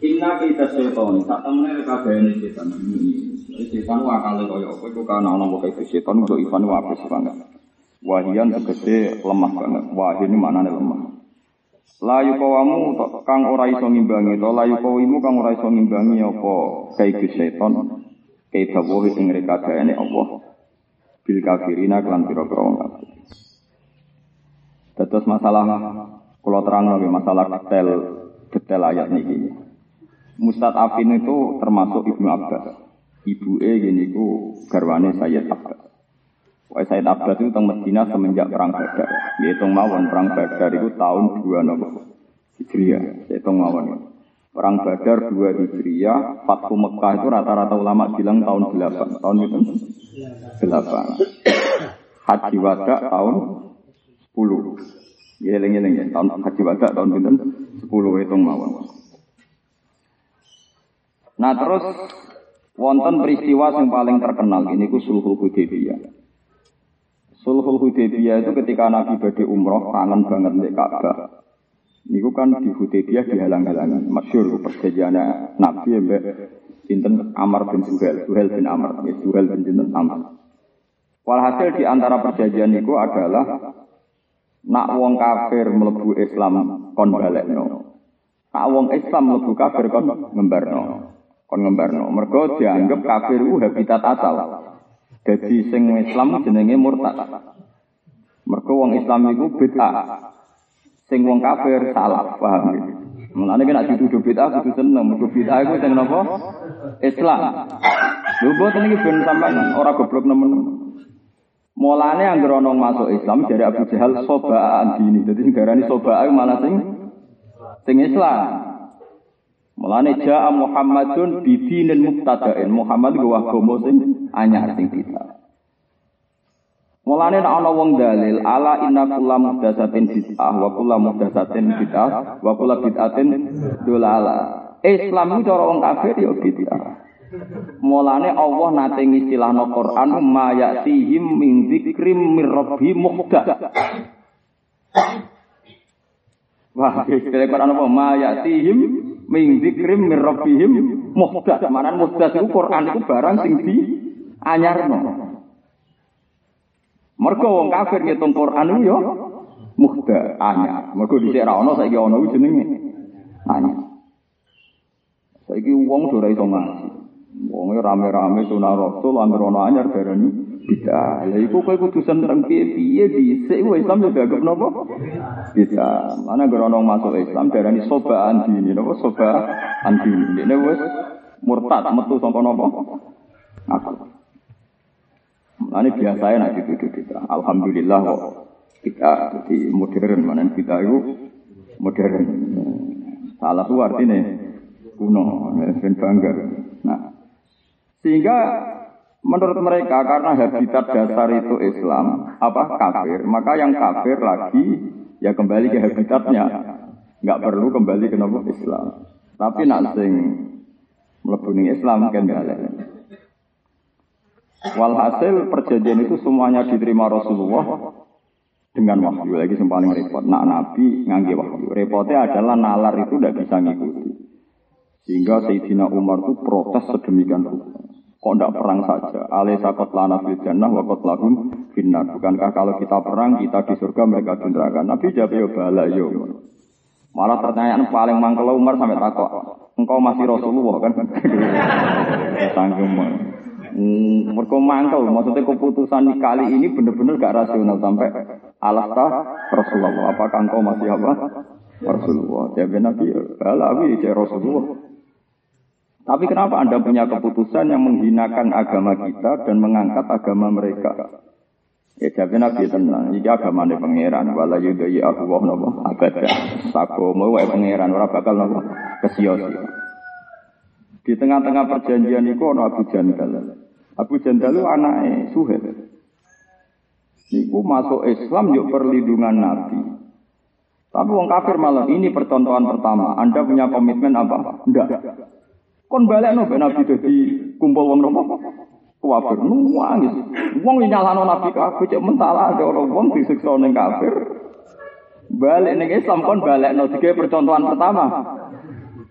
Inna kita setan, tak temen kabehane setan. Setan akale kaya apa iku kana ana kok setan untuk Ivan wapes banget. Wahian tegese lemah banget. Wahin ini maknane lemah. Layu kawamu kang ora iso ngimbangi to layu kawimu kang ora iso ngimbangi apa kae setan. Kae dawuh ing rekadane Allah. Bil kafirina kelan pira-pira wong kafir. Terus masalah kula terangno masalah detail ayat niki. Mustad'afin itu termasuk Ibnu Abbas. Ibuke ngene iku garwane Sayyid Abbas. Wae Sayyid Abbas itu teng Madinah semenjak perang Badar. Diitung mawon perang Badar itu tahun 2 Hijriah. Diitung mawon. Perang Badar 2 Hijriah, Fathu Mekah itu rata-rata ulama bilang tahun 8. Tahun itu 8. Haji Wada tahun 10. Eling-eling ya, tahun Haji Wada tahun pinten? 10 hitung mawon. Nah terus wonten peristiwa yang paling terkenal ini ku Sulhul Hudaybiyah. Sulhul Hudaybiyah itu ketika Nabi badhe umroh kangen banget mek Ka'bah. Niku kan di Hudaybiyah dihalang-halangi. Masyhur perjanjiane Nabi mbek pinten Amr bin Suhail bin Amr, Suhail bin pinten Amr. Walhasil di antara perjanjian niku adalah nak wong kafir mlebu Islam kon balekno. Nak wong Islam mlebu kafir kon ngembarno. Mergo dianggap kafir ku habitat asal. Dadi sing Islam jenenge murtad. Mergo wong Islam iku bid'ah. Sing wong kafir salah, paham iki. Mulane nek dituduh bid'ah kudu seneng, mergo bid'ah iku sing napa? Islam. Lho boten iki ben sampean ora goblok nemen. Mulane anggere ana masuk Islam dari Abu Jahal sobaan dini. Dadi sing darani sobaa malah sing Islam. Mulane ja'a Muhammadun bidinin mubtada'in. Muhammad ku agama sing anyar sing kita. Mulane nek ana wong dalil ala inna kullu muhdatsatin bid'ah wa kullu muhdatsatin bid'ah wa kullu bid'atin dolalah. Islam itu cara wong kafir ya bid'ah. Mulane Allah nate ngistilahno Quran ma ya'tihim min dzikrim mir rabbi muhdath. Wah, istilah Quran apa ma ya'tihim min dzikrim mir rabbihim muhdath. Manan muhdath iku Quran iku barang sing di anyarno. Mergo wong kafir ngitung Quran iku ya muhdath anyar. Mergo dhisik ra ono saiki ono iku jenenge anyar. Saiki wong ora iso ngaji. Wong rame-rame sunah Rasul anggere ono anyar darani bid'ah. Lha iku kowe kudu seneng piye-piye dhisik Islam yo dianggap napa? Bid'ah. Ana anggere ono masuk Islam darani sobaan dini napa sobaan dini. Dene wis murtad metu saka napa? Aku. Ini biasanya nak dituduh kita. Alhamdulillah kok kita di modern, mana kita itu modern. Salah itu artinya kuno, dan bangga. Nah, sehingga menurut mereka karena habitat dasar itu Islam, kafir, maka yang kafir lagi ya kembali ke habitatnya, nggak perlu kembali ke nama Islam. Tapi nak sing mlebu ning Islam kan galak. Walhasil perjanjian itu semuanya diterima Rasulullah dengan wahyu. Lagi yang paling repot, nak Nabi ngangge wahyu. Repotnya adalah nalar itu tidak bisa ngikuti. Sehingga Sayyidina Umar itu protes sedemikian rupa. Kok tidak perang saja? Alaysa qatlana fil jannah wa qatlahum finnar. Bukankah kalau kita perang, kita di surga, mereka di neraka? Nabi jawab ya bala ya. Malah pertanyaan paling mangkel Umar sampai takut. Engkau masih Rasulullah kan? Tanggung. Mereka mangkel, maksudnya keputusan kali ini benar-benar gak rasional sampai alasta Rasulullah. Apakah engkau masih apa? Rasulullah. Jawab Nabi, balawi saya Rasulullah. Tapi kenapa Anda punya keputusan yang menghinakan agama kita dan mengangkat agama mereka? Ya jawab Nabi tenang, ini agama ini pangeran. Wala yudai Allah nama abada. Sakomo wae pangeran, orang bakal nama kesia-sia. Di tengah-tengah perjanjian itu ada Abu Jandal. Abu Jandal itu anaknya Suhail. Niku masuk Islam yuk perlindungan Nabi. Tapi wong kafir malah ini percontohan pertama. Anda punya komitmen apa? Enggak. Kon balik no Nabi jadi kumpul wong nopo. Kafir nangis. Wong nyalano Nabi kafir cek mentala ada orang wong disiksa ning kafir. Balik ning Islam kon balik no digawe percontohan pertama.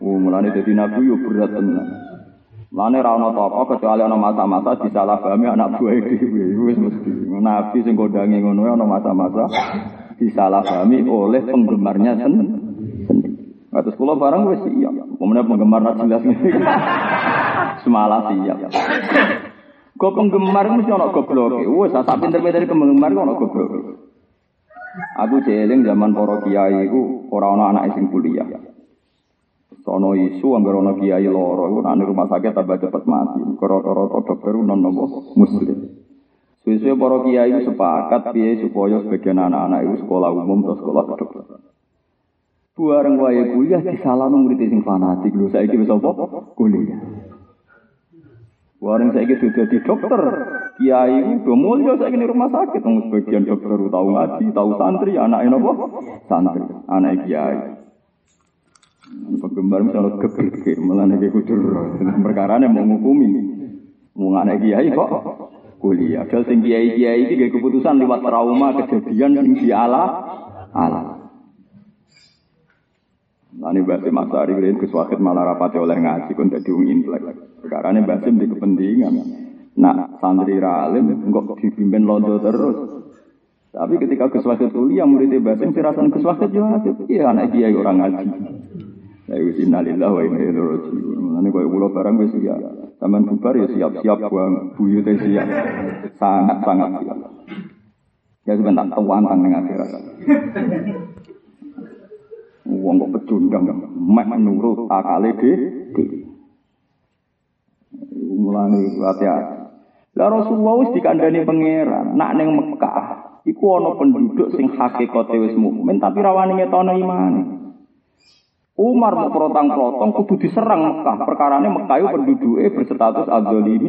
Mulane dadi nabi yo berat tenan. Mulane ra ono apa kecuali ana masa-masa disalahpahami anak buah dhewe. Wis mesti. Nabi sing kondangi ngono ana masa-masa disalahpahami oleh penggemarnya sendiri. Terus kula barang wis siap. Kemudian penggemar ra jelas ngene. Semalah siap. Kok penggemar mesti ana gobloke. Wis sak pinter-pintere penggemar kok ana gobloke. Aku jeling zaman para kiai iku ora ana anak sing kuliah. Sono isu anggere ana kiai loro iku nang rumah sakit tambah cepet mati. Karo-karo dokter non nopo muslim. Suwe-suwe para kiai sepakat piye supaya sebagian anak-anak iku sekolah umum atau sekolah kedokteran. Bareng wae kuliah disalahno murid sing fanatik lho saiki wis apa? Kuliah. Bareng saiki dadi dokter. Kiai udah mulya saiki ning rumah sakit wong sebagian dokter tau ngaji, tau santri, anake napa? Santri, anake kiai. Penggemar misalnya kebirke, malah nek kudu perkarane mau ngukumi. Wong anak kiai kok kuliah. Dal sing kiai-kiai iki nggih keputusan liwat trauma kejadian sing diala. Nani Basim Asari kalian keswakit malah rapati oleh ngaji kon dadi wong intelek. Perkarane Basim di kepentingan. Nah, santri ralim kok dipimpin londo terus. Tapi ketika keswakit kuliah murid Basim sirasan keswakit yo iya anak kiai orang ngaji. Ya wis innalillahi wa inna ilaihi raji'un. Mulane koyo kula barang wis ya. Taman bubar ya siap-siap buang buyute siap. Sangat-sangat siap. Ya sebentar tuwantang ning akhirat. Wong kok pecundang mek nurut akale dhewe. Mulane hati-hati. Lah Rasulullah wis dikandani pangeran, nak ning Mekah iku ana penduduk sing hakikate wis mukmin tapi rawani ngetono imane. Umar mau protang-protong kudu diserang Mekah. Perkarane Mekah itu penduduke berstatus adzalimi.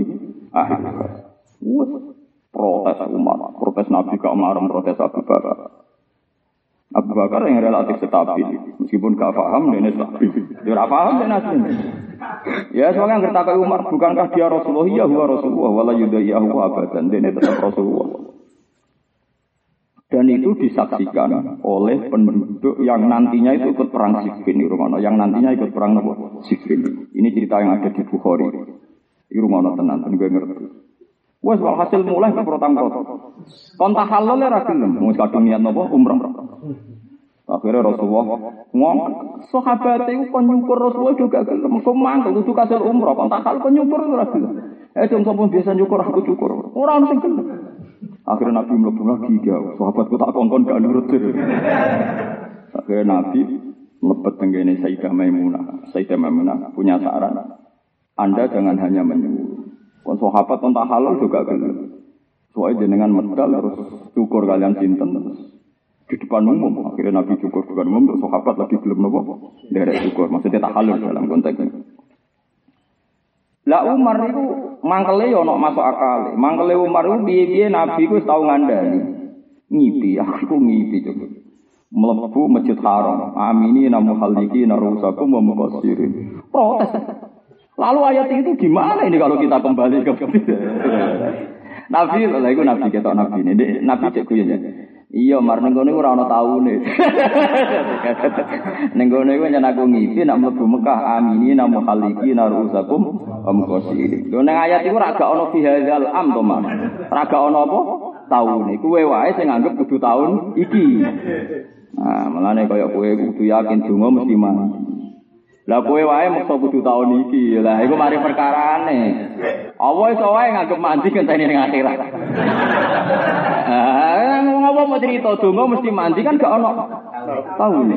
Protes Umar, protes Nabi ke Umar, protes Abu Bakar. Abu Bakar yang relatif stabil, meskipun gak paham dia stabil. Dia gak paham dia nasib. Ya soalnya ngerti ke Umar, bukankah dia Rasulullah? Ya huwa Rasulullah, wala yudaiyahu abadan. Dia tetap Rasulullah. Dan itu disaksikan oleh penduduk yang nantinya itu ikut perang Siffin di Rumah. Yang nantinya ikut perang Siffin. Ini cerita yang ada di Bukhari. Di Rumah tenan, gue ngerti. Wes walhasil mulai ke protang-protang. Kontak halal ya rakyat. Mau kadung niat nopo umrah. Akhirnya Rasulullah ngomong, sahabat itu kon nyukur Rasulullah juga gelem. Kok mangkel kudu kasil umrah. Kontak halal kon nyukur ora gelem. Dong sapa biasa nyukur aku cukur. Ora ono sing gelem. Akhirnya Nabi mlebu lagi dia, sahabatku tak kongkon gak nurut. Akhirnya Nabi mlebet tenggene Sayyidah Maimunah. Sayyidah Maimunah punya saran. Anda jangan hanya menyuruh. Kon sahabat kontak halal juga gelem. Soale jenengan medal terus cukur kalian sinten terus di depan umum. Akhirnya Nabi cukur depan umum terus sahabat lagi gelem napa? Derek cukur. Maksudnya tak halal dalam konteks ini. Lah Umar itu mangkele yo ono masuk akal. Mangkele Umar itu piye-piye Nabi ku wis tau ngandani. Ngipi, aku ngipi coba. Mlebu Masjid Haram. Amini namu khaliki narusakum wa muqassirin. Protes. Lalu ayat itu gimana ini kalau kita kembali ke Nabi, lha iku Nabi ketok Nabi ini. Nabi cek guyon ya. Iya, mar ning ngene ora ana taune. Ning ngene iku yen aku ngipi nek mlebu Mekah amini namu khaliki narusakum amqasiri. Lho ning ayat iku ora gak ana bihadzal am to, Mas. Ora gak ana apa? Taune. Kuwe wae sing nganggep kudu taun iki. Nah, mulane kaya kowe kudu yakin donga mesti mati. Lah kowe wae mesti kudu taun iki. Lah iku mari perkarane. Apa iso wae nganggep mandi ngenteni ning akhirat. Ngomong mau cerita donga mesti mandi kan gak ono taune.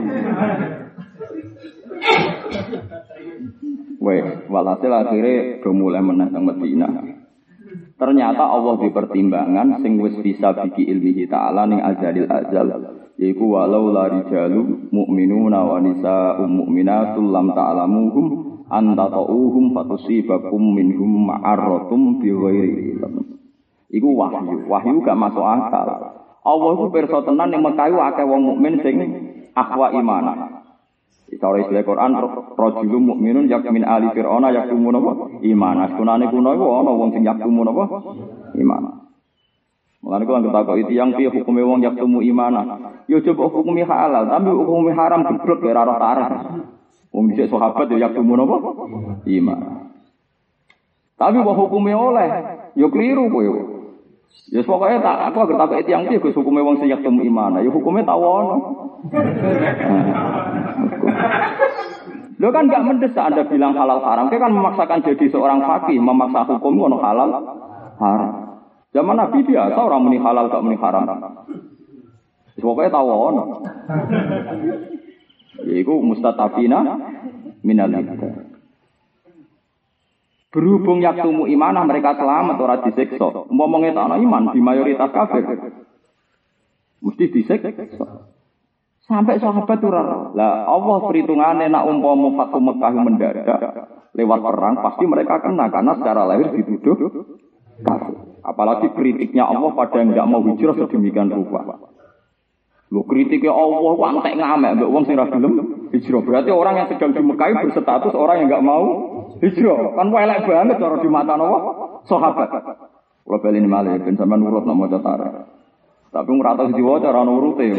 Weh, walhasil akhirnya do mulai menang Madinah. Ternyata Allah di pertimbangan sing wis bisa biki ilmihi ta'ala ning azalil azal. Yaiku walau la rijalu mu'minuna wa nisa'um mu'minatul lam ta'lamuhum antata'uhum fatusibakum minhum ma'arratum bi ghairi ilm. Iku wahyu. Wahyu gak masuk akal. Allah itu pirsa tenan ning Mekah akeh wong mukmin sing akhwa iman. Cara istilah Quran rajulun mukminun yakmin ali fir'auna yaktumun apa? Iman. Sunane kuno iku ana wong sing yaktumun apa? Iman. Mulane kula ngerti yang piye hukume wong yaktumu imana. Ya coba hukumi halal, tapi hukumi haram geblek ora roh tarah. Wong dhisik sahabat ya yaktumu napa? Iman. Tapi wa hukume oleh, ya keliru kowe. Ya pokoke tak aku agar tak tiyang iki Gus hukume wong sing yaktumu iman. Ya hukume tawono. Lo kan enggak mendesak Anda bilang halal haram. Kita kan memaksakan jadi seorang fakih, memaksa hukum ono halal haram. Zaman Nabi biasa orang muni halal gak muni haram. Pokoknya tahu ono. Iku mustatafina minal hidayah. Berhubung yaktumu imanah mereka selamat ora disiksa. Umpamane tak ana iman di mayoritas kafir. Mesti disiksa. Sampai sahabat ora. Lah Allah perhitungane nak umpama Fatu Mekah mendadak lewat perang pasti mereka kena karena secara lahir dituduh kafir. Apalagi kritiknya Allah pada yang enggak mau hijrah sedemikian rupa. Lho kritiknya Allah kok antek ngamek mbek wong sing ra gelem hijrah. Berarti orang yang sedang di Mekah berstatus orang yang enggak mau hijrah. Kan elek banget cara di mata Allah sahabat. Kula baleni malih ben sampean nurut nang maca tarikh. Tapi ora tau diwaca ora nurute.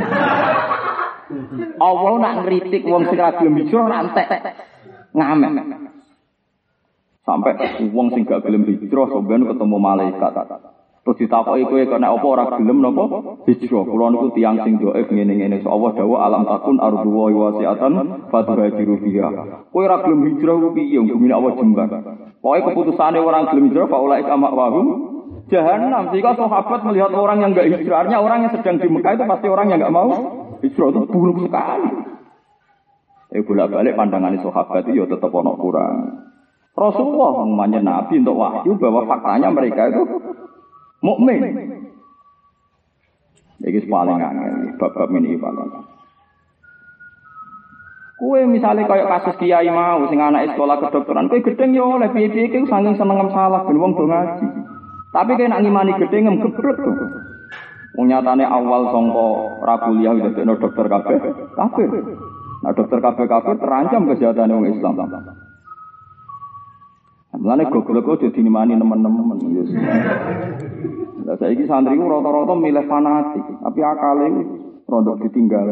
Allah nak ngritik wong sing ra gelem hijrah antek ngamek. Sampai wong sing gak gelem hijrah sampeyan ketemu malaikat. Terus ditakoki kowe kena apa ora gelem napa hijrah. Kula niku tiyang sing dhaif ngene-ngene. Allah dawuh alam takun ardu wa wasi'atan fatuhajiru fiha. Kowe ora gelem hijrah ku piye bumi Allah jembar. Pokoke keputusane orang gelem hijrah fa ulaika ma'wahum Jahannam. Jika sahabat melihat orang yang enggak hijrah, artinya orang yang sedang di Mekah itu pasti orang yang enggak mau hijrah itu buruk sekali. Bolak-balik pandangan sahabat itu ya tetap ono kurang. Rasulullah namanya Nabi untuk wahyu bahwa faktanya mereka itu mukmin. Iki paling angel bab-bab ini paling. Kue misalnya kayak kasus kiai mau sing anak sekolah kedokteran, kue gedeng yo oleh piye-piye iki saking seneng salah ben wong do ngaji. Tapi kaya nak ngimani gedeng geblek to. Wong nyatane awal sangka ra kuliah dadekno dokter kabeh kafir. Nah dokter kabeh kafir terancam kesehatane wong Islam. Mulane goblok kok dadi ngimani teman-teman. Lah saiki santri ku rata-rata milih fanatik, tapi akale rodok ditinggal.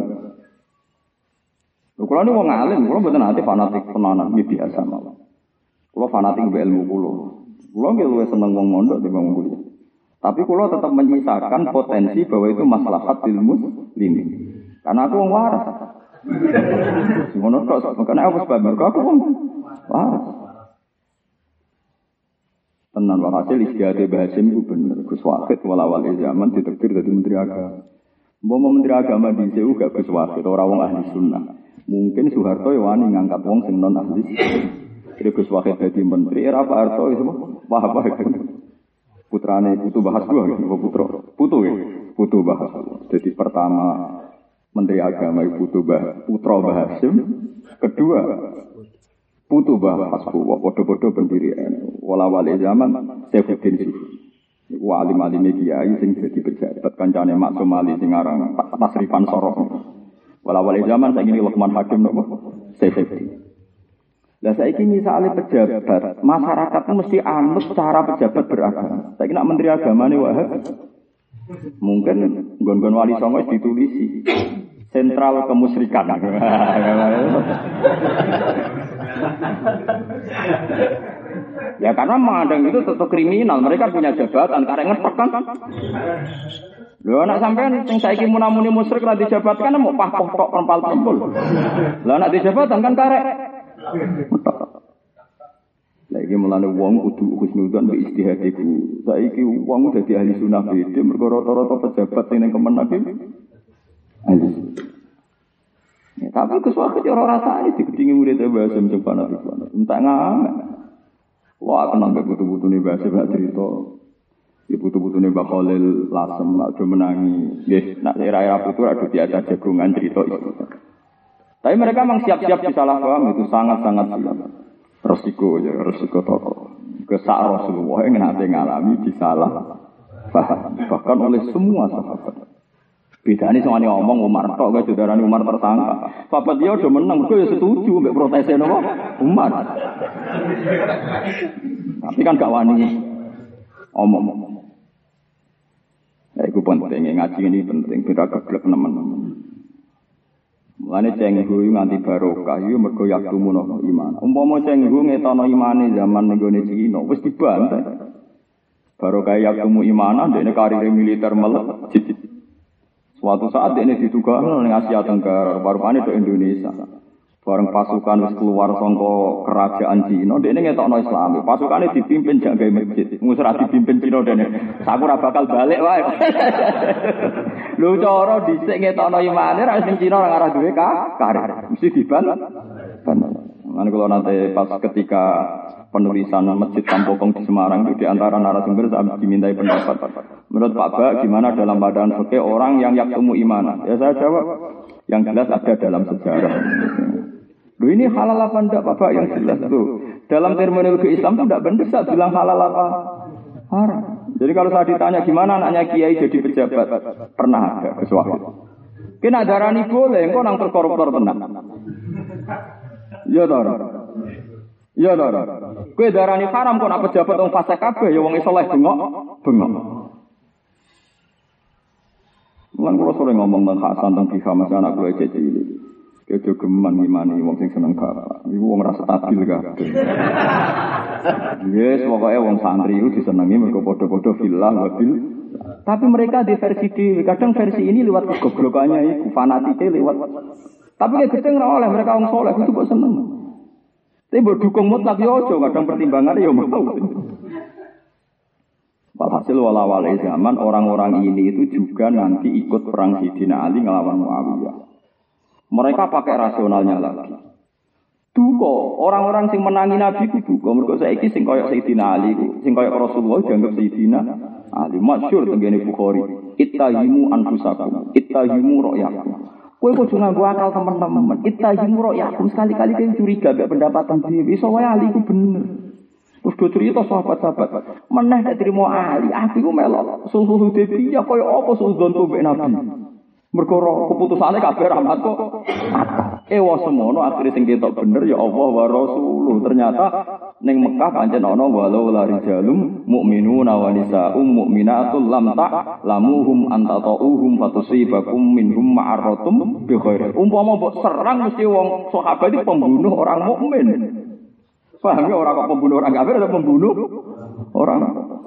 Lho kula niku wong alim, kula mboten ate fanatik tenanan, biasa mawon. Kula fanatik mbek ilmu kula. Kula nggih luwih seneng wong mondok timbang kuliah. Tapi kula tetap menyisakan potensi bahwa itu maslahat ilmu muslimin. Karena aku wong waras. Ngono kok, makane aku sebab mergo aku wong waras. Tenan wae hasil istiadat Bahasim itu bener. Gus Wahid walawal zaman ditektir dadi menteri agama. Mbok menteri agama di CU gak Gus Wahid ora wong ahli sunnah. Mungkin Soeharto ya wani ngangkat wong sing non ahli. Jadi Gus Wahid dadi menteri era Pak Harto itu apa putrane Putu Bahas dua gitu, Putu Bahas. Jadi pertama menteri agama Putra Bahasim, kedua Putu Bahas podo-podo pendirian wala-wali zaman Saifuddin Sufi. Iku alim-alim kiai sing dadi pejabat kancane Maksum Ali sing aran Tasrifan Sorok. Wala-wali zaman saiki Luqman Hakim nopo Saifuddin. Lah saiki misale pejabat, masyarakat mesti anut cara pejabat beragama. Saiki nak menteri agamane Wahab mungkin nggon-nggon wali songo ditulisi sentral kemusyrikan. Ya karena memandang itu tetap kriminal, mereka punya jabatan, karek ngepek kan. Lho anak sampean sing saiki munamuni musyrik ra dijabatkan mau pah-pah tok perempal-perempul. Lah anak dijabatan kan karek. Lagi mulane wong kudu husnudzon mbek istihadiku. Saiki wong dadi ahli sunah beda mergo rata-rata pejabat sing ning Kemenak iki. Ya, tapi kesuwen ora rasane digedingi murid Bahasim coba nanti. Entak ngamek. Wah, kenal mbek butuh-butuhne Bahasim gak cerita. Ya butuh-butuhne Mbak Khalil Lasem aja menangi. Nggih, nak era-era putu ado diajak jagungan cerita itu. Tapi mereka memang siap-siap disalahpaham itu sangat-sangat siap. Resiko toko. Kesak Rasulullah yang nanti ngalami disalah paham. Bahkan oleh semua sahabat. Bedane soalnya ngomong Umar tok gak saudarane Umar tersangka. Sahabat dia udah menang, gue setuju mbek protese napa Umar. Tapi kan gak wani omong. Ya iku penting ngaji ini penting beda geblek teman-teman. Mulane cenggu nganti barokah yo mergo yaktumun iman. Umpama cenggu ngetono imane zaman nenggone Cina wis dibantai. Barokah yaktumu imanan dekne karir militer melejit. Suatu saat dekne ditugakno ning Asia Tenggara, barupane do Indonesia. Bareng pasukan wis keluar saka kerajaan Cina, dekne ngetokno Islam. Pasukane dipimpin jak gawe masjid. Wis ora dipimpin Cina dekne. Saku ora bakal balik wae. Lho cara dhisik ngetokno imane ra sing Cina ora ngarah duwe karir. Mesti diban. Lan kula nate pas ketika penulisan Masjid Kampokong di Semarang itu di antara narasumber saya dimintai pendapat. Menurut Pak Ba, gimana dalam badan fikih orang yang yaktumu iman? Ya saya jawab, yang jelas ada dalam sejarah. Loh ini halal apa enggak Pak Ba yang jelas tuh. Dalam terminologi Islam itu enggak benar saya bilang halal apa haram. Jadi kalau saya ditanya gimana anaknya kiai jadi pejabat, pernah ada kesuatu. Kena darani boleh, engko nang koruptor tenan. Ya toh. Ya toh. Kowe darani haram kok nak pejabat wong fasik kabeh ya wong saleh bengok. Lan kula sore ngomong tentang Hasan tentang Bika Mas anak kula cilik. Kejo geman ngimani wong sing seneng bapak. Iku wong rasa stabil kabeh. Yes, pokoke wong santri iku disenengi mergo padha-padha fillah wa bil. Tapi mereka di versi dhewe, kadang versi ini lewat kegoblokannya iku fanatike lewat. Tapi nek gedeng ora oleh mereka wong saleh itu kok seneng. Tapi mbok dukung mutlak yo aja, kadang pertimbangane yo mau. Walhasil walawal zaman orang-orang ini itu juga nanti ikut perang Sayyidina Ali ngelawan Muawiyah. Mereka pakai rasionalnya lagi. Duko, orang-orang sing menangi Nabi ku duko. Mergo saiki sing koyo Sayyidina Ali, sing koyo Rasulullah dianggap Sayyidina Ali. Masyhur tengene Bukhari. Ittahimu anfusakum, ittahimu ra'yakum. Kowe kudu nganggo akal teman-teman. Ittahimu ra'yakum, sekali-kali kowe curiga mek pendapatan dhewe. Iso wae Ali ku bener. Terus do cerita sahabat-sahabat, meneh nek trimo Ali, aku ku melok sulhul Hudaybiyah koyo apa sulhunku mbek Nabi. Mergo keputusane kabeh rahmat kok. Ewa semono akhire sing ketok bener ya Allah wa Rasuluh. Ternyata ning Mekah pancen ana walau la rijalum mukminuna wa nisaa'um mu'minatul lam ta'lamuhum antata'uhum fatusibakum minhum ma'aratum bi khair. Umpama mbok serang mesti wong sahabat iki pembunuh orang mukmin. Paham ya orang kok pembunuh orang kafir atau pembunuh orang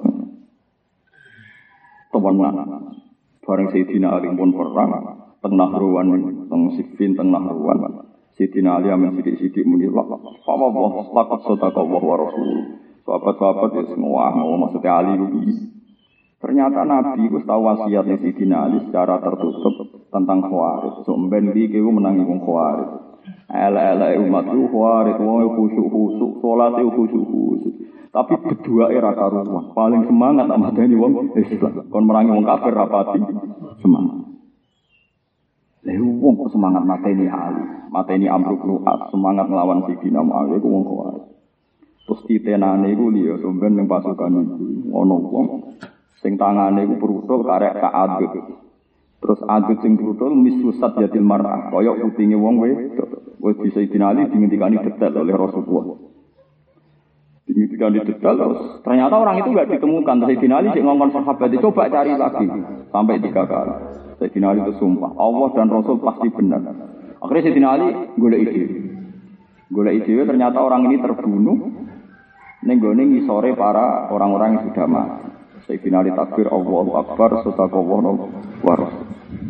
teman-teman. Bareng Sayyidina Ali pun perang teng Nahruwan teng Siffin teng Nahruwan. Sayyidina Ali amen sithik-sithik muni Allah laqad sadaqa wa rasul. Sahabat-sahabat ya semua mau maksudnya Ali iki. Ternyata Nabi wis tahu wasiatnya Sayyidina Ali secara tertutup tentang Khawarij. So mben iki ku menangi wong Khawarij. Ala umat itu khawarij, wong khusyuk-khusyuk, salate khusyuk-khusyuk. Tapi berdua era karuan, paling semangat tak madani wong Islam. Kon merangi wong kafir rapati semangat. Lha wong kok semangat mateni Ali, mateni Amr bin As, semangat nglawan Sayyidina Muawiyah iku wong khawarij. Terus titenane iku liya somben ning pasukan iku ana wong sing tangane iku brutul karek kaadut. Terus adut sing brutul misusat yatil mar'ah, kaya utinge wong wedok. Wis bisa dinali dingendikani detail oleh Rasulullah. Dingendikani detail terus ternyata orang itu enggak ditemukan. Terus dinali sik ngongkon sahabat coba cari lagi sampai 3 kali. Sayyidina Ali itu sumpah, Allah dan Rasul pasti benar. Akhirnya Sayyidina Ali golek ide ternyata orang ini terbunuh ning gone ngisore para orang-orang yang sudah mati. Sayyidina Ali takbir Allahu Akbar sadaqallahu wa rasul.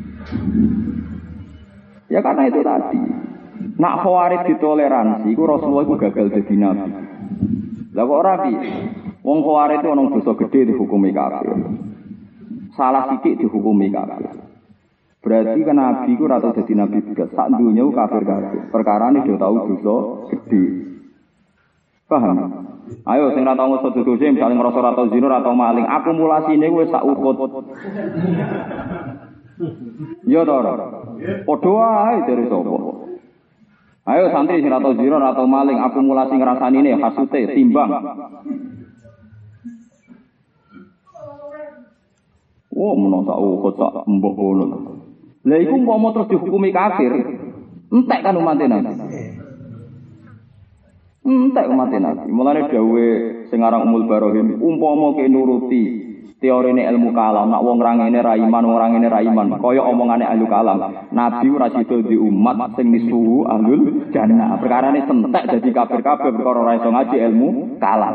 Ya karena itu tadi. Nak Khawarij ditoleransi, iku Rasulullah iku gagal dadi nabi. Lah kok ora piye? Wong Khawarij itu ana dosa gedhe dihukumi kafir. Salah sithik dihukumi kafir. Berarti kan nabi iku ora tau dadi nabi blas. Sak donya kafir-kafir. Perkarane do tau dosa gedhe. Paham? Ayo sing ora tau ngoso dosa misale ngrasa ora tau zina, ora tau maling, akumulasine wis sak ukut. Ya to ora? Padha wae dari sapa? Ayo santri sing ora tau zina, ora tau maling, akumulasi ngrasanine hasute timbang. Oh, menawa tak ukut sak mbok ngono. Lah iku umpama terus dihukumi kafir, entek kan umat Nabi. Entek umat Nabi. Mulane dawuhe sing aran Ummul Barohim, umpama ke nuruti teorine ilmu kalam, nak wong rangene ra iman, wong rangene ra iman, kaya omongane ahli kalam. Nabi ora sida di umat sing disuwu ahlul jannah. Perkarane sentek dadi kafir-kafir perkara ora iso ngaji ilmu kalam.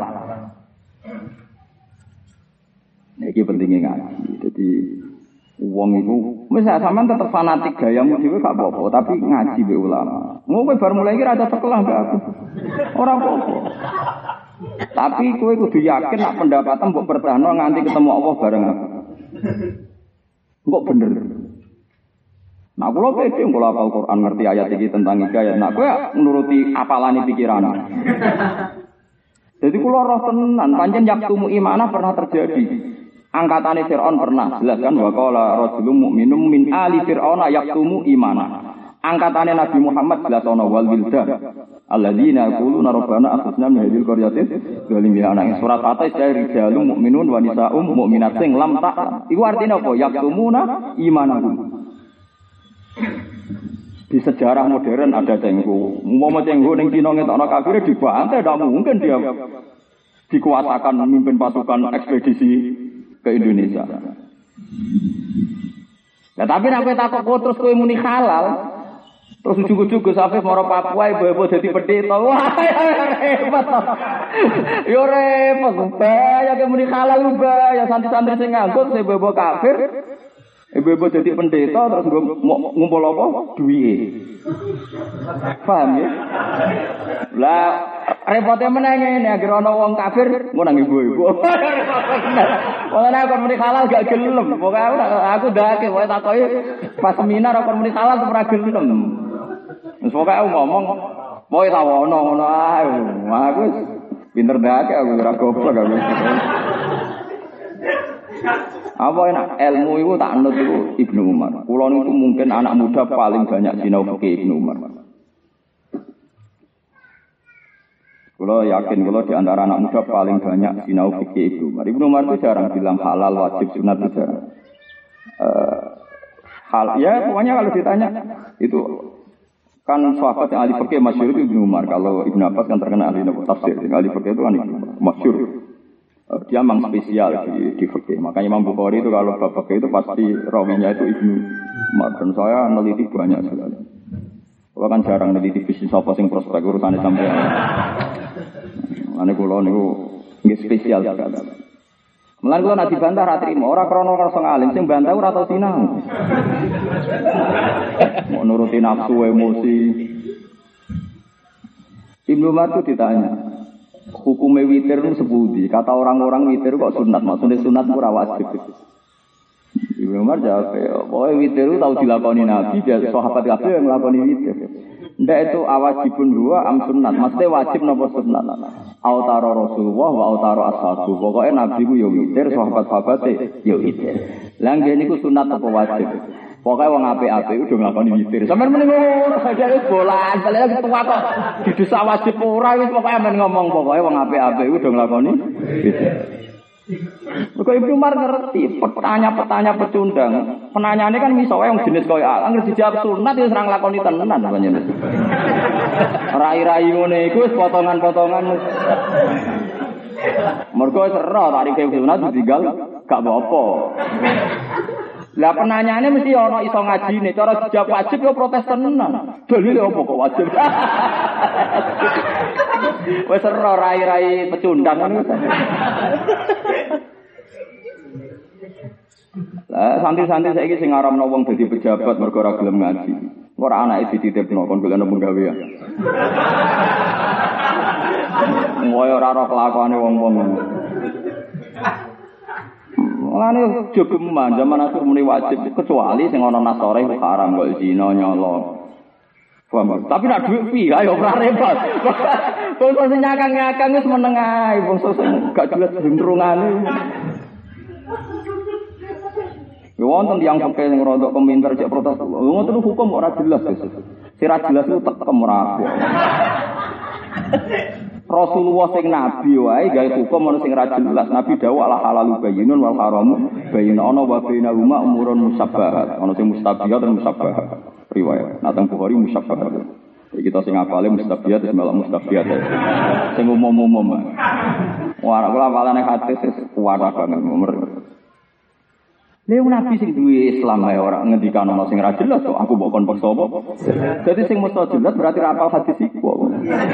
Iki pentingnya ngaji. Jadi wong iku wis sampean tetep fanatik gayamu dhewe gak apa-apa, tapi ngaji be ulama. Ngono bar mulai iki rada sekolah gak aku. Ora apa-apa. Tapi kowe kudu yakin nek pendapatan mbok bertahan nganti ketemu Allah bareng aku. Kok bener. Nah kula pede kula hafal Quran ngerti ayat iki tentang hidayah. Nah kowe nuruti apalane pikiran. Jadi kula roh tenan pancen yaktumu imana pernah terjadi. Angkatane Firaun pernah jelas kan wa qala rajulun mu'minun min ali fir'auna yaktumu imana. Angkatane Nabi Muhammad jelas ana wal wildan alladzina yaquluna rabbana akhrijna min hadhil qaryati zalimin ana surat At-Taih rijalun mu'minun wa nisaa'um mu'minat sing lam ta'lam. Iku artinya apa? Yaktumuna imanahum. Di sejarah modern ada cengho. Umpama cengho ning Cina ngetokno kafire dibantai, tidak mungkin dia dikuasakan memimpin pasukan ekspedisi ke Indonesia. Nah, tapi nek kowe takok terus kowe muni halal, terus ujug-ujug Gus Afif maro Papua ibu-ibu dadi pendeta. Wah, repot. Yo repot. Bahaya ke muni halal bahaya santri-santri sing nganggur ibu-ibu kafir. Ibu-ibu dadi pendeta terus ngumpul apa? Duwike. Paham ya? Lah repotnya menenge nek agar ana wong kafir ngono nang ibu-ibu. Wong nek kon muni halal gak gelem. Pokoke aku ndake wae takoki pas seminar kon muni halal ora gelem. Wis pokoke aku ngomong wae tawono ngono ae. Aku wis pinter ndake aku ora goblok aku. Apa enak ilmu itu tak anut itu Ibnu Umar. Kulo niku mungkin anak muda paling banyak sinau fikih Ibnu Umar. Kulo yakin kulo di antara anak muda paling banyak sinau fikih Ibnu Umar. Ibnu Umar itu jarang bilang halal, wajib, sunat itu jarang. Ya pokoknya kalau ditanya itu kan sahabat yang ahli fikih masyhur itu Ibnu Umar. Kalau Ibnu Abbas kan terkenal ahli tafsir. Ahli fikih itu kan masyhur. Dia memang spesial di fikih. Makanya Imam Bukhari itu kalau bab fikih itu pasti rawinya itu Ibnu Umar. Dan saya meneliti banyak sekali. Kalau kan jarang meneliti bisnis apa sing prospek urusannya sampai. Ane kula niku nggih spesial sekali. Mulane kula nek dibantah ra trimo, ora krana rasa ngalim, sing bantah ora tau sinau. Mau nuruti nafsu emosi. Ibnu Umar itu ditanya, hukumnya witir itu sepundi? Kata orang-orang witir kok sunat, maksudnya sunat itu wajib. Ibnu Umar jawab, pokoknya witir itu tahu dilakoni Nabi, dia sahabat kabeh yang melakoni witir. Ndak itu awajibun huwa am sunat, maksudnya wajib napa sunat. Autaro Rasulullah wa autaro ashabu. Pokoknya Nabi ku yo witir, sahabat-sahabate yo witir. Lah ngene niku sunat apa wajib? Pokoknya wong apik-apik udah nglakoni witir. Sampeyan muni ngono, sajane bolan, balik ketua kok didesa wajib ora wis pokoke amen ngomong pokoke wong apik-apik udah nglakoni witir. Kok Ibnu Umar ngerti pertanyaan pecundang. Penanyaane kan miso wae wong jenis koyo anggere dijawab sunat wis ora nglakoni tenan panjenengan. Rai-rai ngene iku wis potongan-potongan. Mergo wis ero tarike sunat ditinggal gak apa-apa. Lah penanyaane mesti ana iso ngajine, cara dijawab wajib yo protes tenan. Dalile opo kok wajib? Wis ora rai-rai pecundang ngono. Lah santri-santri saiki sing ngaramno wong dadi pejabat mergo ora gelem ngaji. Ora anake dititipno kon golekno penggawean. Ngoyo ora ora kelakuane wong-wong. Mulane jogeman zaman akhir muni wajib kecuali sing ana nasore haram kok zina nyolong. Tapi nek dhuwit piye ayo ora repot. Wong sing nyakang-nyakang wis meneng ae, wong sing gak jelas gendrungane. Yo wonten tiyang fakir sing rodok peminter cek protes. Ngoten hukum ora jelas wis. Sira jelas itu tekem ora. Rasulullah sing nabi wae gawe hukum ana sing ra jelas. Nabi dawuh ala halalu bayyinun wal haramu bayyinun ana wa bainahuma umurun musabbahat. Ana sing mustabihat dan musabbahat. Riwayat. Nah teng Bukhari musabbahat. Iki kita sing apale mustabihat wis melok mustabihat. Sing umum-umum. Wah, kula apalane hadis kuat banget umur. Lha nabi sing duwe Islam ae ora ngendikan ana sing ra jelas kok aku mbok kon paksa apa. Dadi sing mesti jelas berarti ra apal hadis iku.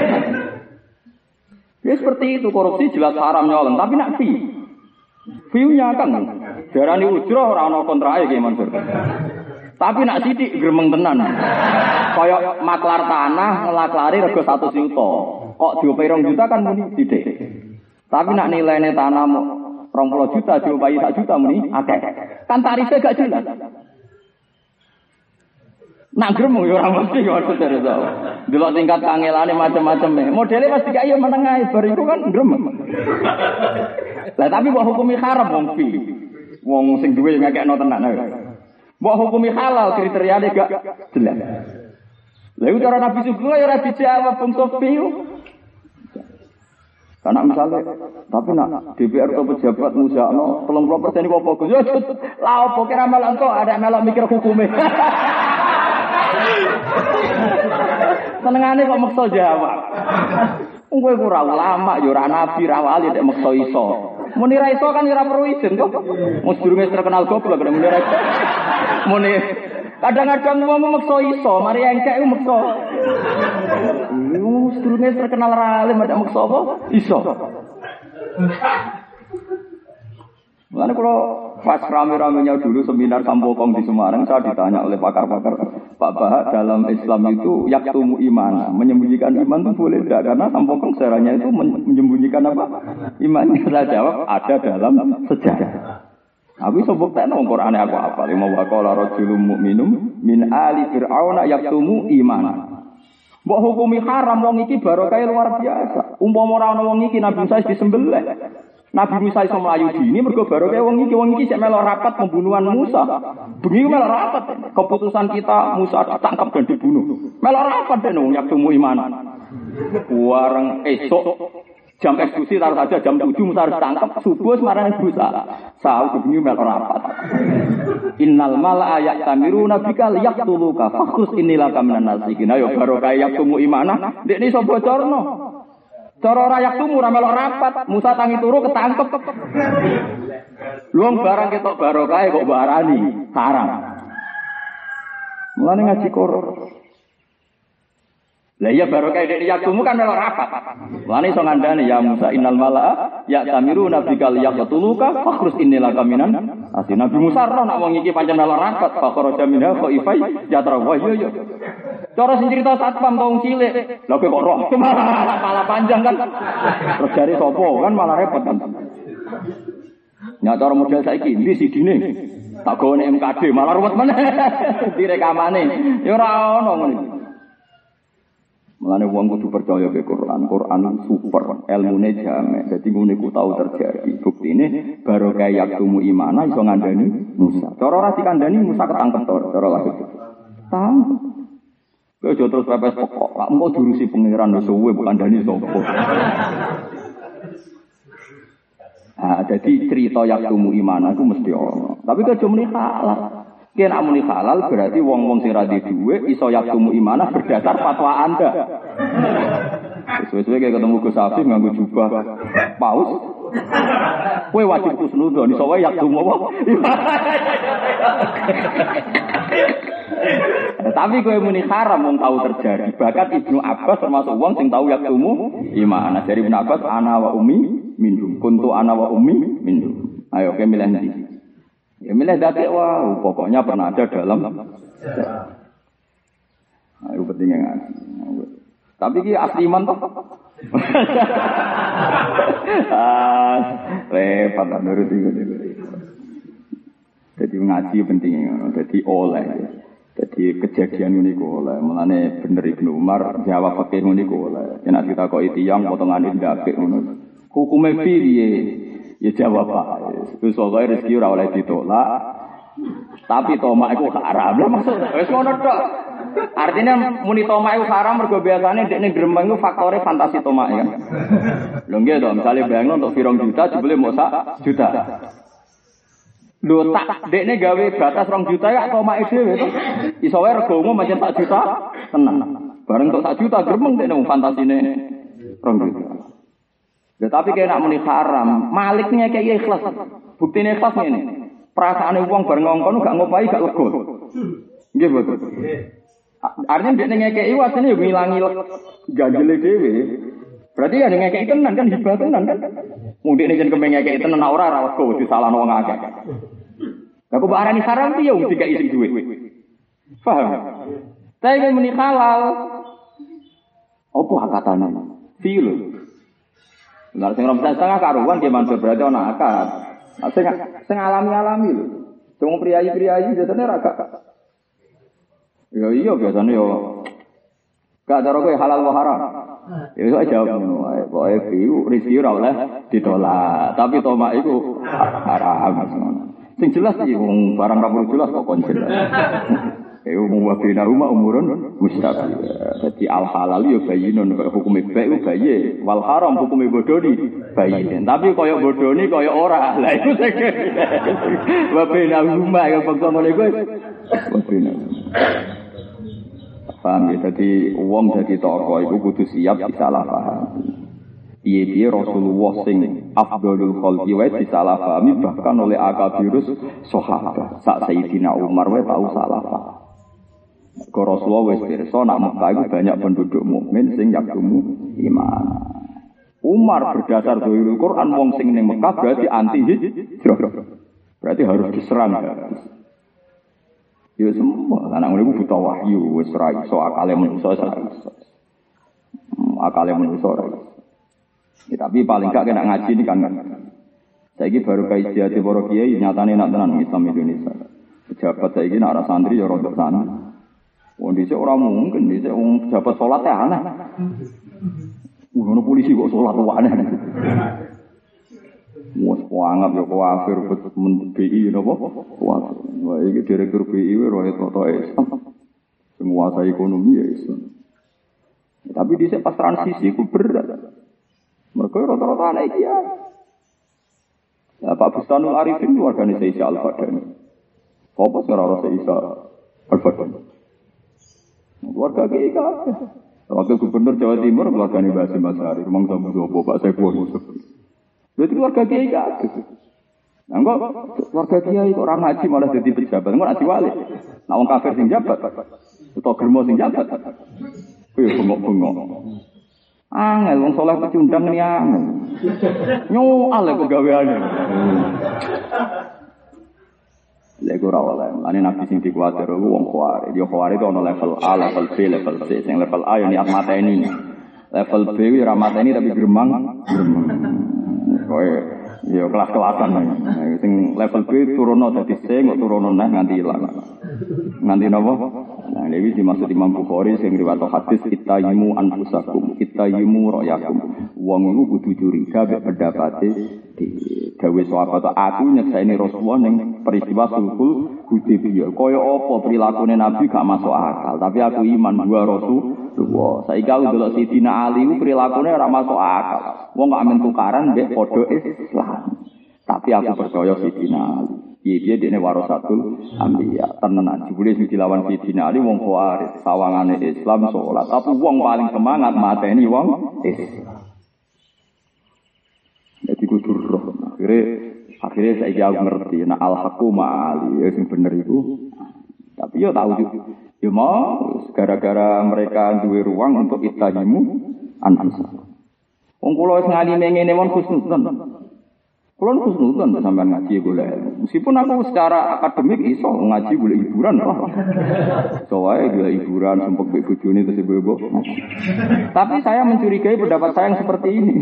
Ya seperti itu korupsi jelas haram nyolong tapi nak view-nya kan darani ujrah ora ana kontrake ki Mansur. Tapi nak sithik gremeng tenan. Kaya maklar tanah ngelaklari rego 100 juta. Kok diopai 2 juta kan muni sithik. Tapi nak nilainya tanah 20 juta diopai 1 juta muni akeh. Kan tarifnya gak jelas. Nak gremeng ya ora mesti maksudnya itu. Delok tingkat kangelane macam-macam. Modele pasti kaya yo menengah bar iku kan gremeng. Lah tapi mbok hukumi haram wong fi. Wong sing duwe ngekekno tenan ae. Mbok hukumi halal kriteriane gak jelas. Lha iku cara Nabi Sugeng ya ora dijawab wong sofi. Karena misalnya, tapi nak DPR atau pejabat musakno 30% iku apa Gus? Yo lah opo kira melok kok ada melok mikir hukume. Senengane kok maksa jawab. Wong kowe ora ulama, ya ora nabi, ra wali nek maksa iso. Muni ra iso kan ora perlu izin kok. Wong durunge terkenal goblok nek muni ra iso. Muni kadang-kadang wong maksa iso, mari engkek ku maksa. Wong durunge terkenal ra alim nek maksa apa? Iso. Mulane kalau pas rame-ramenya dulu seminar Sampokong di Semarang, saya ditanya oleh pakar-pakar, Pak Bahak dalam Islam itu yaktumu iman, menyembunyikan iman itu boleh tidak? Karena Sampokong sejarahnya itu menyembunyikan apa? Imannya. Saya jawab ada dalam sejarah. Aku sebut tak nong Quran aku apa? Lima waqala rajulun mu'minum min ali fir'auna yaktumu iman. Mbok hukumi haram wong iki barokah luar biasa. Umpama ora ana wong iki Nabi Musa disembelih. Nabi Musa iso mlayu dini mergo barokah wong iki sik melok rapat pembunuhan Musa. Bengi melok rapat. Keputusan kita Musa ditangkap dan dibunuh. Melok rapat den wong yaktumu iman. Wareng esok jam eksekusi taruh saja jam 7 Musa harus tangkap subuh semarang Musa. Sahur bengi melok rapat. Innal mala ya'tamiruna bika yaqtuluka fakhus innilaka minan nasikin. Ayo barokah yaktumu imanah. Ndekne iso bocorno. Cara ora yaktumu ora melok rapat, Musa tangi turu ketangkep. Luang barang ketok barokah kok barani haram. Mulane ngaji Quran. Lah iya barokah dek yaktumu kan melok rapat. Mulane iso ngandani ya Musa innal mala'a ya'tamiruna bikal yaqtuluka fakhrus innilaka minan asin. Nabi Musa ora nak wong iki pancen melok rapat, fakhraja minha khaifai yatra wa yo. Cara sing cerita satpam tong cilik. Lha kok roh malah panjang kan. Terus jare sapa kan malah repot kan. Nya cara model saiki ndi sidine. Tak gawe MKD malah ruwet meneh. Direkamane. Ya ora ono ngono. Mulane wong kudu percaya ke Quran. Quran super, ilmune jamek. Dadi ngene ku tau terjadi. Buktine barokah yaktumu imana iso ngandani Musa. Cara ora dikandani Musa ketangkep to, cara lahir. Tangkep. Kowe aja terus pepes pokok, lak engko diurusi pangeran wis suwe bukan dani sapa. Ah, jadi cerita yaktumu iman aku mesti ono. Tapi aja muni halal. Yen nak muni halal berarti wong-wong sing ra duwe dhuwit iso yaktumu imanah berdasar fatwa Anda. Sesuai kayak ketemu Gus Afif nganggo jubah paus. Kowe wajib kusnudon iso wae yaktumu apa? Tapi kowe muni haram wong tahu terjadi. Bahkan Ibnu Abbas termasuk wong sing tahu yaktumu iman. Dari Ibnu Abbas ana wa ummi minhum. Kuntu ana wa ummi minhum. Ayo kowe milih ndi? Ya milih dadi wow, pokoknya pernah ada dalam. Ayo pentingnya ngaji. Tapi ki asli iman toh. Repot nurut iki. Jadi ngaji pentingnya, jadi oleh. Jadi kejadian ini oleh, mulane bener Ibnu Umar jawab fakih ini oleh. Yen kita kok tiyang potongane ndak apik ngono. Hukume piye? Ya jawab Pak. Wis pokoke rezeki ora oleh ditolak. Tapi tomak iku haram. Lah maksud wis ngono tok. Artinya muni tomak iku haram mergo biasane dekne gremeng iku faktore fantasi tomak ya. Lho nggih to, misale bayangno untuk 2 juta jebule mok sak juta. Lho tak dekne gawe batas 2 juta ya tomake dhewe to. Iso wae regomu pancen 1 juta tenan. Bareng tok 1 juta gremeng dekne fantasine 2 juta. Ya, tapi kena muni haram, maliknya kayak ikhlas. Buktine ikhlas ngene. Perasaane wong bar ngongkon gak ngopahi gak lega. Nggih, betul. Artinya dia ngekei wasine yo ngilangi ganjele dhewe. Berarti ya ngekei tenan kan hibah tenan kan. Mundine jen kemeng ngekei tenan ora lega disalahno wong akeh. Lah kok arani haram piye wong dikai sing duwe. Paham? Tapi muni halal. Apa akatane? Fil. Lah sing ora setengah karuan ki mansur berarti ana akad. Sing alami-alami lho. Wong priayi-priayi biasane ra gak. Ya iya biasane yo. Gak cara kowe halal wa haram. Ya iso jawab ngono wae. Pokoke rezeki ora oleh ditolak. Tapi tomak iku haram. Sing jelas iki wong barang ra perlu jelas kok kon jelas. Umum wa bina rumah umurun mustaqil. Jadi al halal yo bayinun kaya hukum bae bayi, wal haram hukum bodoni bayin. Tapi kaya bodoni kaya ora. Lah iku sing wa bina rumah yo bangsa ngene kuwi. Wa bina. Paham ya, jadi wong dadi tokoh iku kudu siap disalah paham. Piye-piye Rasulullah sing afdhalul khalqi wae disalah pahami bahkan oleh akabirus sahabat. Sak Sayyidina Umar wae tau salah paham. Kau Rasulullah wis pirsa nak Mekah itu banyak penduduk mukmin sing yaktumu iman. Umar berdasar dalil Quran wong sing ning Mekah berarti anti hijrah. Berarti harus diserang. Ya semua anak ngono buta wahyu wis ra iso akale manusa ora iso. Akale manusa ora iso. Ya, tapi paling gak kena ngaji ini kan. Saiki baru kajian para kiai nyatane nak tenan Islam Indonesia. Pejabat saiki nak arah santri ya rodok sana. Wong dhisik ora mungkin dhisik wong pejabat salat ya aneh. Ngono polisi kok salat wae aneh. Wes kuanggap ya kafir BI napa? Wah, iki direktur BI wae roe toto Islam. Semua saya ekonomi ya Islam. Tapi dhisik pas transisi ku berat. Mergo rata-rata anak iki ya. Pak Bustanul Arifin wargane Isa Al-Fadani. Apa ora ora Isa Al-Fadani? Keluarga kiai kabeh. Wakil gubernur Jawa Timur keluargane Mbah Hasyim Asy'ari, rumang sambu sapa Pak Saiful Yusuf. Berarti keluarga kiai kabeh. Nah kok keluarga kiai kok ora ngaji malah dadi pejabat, kok ngaji wali. Nah wong kafir sing jabat utawa germo sing jabat. Kuwi bengok-bengok. Angel wong saleh pecundang ni angel. Nyoal kok gaweane. Lek ora oleh, ane nabi sing dikuwatir wong kuwari. Dia kuwari itu ana level A, level B, level C. Sing level A ya niat mateni. Level B ora mateni tapi gremang. Kowe ya kelas-kelasan. Sing level B turono dadi C, kok turono neh nganti ilang. Nganti napa? Nah, iki dimaksud Imam Bukhari sing riwayat hadis ittayimu anfusakum, ittayimu ra'yakum. Wong iku kudu curiga mek pendapate dawuh sahabat aku nyekseni Rasulullah ning peristiwa Sulhul Hudaybiyah. Kaya apa prilakune Nabi gak masuk akal, tapi aku iman dua Rasulullah. Saiki aku delok Sidina Ali ku prilakune ora masuk akal. Wong kok amen tukaran mbek padha Islam. Tapi aku percaya Sidina Ali. Dia dene warasatul anbiya. Tenan jebule sing dilawan Sidina Ali wong Khawarij, sawangane Islam salat. Tapi wong paling semangat mateni wong Islam. Jadi kudu roh. Akhirnya saya jauh ngerti. Nah al-haqqu ma'ali. Ya sing bener itu. Tapi ya tahu juga. Ya mau. Gara-gara mereka duwe ruang untuk ittahimu anfusakum. Wong kula wis ngalime ngene mon khusnudon. Kula khusnudon sampean ngaji golek. Meskipun aku secara akademik iso ngaji golek hiburan. Soale golek hiburan sempet mbek bojone terus ibu-ibu. Tapi saya mencurigai pendapat saya yang seperti ini.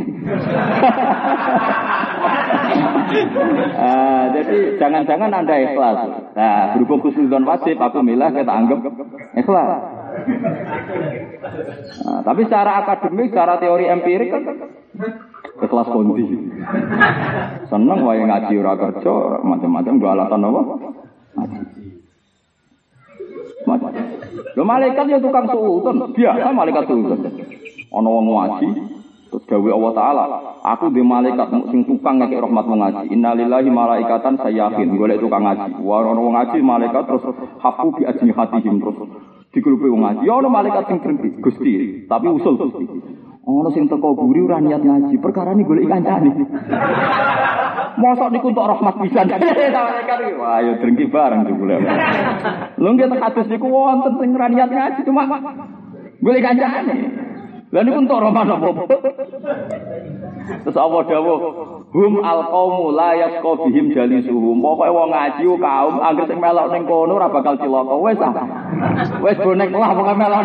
Jadi jangan-jangan Anda ikhlas. Nah, berhubung khusnudon wajib aku milah kita anggap ikhlas. Nah, tapi secara akademik, secara teori empirik kan ikhlas kondi. Seneng wae ngaji ora kerja, macam-macam gua alatan apa? Ngaji. Lho malaikat ya tukang suudon, biasa malaikat suudon. Ana wong ngaji terus dawuh Allah Taala, aku di malaikat sing tukang ngekek rahmat wong ngaji. Innalillahi malaikatan sayyahin, golek tukang ngaji. Ana wong ngaji malaikat terus hafu bi ajnihatihim terus digrupi wong ngaji. Ya ana malaikat sing berhenti, Gusti, tapi usul Gusti. Ono sing teko guri ora niat ngaji, perkara ini golek kancane. Mosok niku entuk rahmat pisan. Wah, ya drengki bareng jebule. Lho nggih hadis niku wonten sing ora niat ngaji cuma golek kancane. Lah niku entuk rahmat apa? Terus Allah dawuh, hum alqaumu la yasqa bihim jalisuhum. Pokoke wong ngaji kaum anggere sing melok ning kono ora bakal cilaka. Wis ah. Wis bonek lah pokoke melok.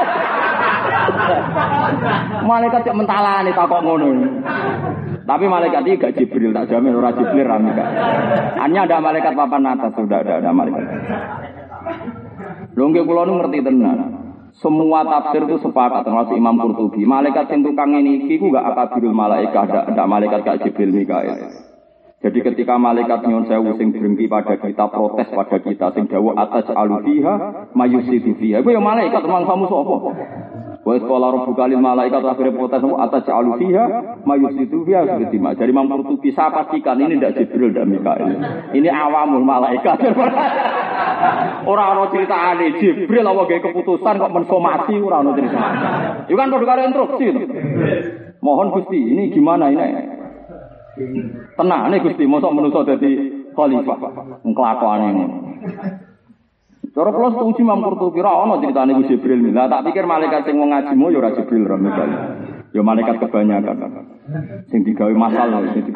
Malaikat cek mentalane takok ngono. Tapi malaikat iki gak Jibril, tak jamin ora Jibril ra Mika. Hanya ada malaikat papan atas, sudah ada malaikat. Lho nggih kula nu ngerti tenan. Semua tafsir itu sepakat termasuk Imam Qurtubi. Malaikat sing tukang ini iku gak akabirul malaikah, ada malaikat gak Jibril Mikail. Jadi ketika malaikat nyuwun sewu sing drengki pada kita, protes pada kita sing dawuh atas alufiha mayusidu fiha. Iku ya malaikat mangsamu sapa? Wa qala rabbuka lil malaikat akhire protes atas alufiha mayusidu fiha seperti Jadi Imam Qurtubi saya pastikan ini tidak Jibril dan Mikail. Ini awamul malaikat. Ora ana critane Jibril apa gawe keputusan kok mensomasi ora ana critane. Iku kan padha karo instruksi to. Mohon Gusti, ini gimana ini? Tenane Gusti, mosok manusa dadi khalifah. Nglakuane ngono. Cara kula setuju Imam Qurtubi ora ana critane ku Jibril. Lah tak pikir malaikat sing wong ngajimu ya ora Jibril ra Mikail. Ya malaikat kebanyakan. Sing digawe masal.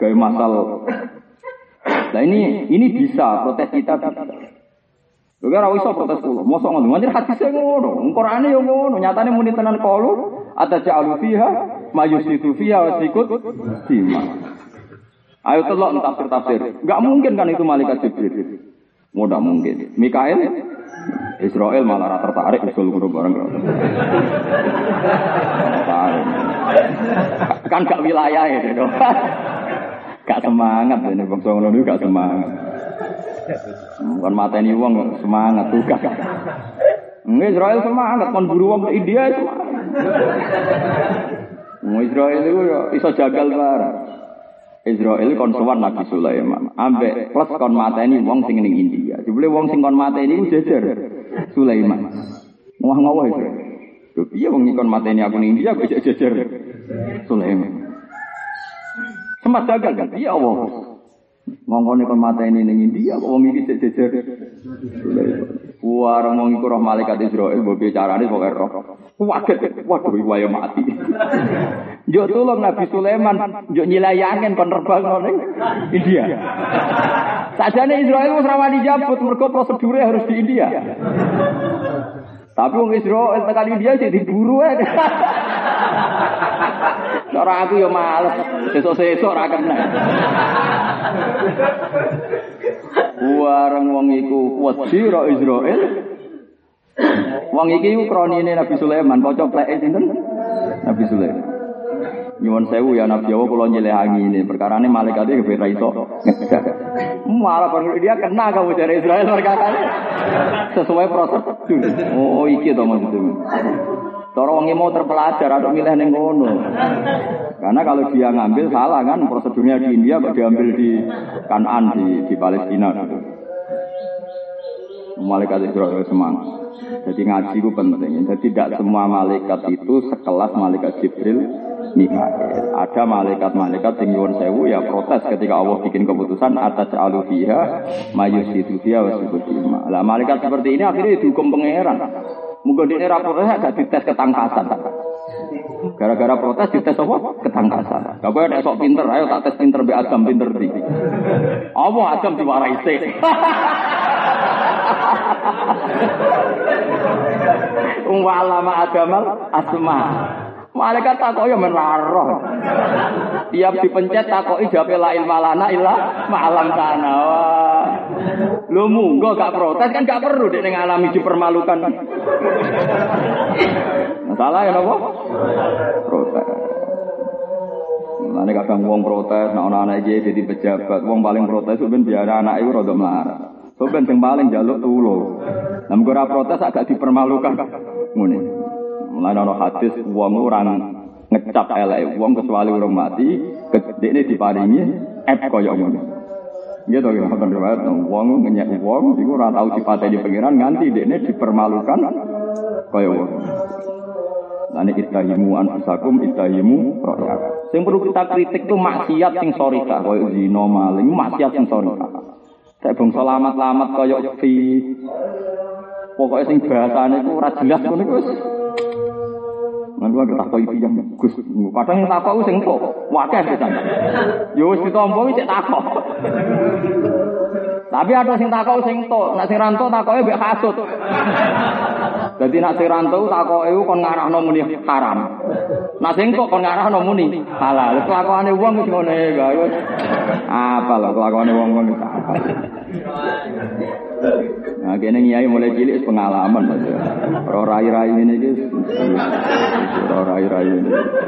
Nah ini bisa protes kita. Lho ora iso protes kula. Mosok ngono. Manjur hadise ngono. Qur'ane yo ngono. Nyatane muni tenan qalu ataja'alu fiha mayusitu fiha wa sikut sima. Ayo telok tafsir. Enggak mungkin kan itu malaikat Jibril. Mudah mungkin. Mikail Israel malah tertarik usul guru bareng. Kan gak wilayah itu. Gak semangat ini bangsa ngono niku gak semangat. Bukan mateni wong semangat tugas. Israel semangat kon buru wong ke India semangat. Israel itu iso jagal bareng. Israel kon sowan Nabi Sulaiman. Ambek plus kon mateni wong sing ning India. Jebule wong sing kon mateni ku jejer Sulaiman. Ngawah itu. Lho piye wong kon mateni aku ning India kok jejer Sulaiman. Sempat jagal kan? Iya Allah. Ngongkone kon mateni ning India kok wong iki jejer Sulaiman. Warang wong iku roh malaikat Israel mbok bicarane pokoke roh. Waduh wae mati. Yo tolong Nabi Sulaiman yo nyilayangen kon terbang ning India. Sajane Israel wis ra wani jabut mergo prosedure harus di India. Tapi wong Israel tekan India sing diburu ae. Cara aku yo males, sesuk-sesuk ra kena. Warang wong iku wedi ro Israel. Wong iki ku kronine Nabi Sulaiman, kanca pleke sinten? Nabi Sulaiman. Nyuwun sewu ya Nabi Allah kula nyelehangi ini. Perkarane malaikate kepen iso. Malah perlu dia kena kamu dari Israel perkarane. Sesuai prosedur. Oh iki to maksudnya. Cara wong mau terpelajar atau milih ning ngono. Karena kalau dia ngambil salah kan prosedurnya di India kok diambil di Kanan di Palestina gitu. Malaikat Israel semangat. Jadi ngaji itu penting. Jadi tidak semua malaikat itu sekelas malaikat Jibril, Mikail. Ada malaikat-malaikat yang nyuwun sewu ya protes ketika Allah bikin keputusan atas alufiha mayusidu fiha wasibudima. Lah malaikat seperti ini akhirnya dihukum pangeran. Mungkin di era protes agak dites ketangkasan. Gara-gara protes dites apa? Ketangkasan. Gak boleh ada sok pinter, ayo tak tes pinter be Adam pinter di. Apa Adam diwarai sih? Walama Adamal asma. Malaikat takoki menaro. Tiap dipencet takoki jawabe la ilma lana illa ma'alam kana. Lho munggo gak protes kan gak perlu dek ning alami dipermalukan. Masalah ya napa? Protes. Mane kadang wong protes nek ana anak iki dadi pejabat, wong paling protes ben biar anak iku rada melarat. Soben sing paling njaluk tulung. Lah mung ora protes agak dipermalukan. Ngene. Mulane ana hadis wong ora ngecap elek wong kecuali urung mati, dekne diparingi kaya ngono. Nggih to ya ngoten riwayat wong ngenyek wong iku ora tau dipateni pangeran nganti dekne dipermalukan kaya ngono. Lane ittahimu anfusakum ittahimu roya. Sing perlu kita kritik tuh maksiat sing sorika koyo zina maling, maksiat sing sorika. Sak bangsa lamat-lamat koyo fi. Pokoke sing bahasane ku ora jelas ngono iku wis. Mangko tak takoki tiyang Gus. Kadang yang takok sing entuk, wakeh pisan. Ya wis ditampa wis takok. Tapi ada sing takok sing entuk, nek sing ra entuk takoke mbek kasut. Dadi nek sing ra entuk takoke kon ngarahno muni haram. Nek sing entuk kon ngarahno muni halal. Kelakuane wong wis ngene ya wis. Apa lho kelakuane wong-wong iki. Nah, kene nyai mulai cilik pengalaman Mas. Ora rai-rai ngene iki. Ora rai-rai ngene.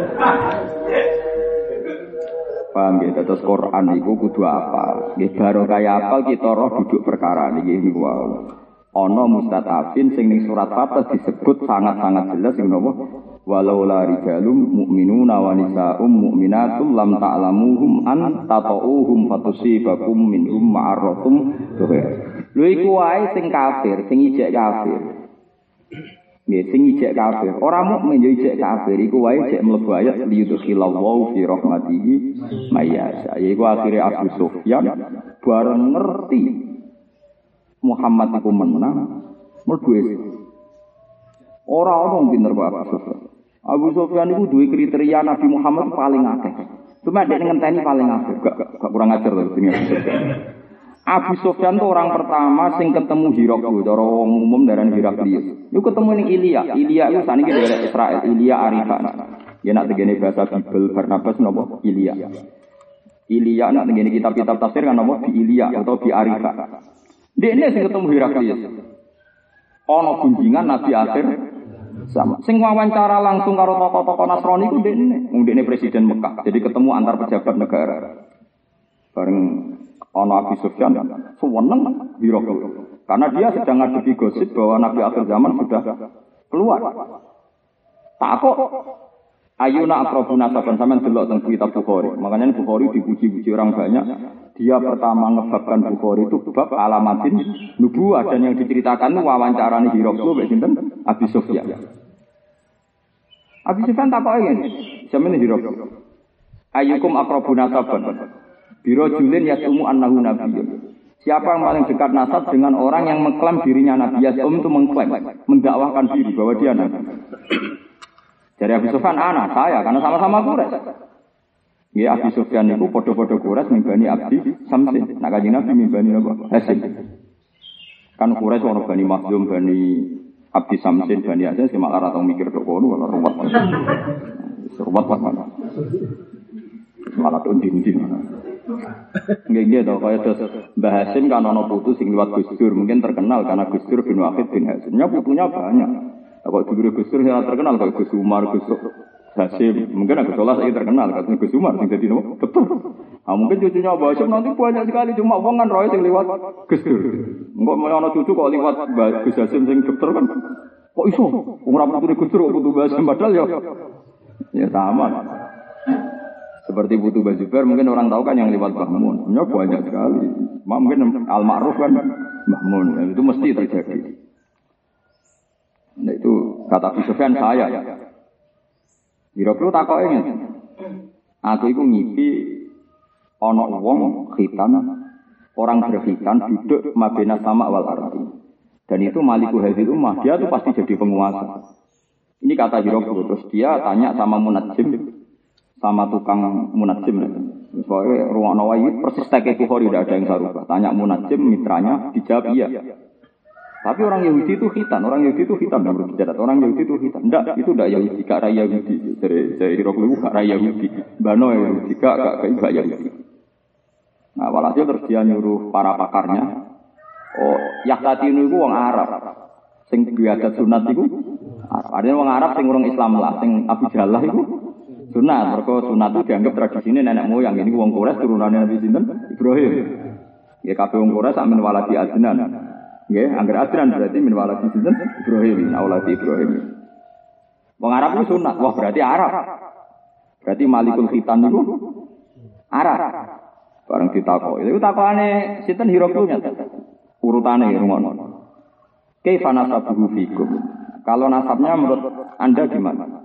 Paham ya, terus Quran itu kudu apa? Nggih baru kaya apal kita roh duduk perkara niki niku wae. Ana mustatafin sing ning surat Fatah disebut sangat-sangat jelas sing napa? Walau la rijalum mu'minuna wa nisaa'um mu'minatul lam ta'lamuhum an tata'uhum fatusibakum minhum ma'arratum. Lho iku wae sing kafir, sing ijek kafir. Nggih, sing ijek kafir. Ora mukmin yo ijek kafir iku wae jek mlebu ayat liyudkhillallahu fi rahmatihi mayyasha. Iku akhire Abu Sufyan bareng ngerti Muhammad iku menang mlebu ora ono pinter kok Abu Sufyan. Abu Sufyan iku duwe kriteria Nabi Muhammad paling akeh. Cuma dia ngenteni paling akeh, gak kurang ajar lho sing Abu Sufyan. Abu Sufyan itu orang pertama sing ketemu Hiraklius, cara wong umum darani Hiraklius. Iku ketemu ning Ilya. Ilya iku saniki daerah Israel, Ilya Arifan. Ya nak tegene bahasa Bible Barnabas napa Ilya. Ilya nak tegene kitab-kitab tafsir kan napa di Ilya atau di Arifan. Dekne sing ketemu Hiraklius. Ana gunjingan Nabi akhir sama. Sing wawancara langsung karo tokoh-tokoh Nasrani ku dekne. Wong dekne presiden Mekah. Jadi ketemu antar pejabat negara. Bareng ana Abu Sufyan seneng Hiraklius. Karena dia sedang ngadepi gosip bahwa Nabi akhir zaman sudah keluar. Takok ayuna aqrabuna saban sampean delok teng kitab Bukhari. Makanya Bukhari dipuji-puji orang banyak. Dia pertama ngebabkan Bukhari itu bab alamatin nubuwah dan yang diceritakan wawancarane Hiraklius mbek sinten? Abu Sufyan. Abu Sufyan takoke ngene. Sampeyan Hiraklius. Ayyukum aqrabuna saban. Biro julin yasumu annahu nabiyyun. Siapa yang paling dekat nasab dengan orang yang mengklaim dirinya nabi? Yasum itu mengklaim, mendakwahkan diri bahwa dia nabi. Dari Abu Sufyan saya karena sama-sama Quraisy. Ya Abu Sufyan itu podo-podo Quraisy mimbani Abdi Samsin. Nak Kanjeng Nabi mimbani apa? Hasim. Kan Quraisy orang Bani Makhzum, Bani Abdi Samsin, Bani Hasim sing malah ora mikir tok kono ora ruwet. Ruwet mana? Malah undin-undin. Nggih to kaya terus Mbah Hasim kan ana putu sing liwat Gus Dur, mungkin terkenal karena Gus Dur bin Wahid bin Hasimnya putunya banyak. Kok dulu Gus Dur yang terkenal kayak Gus Umar, Gus Hasim, mungkin Gus Solah saya terkenal karena Gus Umar sing dadi nopo? Betul. Mungkin cucunya Mbah Hasim nanti banyak sekali cuma wong kan roe sing liwat Gus Dur. Engko mau ana cucu kok liwat Gus Hasim sing dokter kan. Kok iso? Wong ora putune Gus Dur kok putu Mbah Hasim padahal ya sama. Seperti Putu Bajuber mungkin orang tahu kan yang lewat Mbah Mun. Ya banyak sekali. Mungkin Al-Ma'ruf kan Mbah Mun. Ya, itu mesti terjadi. Nah itu kata Abu Sufyan saya. Hiraklius takoke ngene. Aku iku ngipi ana wong khitan, orang berkhitan duduk mabena sama wal ardi. Dan itu Maliku Hadil Ummah, dia tuh pasti jadi penguasa. Ini kata Hiraklius. Terus dia tanya sama Munajjim, sama tukang Munajjim. Soalnya ruang Nawawi persis teke Bukhari tidak ada yang sarubah. Tanya Munajjim mitranya dijawab iya. Tapi orang Yahudi itu khitan, orang Yahudi itu khitan. Enggak, itu enggak Yahudi, gak raya Yahudi. Dari Hiraklius gak raya Yahudi. Bano Yahudi gak Yahudi. Nah, walhasil terus dia nyuruh para pakarnya. Oh, Yahtati itu orang Arab. Sing biadat sunat itu Arab. Ada orang Arab sing urung Islam lah, sing Abu Jallah itu sunat. Mergo sunat itu dianggap tradisine nenek moyang. Ini wong Quraisy turunane Nabi sinten? Ibrahim. Ya kabeh wong Quraisy sak min waladi Adnan. Nggih, angger Adnan berarti min waladi sinten? Ibrahim, auladi Ibrahim. Wong Arab itu sunat. Wah, berarti Arab. Berarti Malikul Khitan itu Arab. Bareng ditakoki. Iku takokane sinten Hiraklius urutane rungono. Kaifa nasabuhu fikum? Kalau nasabnya menurut Anda gimana?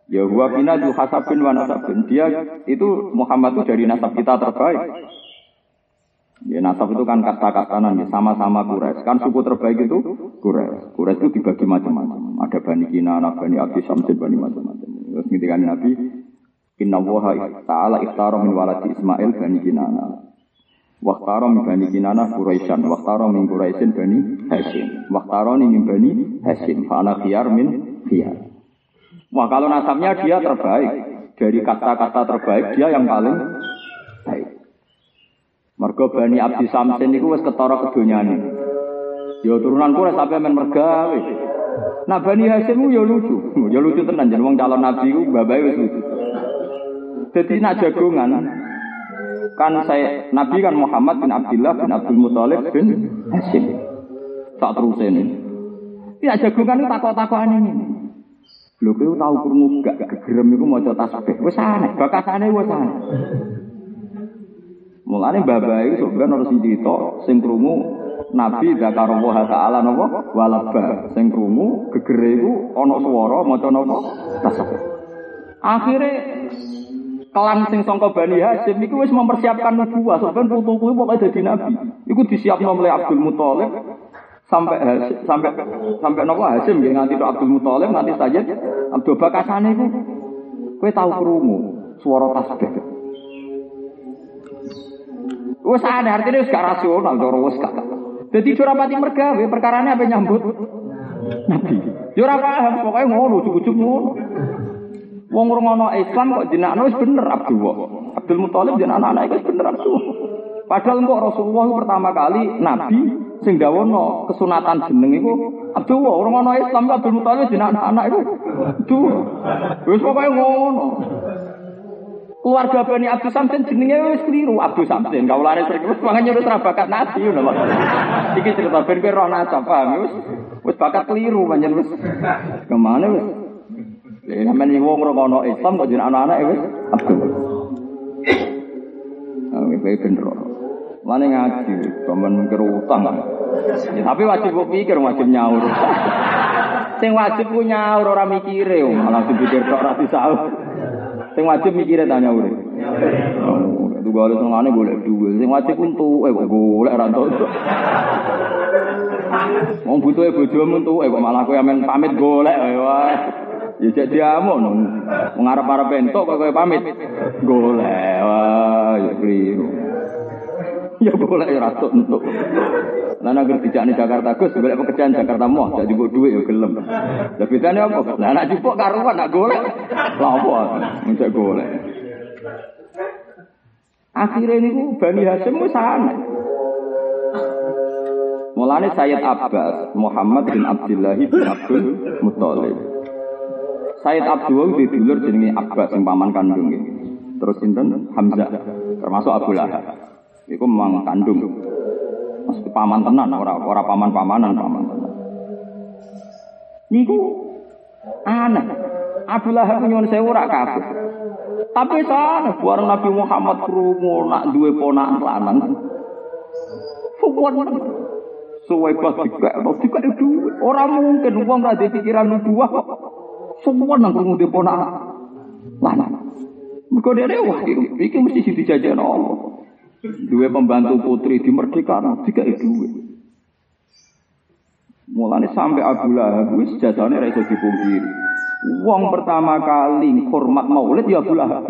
Ya huwa bina du hasabin wa nasabin. Dia itu Muhammad itu dari nasab kita terbaik. Ya nasab itu kan kasta-kastanan ya, sama-sama Quraisy. Kan suku terbaik itu Quraisy. Quraisy itu dibagi macam-macam. Ada Bani Kinanah, Bani Abdi Samsin, Bani macam-macam. Terus ketika Nabi Inna Allaha ta'ala ikhtara min waladi Ismail Bani Kinanah. Wakhtara min Bani Kinanah Quraisyan. Wakhtara min Quraisyin Bani Hashim. Wakhtarani min Bani Hashim. Fa'ana khiyar min khiyar. Wah kalau nasabnya dia terbaik. Dari kasta-kasta terbaik dia yang paling baik. Mergo Bani Abdi Samsin niku wis ketara kedonyane. Ya turunan Quraisy sampe men mergawe. Nah Bani Hashim ku ya lucu. Ya lucu tenan jeneng wong calon nabi ku babae wis lucu. Dadi nak jagongan kan saya Nabi kan Muhammad bin Abdullah bin Abdul Muthalib bin Hashim. Tak terus ini. Ya jagongan itu takok-takokan ini. Lho kowe tau krungu gak gegerem iku maca tasbih. Wis aneh, bakasane wis aneh. Mulane babae iku sampeyan ora sithik sing krungu Nabi zakarullah ta'ala napa walaba. Sing krungu gegere iku ana swara maca napa tasbih. Akhire kelan sing sangka Bani Hashim iku wis mempersiapkan nubuwah, sampeyan putu kuwi pokoke dadi nabi. Iku disiapno oleh Abdul Muthalib sampai napa Hashim nggih nganti tok Abdul Muthalib nganti Sayyid Abdul Bakasane iku kowe tau krungu swara tasbih. Wis ana artine wis gak rasional cara wis gak. Dadi ora pati mergawe perkarane ape nyambut nabi. Ya ora paham pokoke ngono ujug-ujug ngono. Wong ngono Islam kok jenakno wis bener Abdullah. Abdul Muthalib jeneng anak-anak wis bener Abdullah. Padahal kok Rasulullah pertama kali nabi sing dawono kesunatan jeneng iku Abdullah. Wong ngono Islam kok Abdul Muthalib jeneng anak-anak iku Abdullah. Wis pokoke ngono. Keluarga Bani Abdi Samsin jenenge wis kliru Abdi Samsin. Kaulane sing wis mangane wis ra bakat nabi ngono lho. Iki cerita ben roh nasab paham wis bakat kliru pancen wis. Kemana wis? Lha sampeyan wong ngono Islam kok jeneng anak-anak wis Abdul. Kowe bener. Mane ngaji, sampeyan mikir utang. Ya, tapi wajib kok pikir wajib nyaur. Sing wajib ku nyaur ora mikire, malah dipikir tok ora disaur. Sing wajib mikire ta nyaur. Itu gale sengane golek duwe. Sing wajib entuk kok golek ora entuk. Wong butuhe bojomu entuk kok malah kowe amen pamit golek wae. Ya cek diamuk wong arep-arep entuk kok kowe pamit golek wae ya kliru. Ya golek ya ra entuk. Lah nek dijakne Jakarta Gus golek pekerjaan Jakarta moh jak jupuk dhuwit ya gelem. Lah bedane apa? Lah nek jupuk karuan nak golek. Lah apa? Mencek golek. Akhire niku Bani Hashim wis ana. Mulane Sayyid Abbas Muhammad bin Abdullah bin Abdul Muthalib. Sayyid Abdullah di dulur jenenge Abbas sing paman kandung iki. Terus sinten Hamzah termasuk Abu Lahab. Iku memang kandung. Mesti paman tenan ora paman-pamanan paman tenan. Niku aneh. Abu Lahab nyuwun sewu ora kafir. Tapi sana bareng Nabi Muhammad krungu nak duwe ponakan lanang. Fuwon suwe pas dikek duwe. Ora mungkin wong ra pikiran nubuwah kok. Semua nang krungu duwe ponakan lanang. Mergo dhewe wah iki mesti dijajakno Allah. Duwe pembantu putri dimerdekakan dikek duwe. Mulane sampai Abu Lahab wis jajane ra iso dipungkiri. Wong pertama kali hormat maulid ya Abu Lahab.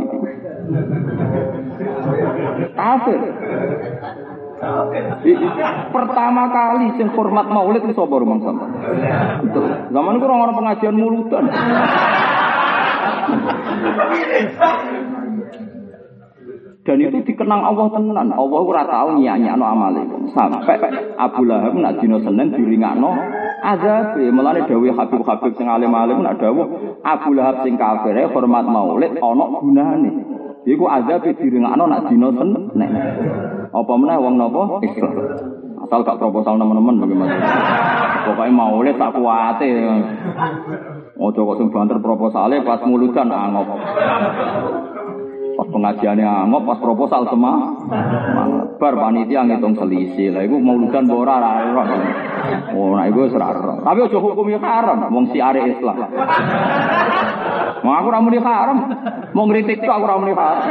Kafir. Pertama kali sing hormat maulid iki sapa rumang sampean? Zaman iku ora ana pengajian muludan. Dan itu dikenang Allah tenan. Allah ora tau nyanyi-nyano amale. Sampai Abu Lahab nak dina Senin diringakno azab. Mulane dawuh Habib-habib sing alim-alim nak dawuh Abu Lahab sing kafir hormat maulid ana gunane. Iku azab diringakno nak dina Senin. Apa meneh wong napa Islam. Asal gak proposal teman-teman bagaimana. Pokoke maulid tak kuwate. Ojo kok sing banter proposale pas muludan angop. Pas pengajiannya angop, pas proposal semangat. Bar panitia ngitung selisih. Lah iku mauludan ora ora. Oh, nah iku ora. Tapi aja hukum ya haram wong siare Islam. Mau aku ora muni haram. Mau ngritik tok aku ora muni haram.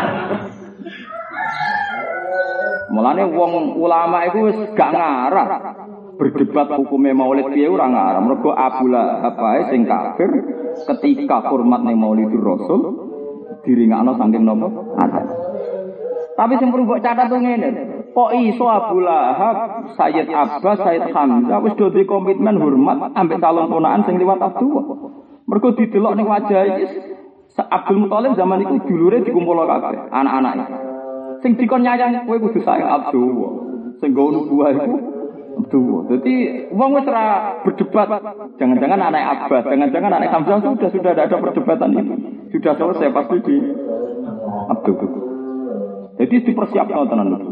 Mulane wong ulama iku wis gak ngarah berdebat hukume maulid piye ora ngarah. Mergo Abu Lahab ae sing kafir ketika hormat ning Maulidur Rasul diringakno saking napa? Ada. Tapi sing perlu mbok catat ngene. Kok iso Abu Lahab, Sayyid Abbas, Sayyid Hamzah wis do komitmen hormat ambek calon ponakan sing liwat Abdullah. Mergo didelok ning wajah iki Abdul Muthalib zaman iku dulure dikumpul kabeh, anak-anake. Sing dikon nyayang kowe kudu sayang Abdullah. Sing nggo nubuah iku Abdullah. Dadi wong wis ora berdebat. Jangan-jangan anak Abbas, jangan-jangan anak Hamzah sudah ada perdebatan itu. Sudah selesai pasti di Abdullah. Jadi dipersiapkan tenan itu.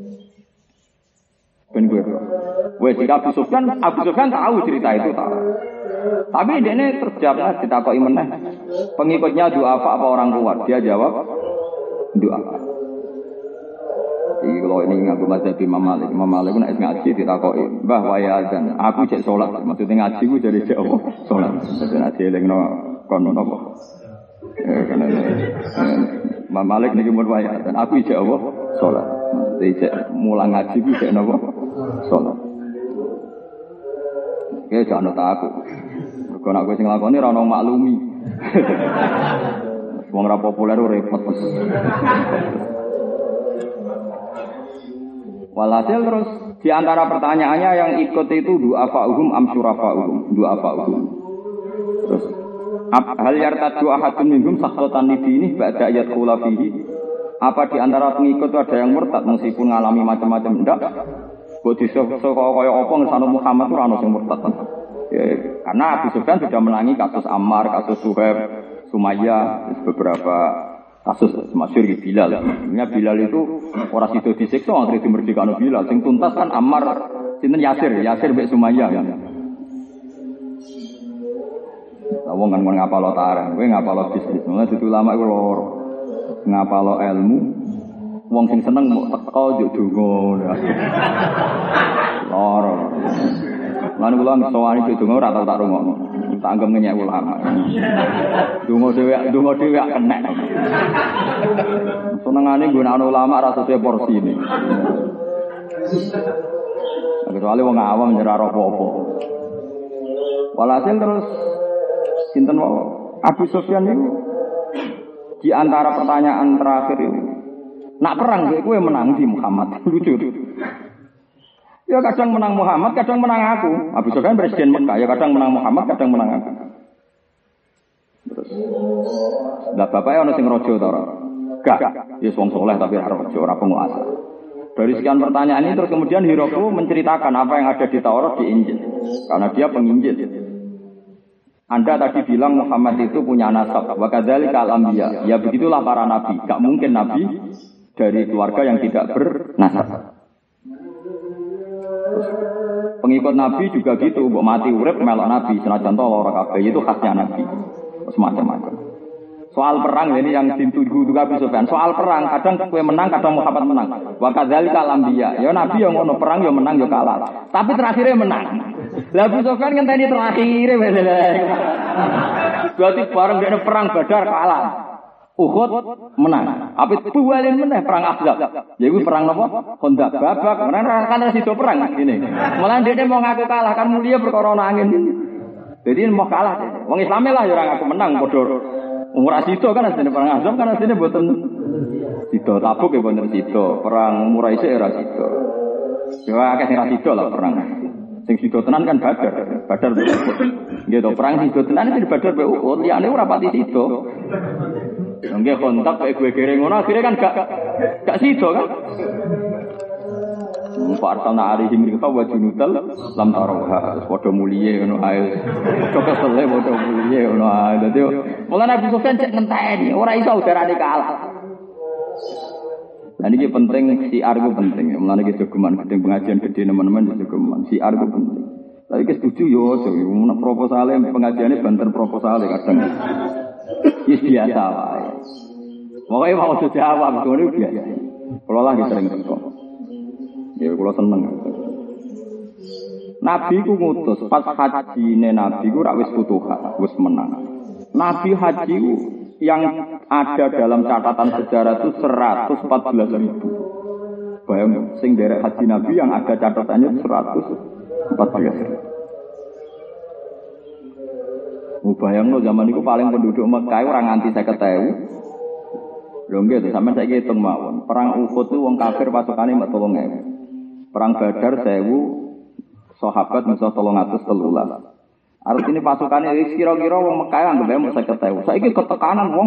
Ben gue. Wes Abu Sufyan tahu cerita itu tahu. Tapi ini terjawab ditakoki meneh. Pengikutnya duafa apa orang kuat? Dia jawab duafa. Iki kalau ini ngaku mazhab Imam Malik. Imam Malik nek ngaji ditakoki, "Mbah waya azan, aku cek salat." Maksudnya ngaji ku dari cek apa? Salat. Dadi nek elingno kono napa? Karena Imam Malik niki mun waya azan, aku cek apa? Salat. Dadi cek mulang ngaji ku cek napa? Salat. Oke, jangan aku. Mergo nek kowe sing lakoni ora ono maklumi. Wong ora populer repot. Walhasil terus di antara pertanyaannya yang ikut itu du'afa'uhum am syurafa'uhum. Du'afa'uhum. Terus hal yartadu ahadun minhum sakhatan lidini ba'da yadkhula fihi. Apa di antara pengikut itu ada yang murtad meskipun ngalami macam-macam ndak? Kok disok-sok kaya apa ngesano Muhammad ora ono sing murtad. Ya, karena Abu Sufyan sudah menangi kasus Ammar, kasus Suhaib, Sumayyah, beberapa kasus masyhur di Bilal. Sebenarnya Bilal itu ora sido disiksa akhire dimerdekakno Bilal. Sing tuntas kan Ammar sinten Yasir mbek Sumayyah kan. Wong kan ngapalo tarang, kowe ngapalo bisnis. Mulane dudu ulama iku loro. Ngapalo ilmu. Wong sing seneng mok teko yo donga. Loro. Lan kula ngesowani donga ora tau tak rungokno. Tak anggap ngenyek ulama. Donga dhewe kenek. Senengane nggunakno ulama ra sesuai porsine. Kecuali wong awam nyerah apa-apa. Walhasil terus sinten Abu Sufyan itu di antara pertanyaan terakhir itu nak perang kowe menang di Muhammad. Lucu. Ya kadang menang Muhammad, kadang menang aku. Abu Sufyan presiden Mekah, ya kadang menang Muhammad, kadang menang aku. Terus lah bapaknya ono sing raja ta ora? Gak. Ya wong saleh tapi ora raja, ora penguasa. Dari sekian pertanyaan ini terus kemudian Hiraqlu menceritakan apa yang ada di Taurat di Injil. Karena dia penginjil. Anda tadi bilang Muhammad itu punya nasab. Wa kadzalika al-anbiya. Ya begitulah para nabi. Gak mungkin nabi dari keluarga yang tidak bernasab. Pengikut Nabi juga gitu, mbok mati urip melok Nabi, senajan to lara kabeh itu khasnya Nabi. Semacam-macam. Soal perang ini yang dituju juga Abu Sufyan. Soal perang kadang kowe menang, kadang Muhammad menang. Wa kadzalika al-anbiya. Ya Nabi yang ngono perang ya menang ya kalah. Tapi terakhirnya menang. Lah Abu Sufyan ngenteni terakhire berarti bareng dene perang Badar kalah. Uhud menang. Apit bualin meneh perang Ahzab. Ya iku perang napa? Khandaq babak. Karena kan sido perang ngene. Malah dhekne mau ngaku kalah kan mulia perkara angin. Jadi mau kalah. Wong Islame lah ya ora ngaku menang padha. Ora sido kan asline perang Ahzab kan asline mboten sido. Tabuk ya mboten sido. Perang Quraisy ora sido. Ya akeh sing ra sido lah perang. Sing sido tenan kan Badar. Badar nggih to perang sido tenan iki Badar be Uhud. Liyane ora pati sido. Nggih kontak kayak gue kere ngono akhirnya kan gak sido kan. Fartana alihim rika wa junutal lam tarawha. Padha muliye ngono ae. Padha kesele padha muliye ngono ae. Dadi mulane Abu Sufyan cek ngenteni ora iso udarane kalah. Lah niki penting siar ku penting. Mulane iki jogeman gedeng pengajian gede teman-teman jogeman siar ku penting. Tapi ki setuju yo nek proposale pengajiane banter proposale kadang. Yes biasa wae. Pokoke mau jawab ngono biasa. Kula lagi sering teko. Ya kula seneng. Nabi ku ngutus pas hajine Nabi ku rak wis futuhat, wis menang. Nabi haji yang ada dalam catatan sejarah itu 114.000. Bayang sing derek haji Nabi yang ada catatannya 114.000. Bayangno zaman itu paling penduduk Mekah orang nganti 50.000. Lho nggih to sampeyan saiki hitung mawon. Perang Uhud itu wong kafir pasukane mek 3.000. Perang Badar 1.000 sahabat musuh 313. Artinya pasukannya kira-kira wong Mekah anggap ae mung 50.000. Saiki ketekanan wong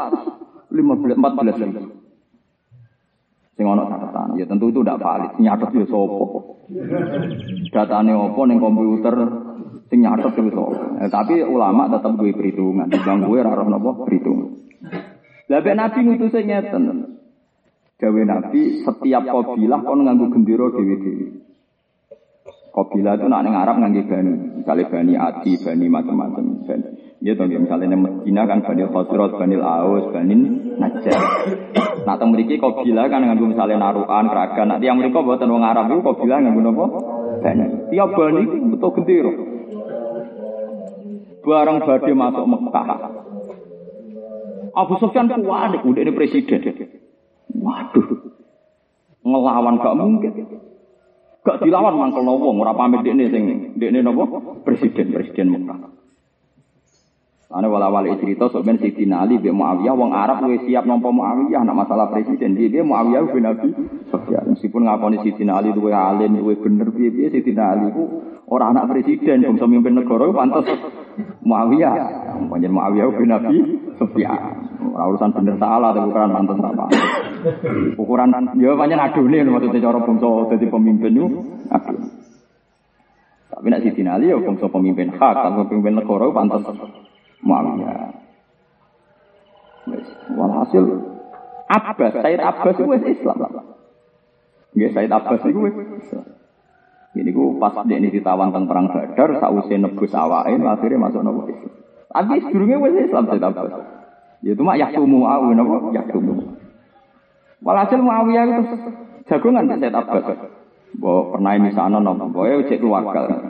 14.000. Sing ana catatan, ya tentu itu tidak valid. Nyatet ya sapa? Datane opo ning komputer sing nyatet itu sapa? Tapi ulama tetap duwe perhitungan. Bang kowe ora roh napa perhitungan. Lah nek Nabi ngutuse ngeten. Dawe Nabi setiap kabilah kon nganggo gendera dhewe-dhewe. Kabilah itu nak ning Arab nganggo bani, misalnya bani Adi, bani macam-macam. Ya to misalnya ning Medina kan bani Khosrot, bani Aus, bani Najjar. Nah teng mriki kabilah kan nganggo misalnya narukan, keragan. Nah tiyang mriku mboten wong Arab iku kabilah nganggo napa? Bani. Tiap bani iku butuh gendera. Barang badhe masuk Mekah. Abu Sufyan kuat udah ini presiden. Waduh. Ngelawan gak mungkin. Gak dilawan mangkel wong ora pamit dekne sing dekne napa? Presiden Mekah. Ane wala-wali cerita sampeyan Sidina Ali mbek Muawiyah wong Arab wis siap nampa Muawiyah nek masalah presiden. Dia Muawiyah bin Abi Sufyan. Meskipun ngakoni Sidina Ali duwe alim, duwe bener piye-piye Sidina Ali ku ora anak presiden, bangsa mimpin negara pantes Muawiyah. Panjen Muawiyah bin Abi Sufyan. Ora urusan bener salah tapi ukuran pantes apa. Ukuran ya pancen adune maksudnya cara bangsa dadi pemimpin yo aduh. Tapi nek Sidina Ali ya bangsa pemimpin hak, kalau pemimpin negara pantes Muawiyah. Walhasil Sayyid Abbas itu Islam. Nggih Sayyid Abbas itu Islam. Ini ku pas dia ini ditawan tentang perang Badar, sausé nebus awake akhirnya masuk nopo Islam. Tapi sedurunge wis Islam Sayyid Abbas. Ya itu mak yaktumu au napa yaktumu. Walhasil Muawiyah itu jagongan Sayyid Abbas. Mbok pernah ini sana napa, boe cek keluarga.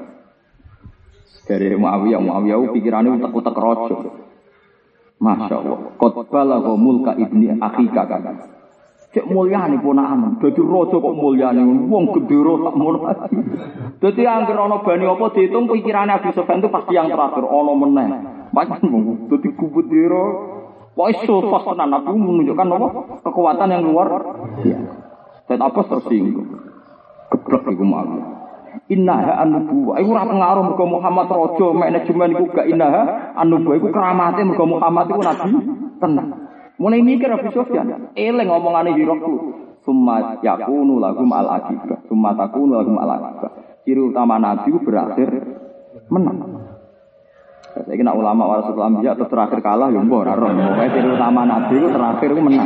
Dari Muawiyah pikirannya utek-utek rojo. Masya Allah. Qotbala wa mulka ibni akhika kan. Cek mulyane ponakan. Dadi rojo kok mulyane wong gendera tak mono. Dadi anggere ana bani apa diitung pikirane Abu Sufyan itu pasti yang terakhir ana meneh. Pancen dadi kubendera. Wis sosok tenan Nabi menunjukkan apa? Kekuatan yang luar biasa. Said Abbas tersinggung. Geblek iku Muawiyah. Innaha an-nubuwah. Iku ora pengaruh mergo Muhammad raja, manajemen iku gak innaha an-nubuwah iku keramate mergo Muhammad iku nabi tenan. Mulai mikir Abu Sufyan, eling omongane Hiraqlu. Summa yakunu lahum al-aqibah. Summa takunu lahum al-aqibah. Ciri utama nabi berakhir menang. Saiki nek ulama warasatul anbiya terus terakhir kalah ya mbok ora roh. Pokoke ciri utama nabi iku terakhir iku menang.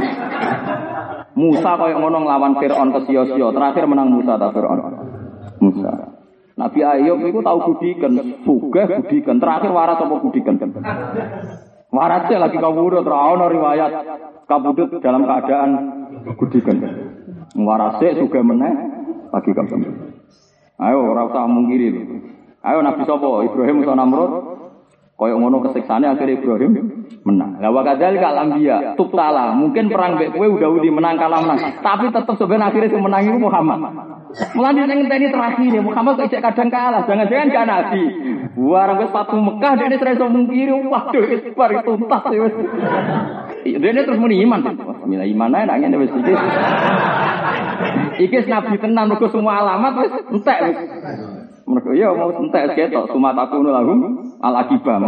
Musa koyo ngono nglawan Firaun kesia-sia, terakhir menang Musa ta Firaun. Musa. Nabi Ayub itu tahu budikan, sugih budikan. Terakhir waras apa budikan? Warasnya lagi kabudut, rawon riwayat kabudut dalam keadaan budikan. Warasnya sugih meneh lagi kabudut. Ayo ora usah mungkiri. Ayo Nabi sapa? Ibrahim utawa Namrud? Kaya ngono kesiksane akhirnya Ibrahim menang. Lah wa kadzalika al-anbiya tubtala. Mungkin perang mbek kowe udah menang kalah menang, tapi tetep sebenarnya akhirnya sing menang iku Muhammad. Mulane ning ngenteni terakhir Muhammad kok kadang kalah, jangan-jangan gak nabi. Warang wis Fatu Mekah dene ora iso mungkiri, waduh wis bar tuntas wis. Dene terus muni iman. Bismillah iman ae nek ngene wis iki. Iki nabi tenan mergo semua alamat wis entek wis. Mergo ya mau entek ketok sumataku lahum al-aqibah.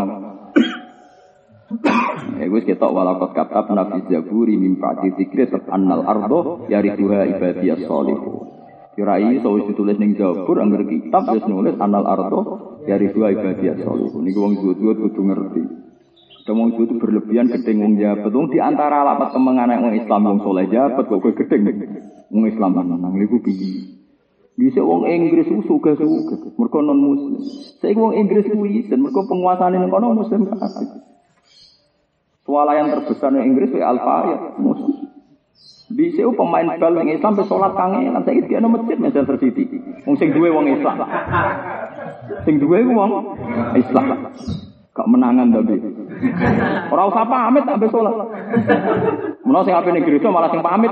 Wis ketok walaqad katabna fi zaburi min ba'di dzikri annal ardo yarithuha ibadiyas shalihun. Kirai so ditulis ning Zabur angger kitab wis nulis annal ardo yarithuha ibadiyas shalihun. Niku wong zuhud kudu ngerti. Wong zuhud berlebihan gedeng wong jabat. Wong di antara alamat kemengane wong Islam wong saleh jabat kok kowe gedeng. Wong Islam nang niku piye? Bisa wong Inggris ku suga-suga mergo non muslim. Saiki wong Inggris kuwi dan mergo penguasane ning kono muslim kabeh. Swalayan terbesar ning Inggris kuwi Al-Fayed muslim. Bisa pemain bal ning Islam pe salat kangelan saiki dia nang masjid Manchester City. Wong sing duwe wong Islam. Sing duwe wong Islam. Gak menangan tapi. Ora usah pamit ambek salat. Menawa sing apik ning gereja malah sing pamit.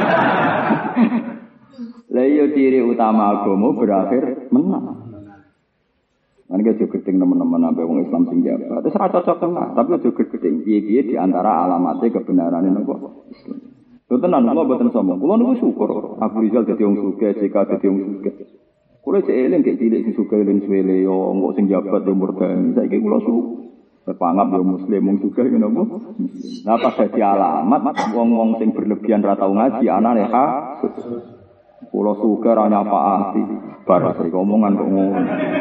Lah iya ciri utama agama berakhir menang. Kan aja gedeng teman-teman ambek wong Islam sing jabat. Wis ora cocok tenan, tapi aja gedeng. Piye-piye di antara alamatnya kebenarane napa Islam. Lho tenan kula mboten sombong. Kula niku syukur Abu Rizal dadi wong sugih, JK dadi wong sugih. Kula cek eling gek cilik sing sugih len suwele yo engko sing jabat yo murdan. Saiki kula berpanggap yo muslim wong sugih ngono apa? Lah pas dadi alamat wong-wong sing berlebihan ra tau ngaji anane ha. Kula sugih ra nyapaati. Bar iki omongan kok ngono.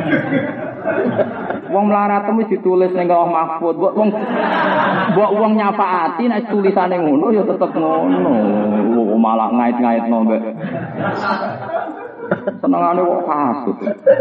Wong melarat wis ditulis ning Lauh Mahfuz, mbok wong nyapaati nek tulisane ngono ya tetep ngono. Malah ngait-ngaitno mbek. Senengane kok hasud.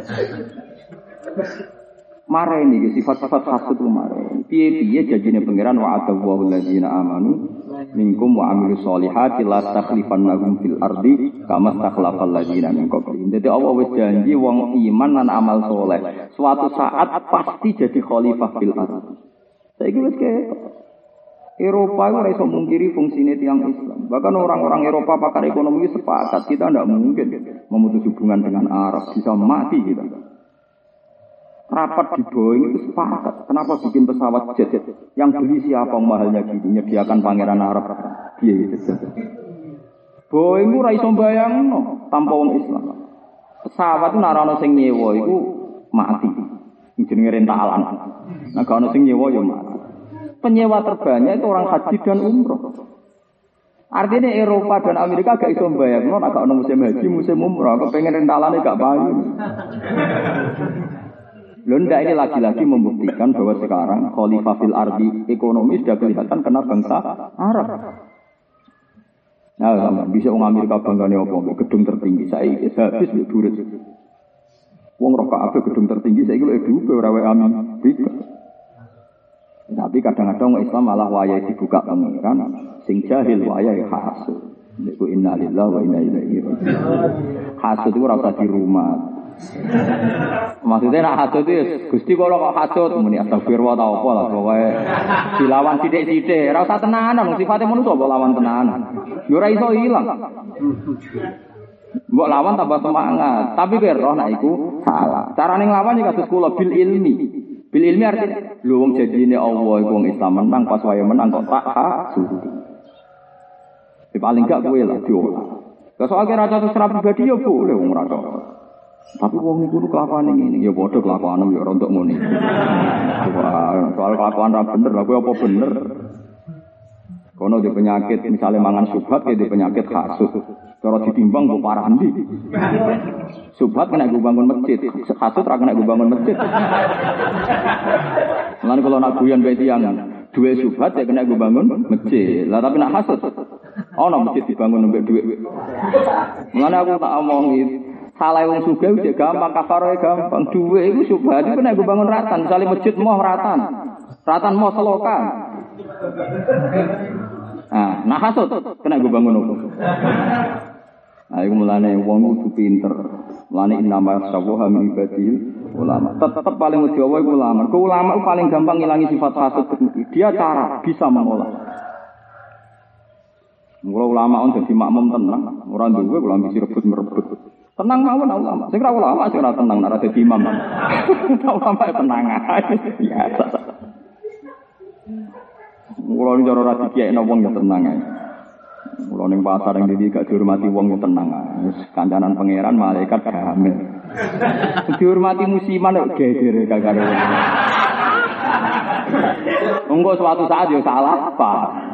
Mareni iki sifat-sifat hasud ku mareni. Piye-piye janjine pangeran wa'adallahu allazina amanu minkum wa amilus solihati la takhlifannahum fil ardi kama takhlafal ladzina min qablihim. Dadi Allah wis janji wong iman lan amal soleh suatu saat pasti jadi khalifah fil ardi. Saiki wis Eropa itu ora iso mungkiri fungsine tiyang Islam. Bahkan orang-orang Eropa pakar ekonomi sepakat kita tidak mungkin memutus hubungan dengan Arab, bisa mati kita. Rapat di Boeing itu sepakat. Kenapa bikin pesawat jet yang beli siapa mahalnya gini, menyediakan pangeran Arab biaya jet. Boeing itu ora iso bayangno tanpa wong Islam. Pesawat itu ora ono sing nyewa iku mati. Jenenge rentalan. Nah gak ono sing nyewa ya mati. Penyewa terbanyak itu orang haji dan umroh. Artinya Eropa dan Amerika gak iso bayangno nek gak ono musim haji, musim umroh, kepengen rentalane gak payu. Londa ini lagi-lagi membuktikan bahwa sekarang khalifah fil ardi ekonomi sudah kelihatan kena bangsa Arab. Nah, bisa orang Amerika banggane apa? Gedung tertinggi. Saya habis durit. Wong roh kabeh gedung tertinggi saya iki lho ora wae Amerika. Tapi kadang-kadang Islam malah wayahe dibuka pangeran, sing jahil wayahe hasud. Niku innalillahi wa inna ilaihi raji'un. Hasud itu ora usah di rumah. Maksudnya nak hasud itu Gusti kalau kok hasud muni astagfirullah ta apa lah pokoke dilawan sithik-sithik ora usah tenanan sifate manusa kok lawan tenanan yo ora iso ilang mbok lawan tambah semangat tapi kowe roh nek iku salah carane nglawan iki kados kula bil ilmi artinya lho wong janjine Allah iku wong Islam menang pas wae menang kok tak hasud paling gak kowe lah diolah soal kira catus pribadi yo boleh wong ora tapi wong niku kelakuane ngene ya padha kelakuane ya ora untuk ngene. Soal kelakuan ra bener lha kuwi apa bener? Kono di penyakit misalnya mangan subhat ya di penyakit hasud. Cara ditimbang kok parah ndi? Subhat kena gue bangun masjid, hasud ra kena gue bangun masjid. Lan kalau nak guyon bae tiyang duwe subhat ya kena gue bangun masjid. Lah tapi nak hasud ono masjid dibangun mbek dhuwit. Mulane aku tak omongi salah wong sugih wis gampang kafaroe gampang dhuwit iku subhat iku nek bangun ratan misale masjid moh ratan moh selokan nah hasud kena bangun opo nah iku mulane wong kudu pinter mulane inama sawaha min ibadil ulama tetep paling wedi iku ulama ulama paling gampang ngilangi sifat hasud dia cara bisa mengolah ulama on dadi makmum tenang ora duwe kula mesti rebut tenang mawon ulama. Sing ra ulama sing ora tenang nek dadi imam. Ulama tenang ae biasa. Mula ning cara ra dikekno wong ya tenang ae. Mula ning pasar ning ndi gak dihormati wong ya tenang ae. Wis kancanan pangeran malaikat gamen. Dihormati musiman kok geger karo. Engko suatu saat ya salah apa.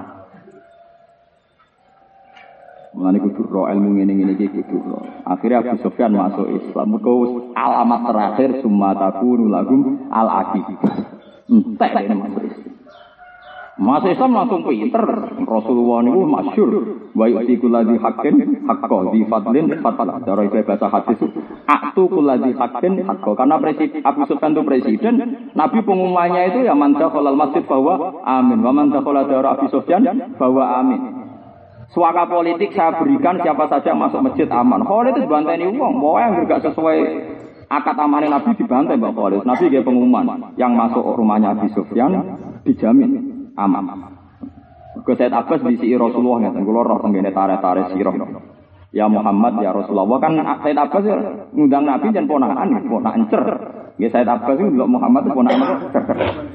Mulane kudu ro ilmu ngene-ngene iki kudu ro. Akhire Abu Sufyan masuk Islam. Mergo alamat terakhir summa takunu lahum al-aqibah. Entek nek masuk Islam langsung pinter. Rasulullah niku masyhur wa yu'ti kulladzi haqqin haqqo di fadlin fatala. Cara bahasa hadis aktu kulladzi haqqin haqqo. Karena presiden Abu Sufyan itu presiden, Nabi pengumumannya itu ya man dakhalal masjid bahwa amin. Wa man dakhala dara Abu Sufyan bahwa amin. Suaka politik saya berikan siapa saja masuk masjid aman. Khalid itu dibanteni wong, pokoknya yang gak sesuai akad amanah Nabi dibantai Mbak Khalid. Nabi kayak pengumuman yang masuk rumahnya Abi Sufyan dijamin aman. Ke Said Abbas disi Rasulullah ngeten kula roh tenggene tare-tare sira. Ya Muhammad ya Rasulullah kan Said Abbas ngundang Nabi jan ponakan cer. Nggih Said Abbas itu ndelok Muhammad ponakan cer.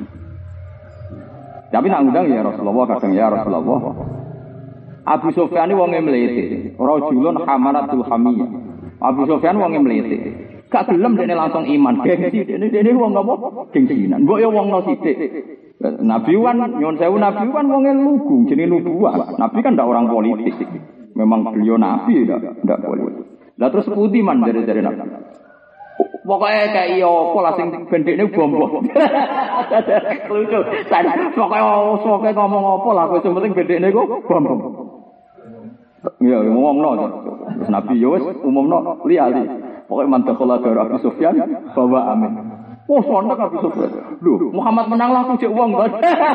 Tapi nak ngundang ya Rasulullah kadang ya Rasulullah. Abu Sufyan wonge mlete, rajulun hamaratul hamiyah. Abu Sufyan wonge mlete. Gak gelem dene langsung iman. Gengsi dene wong apa? Gengsinan. Mbok ya wong no sithik. Nabi wan nyon sewu Nabi wan wonge lugu jenenge nubuwah. Nabi kan ndak orang politik. Memang beliau nabi ndak politik. Lah terus putih man dari Nabi. Pokoknya kayak apa lah sing bendekne bom-bom. Lucu. Pokoknya ngomong apa lah sing penting bendekne ku bom-bom. Ya ngomongno. Terus Nabi yo wis umumno liyali. Pokoknya mantakola dari Abu Sufyan bawa amin. Oh sontak Abu Sufyan. Loh Muhammad menang lah aku cek uang banget.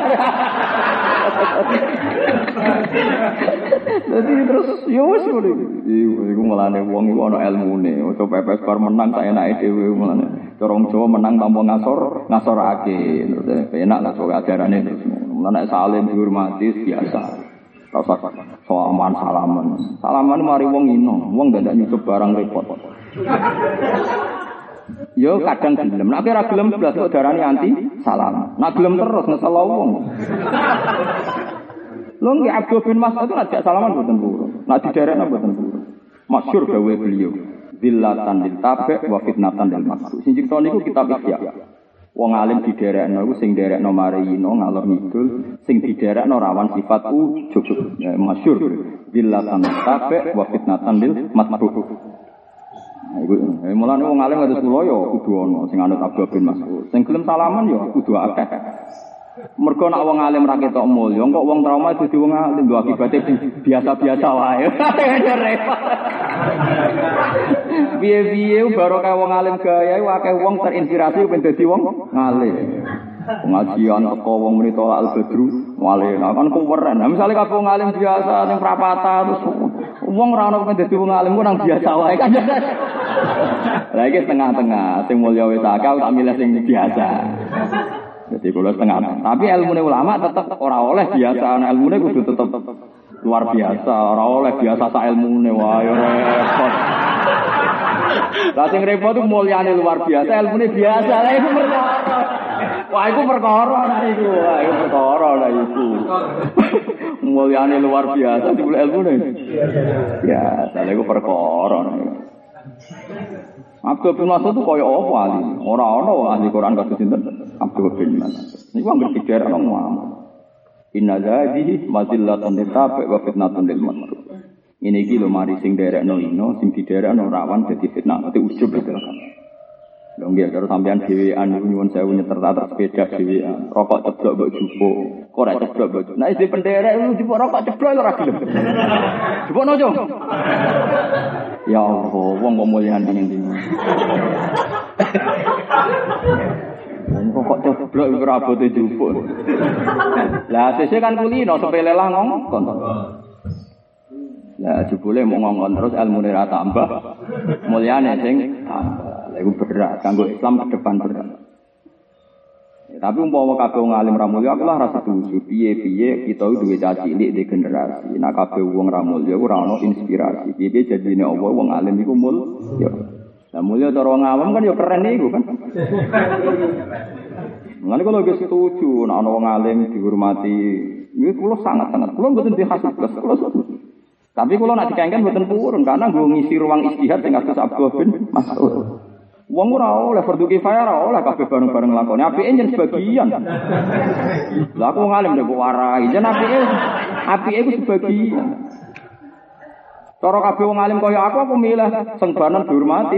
Jadi terus yowes boleh. Iku melane wong iku ana ilmune. Ojo pepes bar menang sak enake dhewe melane. Corong Jawa menang tanpa ngasorake. Terus enak lah sok ajarane terus. Mulane salim dihormati biasa. Rasa salaman. Salaman mari wong ino. Wong ndak nyucup barang repot. Yo kadang gelem. Nek ora gelem blas kok darani anti salam. Nek gelem terus ngesel wong. Lho nggih Abdul bin Mas'ud itu ngajak salaman mboten purun. Nek diderekno mboten purun. Masyhur gawe beliau. Zillatan lil tabi' wa fitnatan lil maqsud. Sing cipta niku kitab Ihya. Wong alim diderekno iku sing derekno marino ngalor ngidul, sing diderekno rawan sifat ujug. Masyhur. Zillatan lil tabi' wa fitnatan lil maqsud. Iku mulane wong alim kados kula ya kudu ana sing anut Abdul bin Mas'ud. Sing gelem salaman ya kudu akeh. Mergo nek wong alim ra ketok mulya, kok wong trauma dadi wong alim lho akibate biasa-biasa wae. Repot. Piye-piye baru kaya wong alim gaya akeh wong terinspirasi ben dadi wong alim. Pengajian teko wong muni tolak al-badru wale kan kuweren. Nah misale kabeh wong alim biasa ning prapata terus wong ora ono ben dadi wong alim ku nang biasa wae kan. Lah iki tengah-tengah sing mulya wis akeh tak milih sing biasa. Jadi kalau setengah, tapi ilmu ulama tetap ora oleh biasa, nah ilmu kudu tetap luar biasa, ora oleh biasa sa ilmu wah repot. Lah sing repot itu mulyane luar biasa, ilmu biasa lah itu perkara. Wah itu perkara lah itu, wah itu perkara lah itu. Mulyane luar biasa, dibeli ilmu biasa, lah itu perkara. Abdul bin Mas'ud itu kaya apa ahli? Ora-ora ahli Quran kados sinten? Abdul bin Mas'ud. Niku anggere pikir ana ngomong. Inna hadhihi mazillatun litabi wa fitnatun lil maqsud. Ini iki lho mari sing derekno ino, sing diderekno rawan dadi fitnah, dadi ujub itu kan. Lho nggih karo sampean dhewean niku nyuwun sewu nyeter atas sepeda dhewean. Rokok ceblok mbok jupuk. Kok ora ceblok mbok. Nek isih penderek lu jupuk rokok ceblok ora gelem. Jupukno, Cung. Ya Allah, wong kok mulyane ndi. Kok ceblok iku ora abote jupuk. Lah sesuk kan kulino sepele lah ngongkon. Lah jebule mau ngongkon terus ilmune ra tambah. Mulyane sing tambah. Lah iku berat kanggo Islam ke depan berat. Ya, tapi umpama kabeh wong alim ra mulya aku lah ra setuju. Piye-piye kita duwe cilik di generasi. Nek kabeh wong ra mulya ora ono inspirasi. Piye jadine apa wong alim iku mulya. Lah mulya cara wong awam kan ya keren niku kan. Mulane kula wis setuju nek ana wong alim dihormati. Niku kula sangat-sangat. Kula mboten dihasut plus kula setuju. Tapi kula nek dikengken mboten purun karena nggo ngisi ruang istihad sing kados Abdul bin Mas'ud. Wong ora oleh fardu kifayah ora oleh kabeh bareng-bareng nglakoni. Apike yen sebagian. Lah aku ngalim nek warai, yen apike iku sebagian. Cara kabeh wong alim kaya aku milih sengbanan dihormati.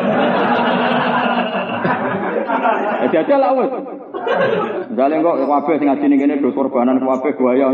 Jadi lah wis. Jale kok kabeh sing ngajine kene do korbanan kabeh buaya.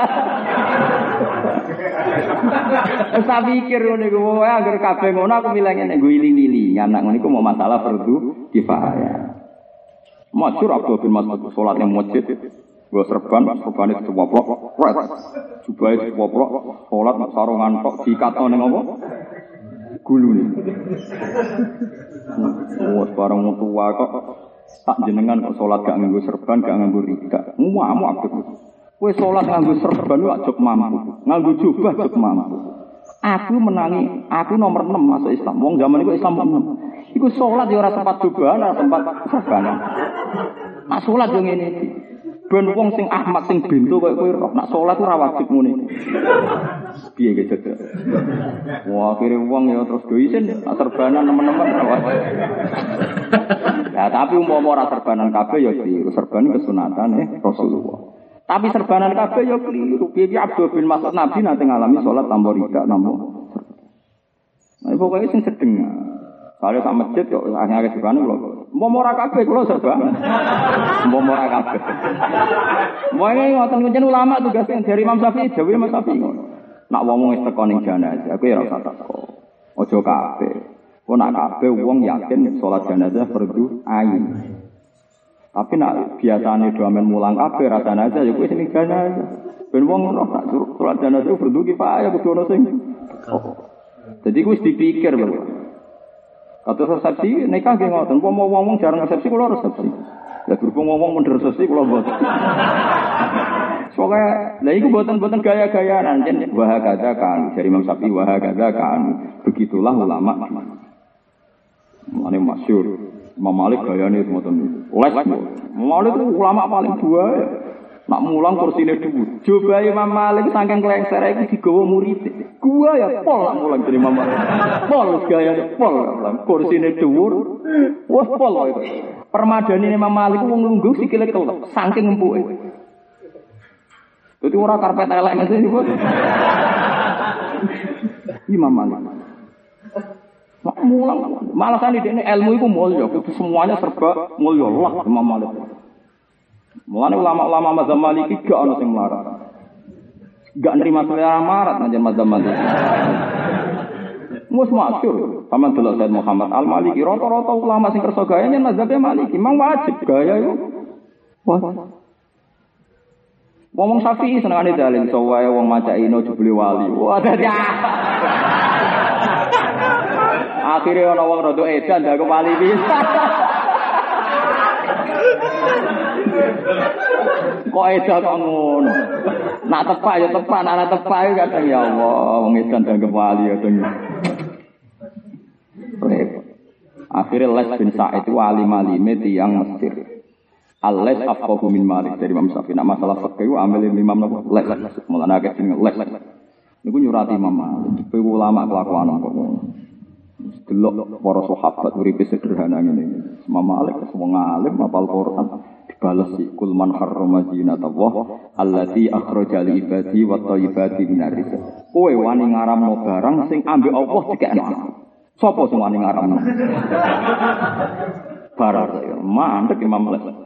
Wis tak pikir ngene iku wae anggere kabeh ngono aku milih ngene nggo iling-iling. Anak ngono iku mau masalah fardu kifayah. Masyhur Abdul bin Mas'ud salat ning masjid. Gua serban itu woplok. Jubahe woplok, salat sarungan tok dikatno ning apa? Gulune. Wes bareng tua kok Tak jenengan kok salat gak nganggo serban, gak nganggo rida. Muamu akeh. Kowe salat nganggo serban kok ajok mampu. Nganggo jubah ajok mampu. Aku menangi, aku nomor 6 masuk Islam. Wong zaman iku Islam 6. Iku salat ya ora sempat jubahan, ora sempat serban. Nak salat yo ngene iki. Ben wong sing Ahmad sing bento koyo kowe roh nak salat ora wajib ngene. Piye ge cedek. Wah, akhire wong ya terus do isin serbanan teman-teman ora wajib. Ya tapi umpama ora serbanan kabeh ya keliru. Serban kesunatan Rasulullah. Tapi serbanan kabeh ya keliru. Piye Abdul bin Mas'ud Nabi nate ngalami salat tanpa rida tanpa. Nah, pokoknya sing sedeng. Kalau sak masjid kok akhirnya serbanan lho. Mau ora kabeh kula serban. Mau ora kabeh. Moe ngoten kuncen ulama tugas dari Imam Syafi'i, dawuh Imam Syafi'i ngono. Nak wong wis teko ning jenazah, kowe ora usah teko. Aja kabeh. Kok nak kabeh wong yakin salat jenazah fardu ain. Tapi nak biasane do amen mulang kabeh ra jenazah ya kowe sing jenazah. Ben wong ora tak suruh salat jenazah fardu kifayah kudu ono sing. Jadi wis dipikir lho. Atau resepsi nikah nggih ngoten. Wong jarang resepsi kula resepsi. Lah berhubung wong mun resepsi kula mboten. Soale lha iku mboten gaya-gayaan jen wahagaza kan dari Imam Syafi'i wahagaza kan. Begitulah ulama. Mane masyhur. Imam Malik gayane ngoten. Les. Malik itu ulama paling dua. Nak mulang kursine dhuwur. Coba Imam Malik saking klengsere iki digawa murid. Gua ya pol nak mulang dari Imam Malik. Pol gayane pol. Kursine dhuwur. Wes pol itu. Permadani Imam Malik wong lungguh sikile kelep saking empuke. Dadi ora karpet elek ngene iki. Imam Malik. Nak mulang malah kan ini ilmu iku mulya, semuanya serba mulya Allah Imam Malik. Mulane ulama-ulama mazhab Maliki gak ono sing melarat. Gak nerima selera marat nang mazhab Maliki. Mus masyhur, sampeyan delok Said Muhammad Al-Maliki, rata-rata ulama sing kersa gaya yen mazhab Maliki, memang wajib gaya iku. Wong Syafi'i senengane dalil sawae wong maca ino jebule wali. Wah dadi. Akhire ana wong rada edan dak wali bisa. Kok edan kok ngono. Nak tepak ya tepak, nak tepak ya kadang ya Allah, wong edan dak wali ya dong. Akhirnya Les bin Sa'id itu alim-alime tiyang Mesir. Al-Les afqahu min Malik dari Imam Syafi'i. Nak masalah fikih ambil Imam napa? Les. Mulane akeh jeneng Les. Niku nyurati Imam Malik. Kowe ulama kelakuan kok. Delok para sahabat uripe sederhana ngene. Imam Malik wong alim hafal Quran dibales kul man harrama zinatallah allati akhraja li ibadi wa thayyibati minar rizq. Kowe wani ngaramno barang sing ambek Allah dikekno. Sapa sing wani ngaramno? Barang mandek Imam Malik.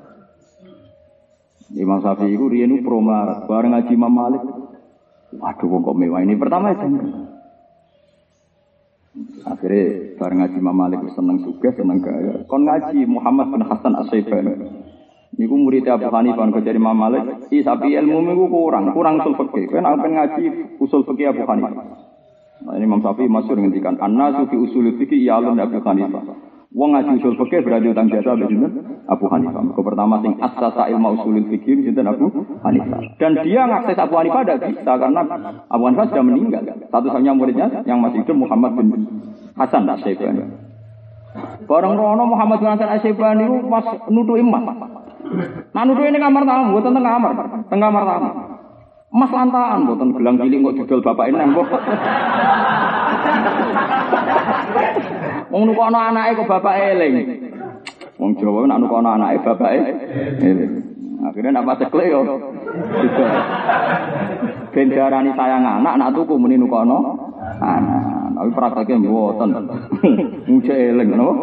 Imam Syafi'i iku riyen promarat bareng ngaji Imam Malik. Waduh kok mewah ini pertama itu. Akhirnya bareng ngaji Imam Malik seneng juga seneng gaya. Kon ngaji Muhammad bin Hasan As-Syaibani. Niku murid Abu Hanifah kok jadi Imam Malik. Tapi ilmu niku kurang usul fikih. Kan apen ngaji usul fikih Abu Hanifah. Nah, ini Imam Syafi'i masyhur ngendikan an-nasu fi usul fikih ya'lam Abu Hanifah. Wong ngaji usul fikih berarti utang jasa bener Abu Hanifah. Kok pertama sing asasa ilmu usulul fikih sinten Abu Hanifah. Dan dia ngakses Abu Hanifah tidak bisa karena Abu Hanifah sudah meninggal. Satu-satunya muridnya yang masih hidup Muhammad bin Hasan As-Syaibani. Bareng rono Muhammad bin Hasan As-Syaibani itu pas nutu emas. Nah nutu ini kamar tamu, bukan tengah kamar tamu. Emas lantaan, bukan gelang cilik kok didol bapak ini kok. Wong nukono anake kok bapak eling. Wong Jawa nek nukono anake bapake eling. Akhirnya nak paceklek yo. Ben darani sayang anak, nak tuku muni nukono anak. Tapi prakteke mboten. Muja eling napa?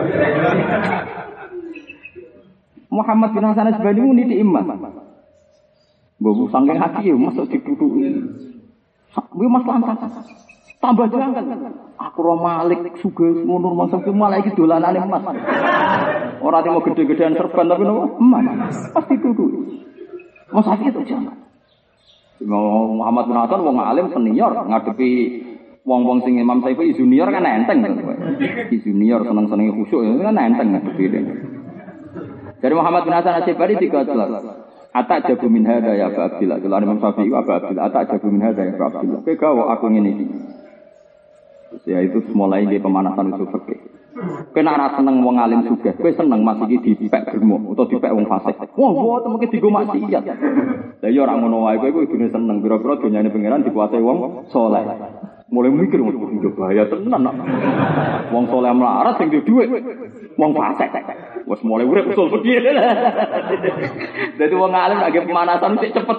Muhammad bin Hasan As-Syaibani niti emas. Mbok saking hati yo masuk ditutuki. Kuwi mas lantas. Tambah janggal. Aku ro Malik sugih ngono masa ki malah iki dolanane emas. Ora timo gede-gedean serban tapi nopo? Emas. Pasti tutuki. Mas sakit to jangan. Muhammad bin Hasan wong alim senior ngadepi wong-wong sing Imam Syafi'i junior kan enteng. Junior seneng-senenge khusyuk kan enteng ngadepi. Dari Muhammad bin Hasan Asy'ari dikatakan Atak jabu min hadza ya Abu Abdillah. Kalau Imam Syafi'i Abu Abdillah, atak jabu min hadza ya Abu Abdillah. Kowe gawe aku ngene iki. Ya itu mulai di pemanasan usul fikih. Kowe nek seneng wong alim sugih, kowe seneng Mas iki dipek germo utawa dipek wong fasik. Wah, mboten mungkin digo maksiat. Lah ya ora ngono wae kowe kudune seneng pira-pira donyane pangeran dikuasai wong saleh. Mulai mikir wong bahaya tenan. Wong saleh melarat sing duwe dhuwit. Wong fasik. Wes mulai urip usul fikih. Dadi wong alim lagi pemanasan sik cepet.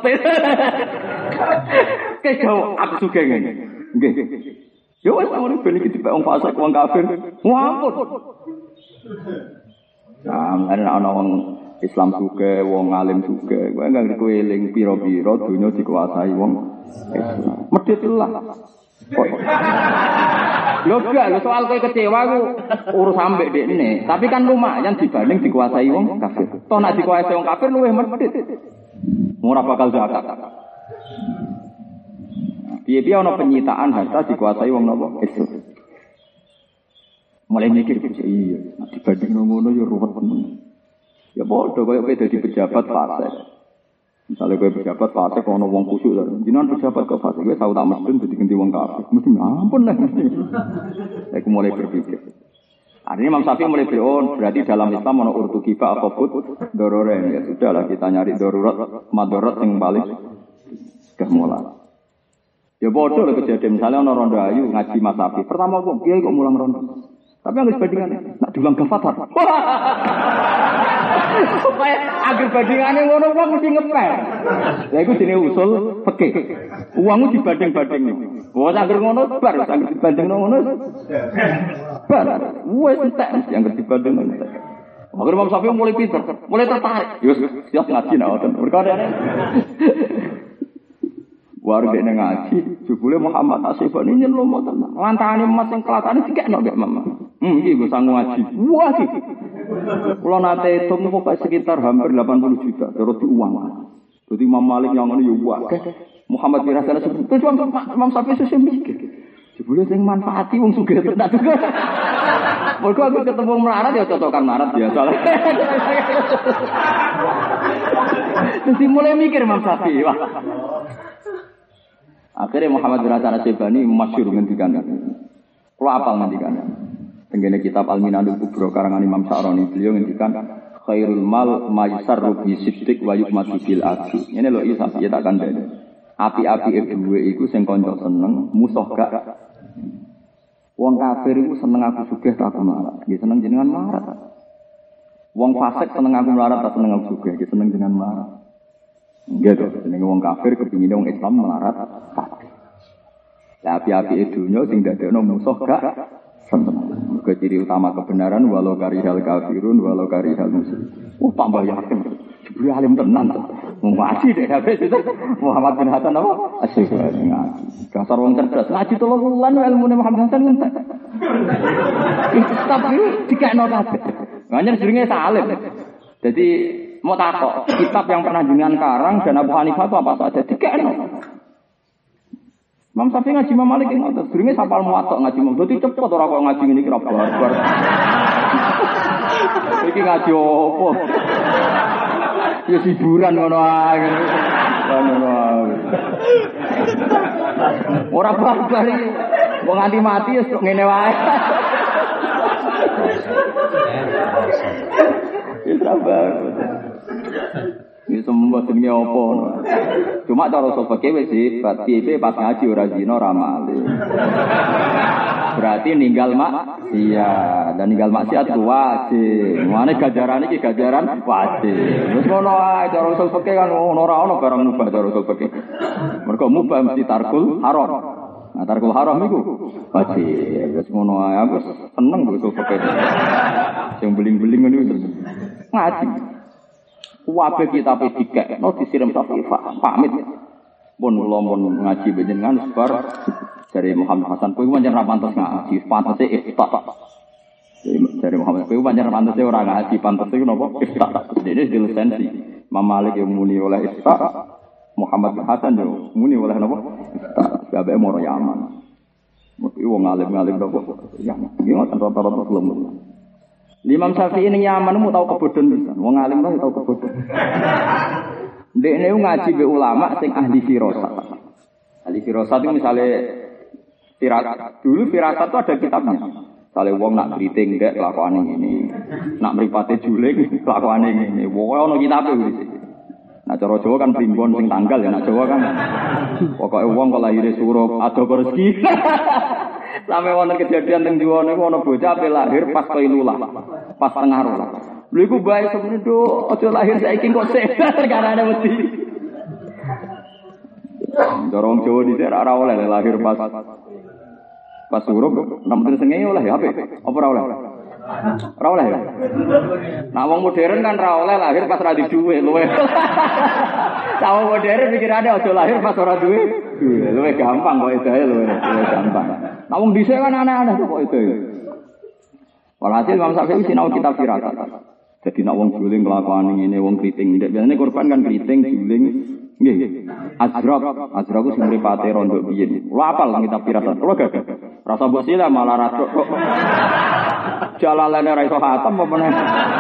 Kau aku sugih ngene. Nggih. Yo wis ngono ben iki dipek wong fasik, wong kafir. Wampun. Ana wong Islam sugih, wong alim sugih. Kowe enggak kowe eling pira-pira donya dikuasai wong Islam. Medhitlah. Lho gak, soal kowe kecewa ku urus ambek dekne. Tapi kan lumayan dibanding dikuasai wong kafir. Toh nek dikuasai wong kafir luwih medhit. Ora bakal zakat. Piye-piye ana penyitaan harta dikuasai wong napa? Islam. Mulai mikir iya, dibanding ngono ya ruwet tenan. Ya padha koyo kowe dadi pejabat fasik. Misalnya kowe pejabat fasik ana wong kusuk lho. Jenengan pejabat kok fasik kowe tau tak mesti dadi ganti wong kafir. Mesti ampun lah. Aku mulai berpikir. Artinya Imam Syafi'i mulai berarti dalam Islam ana urtu kifah apa put dororen ya sudahlah kita nyari darurat madarat yang paling mulai. Ya bodoh lah kejadian misalnya ana rondo ayu ngaji Mas Syafi'i. Pertama kok kiai kok mulang rondo. Tapi yang bandingannya nak diulang gafatar. Supaya agar bandingannya ngono wong mesti ngepel. Lah iku jenenge usul fikih. Uangmu dibanding-banding. Wong agar ngono bar, agar dibanding ngono. Bar. Wes entek yang dibanding entek. Agar Imam Syafi'i mulai pinter, mulai tertarik. Yo siap ngaji nak ngoten. Perkara warga yang ngaji, jebule Muhammad Asy'ari nyelom tenan. Lantane emas sing kelatane dikekno gak Mama. Iki go sang ngaji. Wah iki. Kula nate hitung pokoke sekitar hampir 80 juta terus diuang. Dadi Imam Malik yang ngono yo akeh. Muhammad bin Hasan terus Imam Syafi'i sesuk mikir. Jebule sing manfaati wong sugih tenan. Mergo aku ketemu melarat ya cocokan melarat biasa. Terus mulai mikir Imam Syafi'i. Akhirnya Muhammad bin Hasan Asy'ari masyhur ngendikan. Kalau apal ngendikan. Tenggene kitab Al-Minanul Kubra karangan Imam Sa'roni beliau ngendikan khairul mal maysarru bi siddiq wa yukmatu bil adl. Ngene lho isa ya tak kandhani. Api-api duwe iku sing kanca seneng, musuh gak. Wong kafir iku seneng aku sugih tak aku melarat. Nggih seneng jenengan melarat. Wong fasik seneng aku melarat tak seneng aku sugih, nggih seneng jenengan melarat. Gitu, jenenge wong kafir kepingine wong Islam melarat kabeh. Lah api-api dunya sing dadekno musuh gak seneng. Mergo ciri utama kebenaran walau karihal kafirun walau karihal musyrik. Tambah yakin. Jebule alim tenan to. Wong ngaji dek habis itu Muhammad bin Hasan apa? Asyik ngaji. Dasar wong cerdas. Ngaji 3 wulan ilmune Muhammad Hasan entek. Tapi dikekno kabeh. Banyak jenenge salim. Jadi mau takok, kitab yang pernah jenengan karang dan Abu Hanifah itu apa saja? Dikekno. Imam Syafi'i ngaji Imam Malik ngoten, durunge sapal muwatta ngaji Imam. Dadi cepet ora kok ngaji ngene iki ra bar. Iki ngaji opo? Ya hiburan ngono ae. Ngono ae. Ora bar iki. Wong nganti mati wis ngene wae. Ya sabar. Ini semua jenenge apa? Cuma cara usul fikih wis hebat. Piye pas ngaji ora zina ora mali. Berarti ninggal maksiat. Dan ninggal maksiat wajib. Mane gajaran iki gajaran wajib. Wis ngono ae cara usul fikih kan ora ono barang mubah cara usul fikih. Mergo mubah mesti tarkul haram. Nah tarkul haram iku wajib. Wis ngono ae aku seneng usul fikih. Sing beling-beling ngono iki. Ngaji. Wabe kita pedikek, no disiram Syafi'i pamit. Pun lompon ngaji benjengan sebar dari Muhammad Hasan. Kowe pancen ra pantes ngaji, pantese ifta. Dari Muhammad kowe pancen pantese ora ngaji, pantese napa ifta. Dene di lisensi. Imam Malik yang muni oleh ifta, Muhammad Hasan yo muni oleh napa ifta. Kabeh moro Yaman. Mesti wong alim-alim napa. Ya, iki ngoten rata-rata kelemu. Imam Syafi'i ning Yaman mu tau kebodhon pisan. Wong alim kok tau kebodhon. Ndekne ngaji be ulama sing ahli firasat. Ahli firasat itu misale firasat itu ada kitabnya. Misale wong nak kriting ndek kelakuane ngene. Nak mripate juling kelakuane ngene. Pokoke ana kitabe iki. Nah cara Jawa kan primbon sing tanggal ya nak Jawa kan. Pokoke wong kok lahire surup ado rezeki. Sampai wonten kejadian teng Jawa niku ana bocah ape lahir pas Qailulah. Pas tengah rola. Lha iku bae semene do aja lahir saiki kok sik karena ada wedi. Dorong Jawa dhisik ora oleh lahir pas surup, nampen sengenge oleh ya apik. Apa ora oleh? Ora oleh ya. Nah wong modern kan ora oleh lahir pas ra di duwe luwe. Wong modern pikirane aja lahir pas ora duwe. Luwe gampang kok edae luwe gampang. Nah wong dhisik kan aneh-aneh kok edae. Walhasil Imam Syafi'i sinau kitab firasat. Jadi nak wong juling kelakuan ngene wong kriting. Biasane korban kan kriting juling nggih. Azraq ku sing mripate rondo biyen. Kulo apal kitab firasat. Kulo gagah. Rasa mbok sila malah radok kok. Jalalane ra iso khatam apa meneh.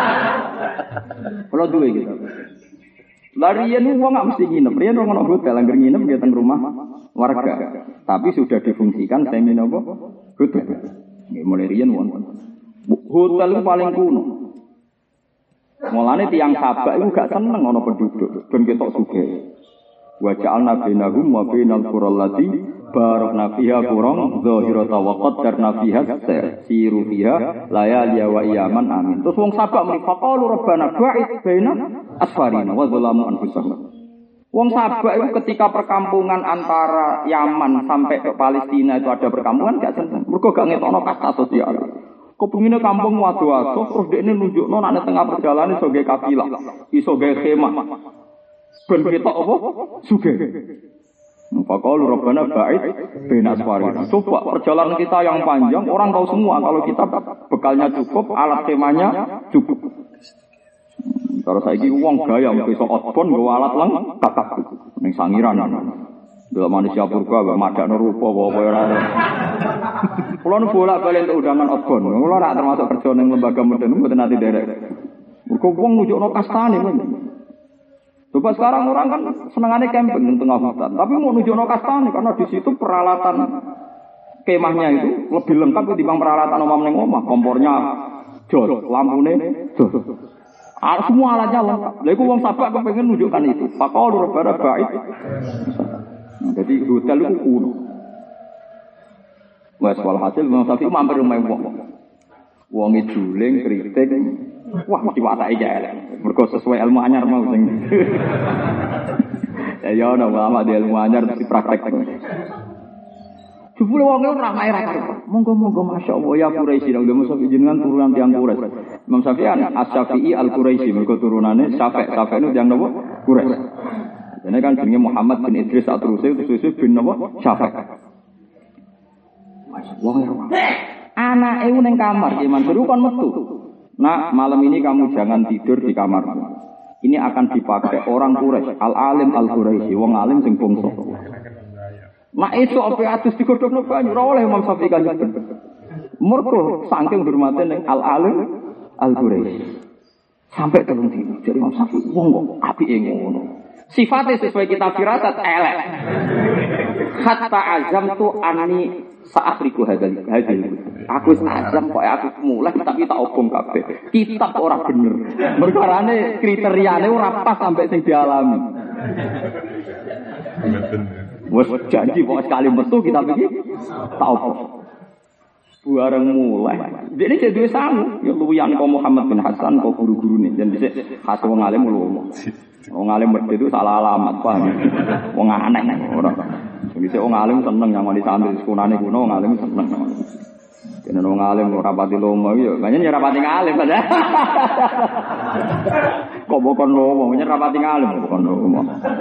Kulo duwe gitu. Larian wong gak mesti nginep. Riyen wong ono hotel angger nginep nggih teng rumah warga. Tapi sudah difungsikan semi napa? Hotel. Nggih mulai riyen wonten. Hotel itu paling kuno. Mulane tiyang Sabak itu gak seneng ana penduduk, ben ketok sugih. Wa ja'alna bainahum wa bainal qur'al lati barakna fiha qur'an zahirata wa qaddarna fiha siru fiha layali wa iyaman amin. Terus wong Sabak muni faqalu rabbana ba'id baina asfarina wa zalamu anfusahum. Wong Sabak itu ketika perkampungan antara Yaman sampai ke Palestina itu ada perkampungan gak seneng. Mergo gak ngetokno kasta sosial. Kepengine kampung wado-wado terus dekne nunjukno nek tengah perjalanan iso gawe kafilah, iso gawe khemah. Ben ketok apa? Sugih. Faqalu rabbana ba'id baina asfarina. Coba perjalanan kita yang panjang, orang tahu semua kalau kita bekalnya cukup, alat khemahnya cukup. Kalau saiki wong gaya iso outbound nggo alat lengkap ning sangiran. Delok manusia purba mbak madakno rupa apa ora. Kulo nu bolak-balik untuk undangan outbound. Kulo ora termasuk kerja ning lembaga modern mboten nate derek. Mergo wong nunjukno kastane. Coba sekarang orang kan senengane camping di tengah hutan, tapi mau nunjukno kastane karena di situ peralatan kemahnya itu lebih lengkap ketimbang peralatan omah ning omah. Kompornya jos, lampune jos. Semua alatnya lengkap. Lha iku wong Sabak kepengin nunjukkan itu. Faqalu rabbana ba'id. Jadi hotel itu kuno. Wes walhasil Imam Syafi'i mampir rumah wong. Wong juling kritik. Wah mesti watake elek. Mergo sesuai ilmu anyar mau sing. Ya ono ulama di ilmu anyar mesti praktek. Jebule wong ora maira karo. Monggo-monggo masyaallah ya Quraisy nang Imam Syafi'i jenengan turunan tiyang Quraisy. Imam Syafi'i As-Syafi'i Al-Quraisy mergo turunane Syafi'. Syafi' itu tiyang napa? Quraisy. Ini kan jenenge Muhammad bin Idris At-Turusi Tususi bin napa? Syafi'. Wong anake ning kamar Ki Mansur kon metu. Nah, malam ini kamu jangan tidur di kamarmu. Ini akan dipakai orang Quraisy, al-alim al-Quraisy, wong alim sing bangsa. Mak esuk ape atus digodhogno banyu ora oleh Imam Syafi'i kan. Mergo saking hormate ning al-alim al-Quraisy. Sampai telung dino. Jadi Imam Syafi'i wong kok apike ngono. Sifatnya sesuai kitab firasat elek. Hatta azam tu ani sa'akhriku hadal. Aku azam kok aku mulai tapi tak obong kabeh. Kitab ora bener. Merkarane kriteriane ora pas sampai sing dialami. Wes janji kok sekali metu kitab iki tak obong. Bareng mulai. Dene jadi sangu, ya luwian kok Muhammad bin Hasan kok guru-gurune dan dhisik khas wong alim lho. Wong alim mesti itu salah alamat, paham. Wong aneh ora. Dhisik wong alim seneng nyamani santri sekunane kuno wong alim seneng. Dene wong alim ora pati lomo ya, banyak ora pati ngalim padha. Kok bokon lomo, banyak ora pati ngalim bokon lomo.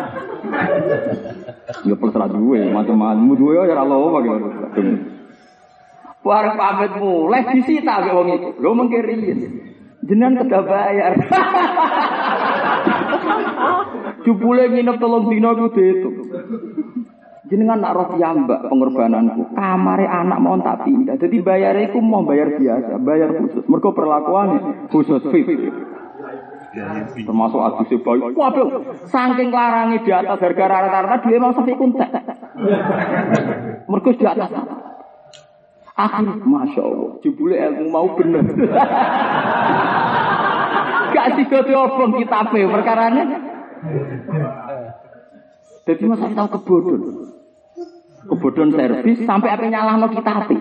Ya terserah duwe, macam-macam duwe ya ora lomo gitu. Warung pamit mulai disita ambek wong iku. Lho mengke riyen. Jenengan kedah bayar. Jupule nginep 3 dina ku diitung. Jenengan nak roh piyambak pengorbananku, kamare anak mau tak pindah. Jadi bayare iku mau bayar biasa, bayar khusus. Mergo perlakuane khusus VIP. Termasuk aduse bayi. Waduh, saking larangi di atas harga rata-rata dhewe mau sampai kuntek. Mergo di atas. Akhir Masya Allah, jebule ilmu mau bener. Gak sidote obong kitabe perkarane. Jadi masa tahu kebodhon servis sampai apa nyalahno kitabe.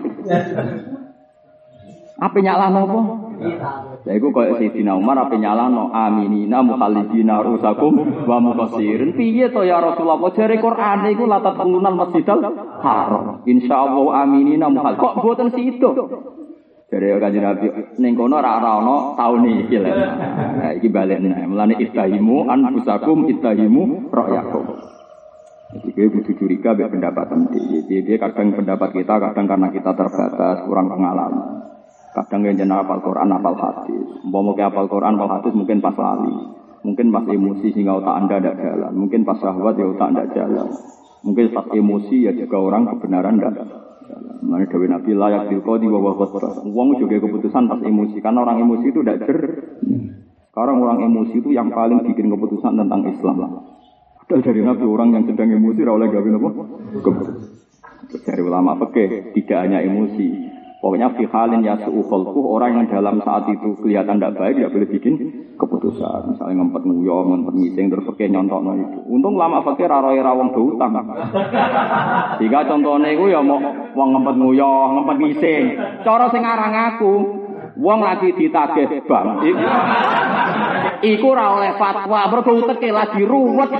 Apa nyalahno apa? Lha iku koyo Sayyidina Umar apa nyalahno aminina mukhallidina rusakum wa muqassirin. Piye to ya Rasulullah jare Quran iku latat penggunaan Masjidil Haram. Insyaallah aminina mukhal. Kok boten sido? Jare Kanjeng Nabi ning kono ora ana taun iki lho. Nah iki balekne. Mulane istahimu anfusakum istahimu ra'yakum. Jadi dia butuh curiga biar pendapat nanti. Dia kadang pendapat kita, kadang karena kita terbatas, kurang pengalaman. Kadang yang jenak hafal Quran, hafal hadis. Mau hafal Quran, hafal hadis mungkin pas lali. Mungkin pas emosi sehingga otak anda tidak jalan. Mungkin pas syahwat ya otak tidak jalan. Mungkin pas emosi ya juga orang kebenaran tidak jalan. Mana Dewi Nabi layak dilqadi wa huwa qadras. Wong juga keputusan pas emosi. Karena orang emosi itu tidak Sekarang orang emosi itu yang paling bikin keputusan tentang Islam. Dari Nabi orang yang sedang emosi oleh gawe apa? Dari ulama fikih tidak hanya emosi. Pokoknya fi halin yasu'u khalquh, orang yang dalam saat itu kelihatan tidak baik tidak boleh bikin keputusan. Misalnya ngempet nguyah, ngempet ngising terus fikih nyontokno itu. Untung ulama fikih ra roe ra wong do utang. Jika contohnya iku ya mau wong ngempet nguyah, ngempet ngising. Cara sing aran aku wong lagi ditagih bank. Iku ora oleh fatwa, mergo uteke lagi ruwet.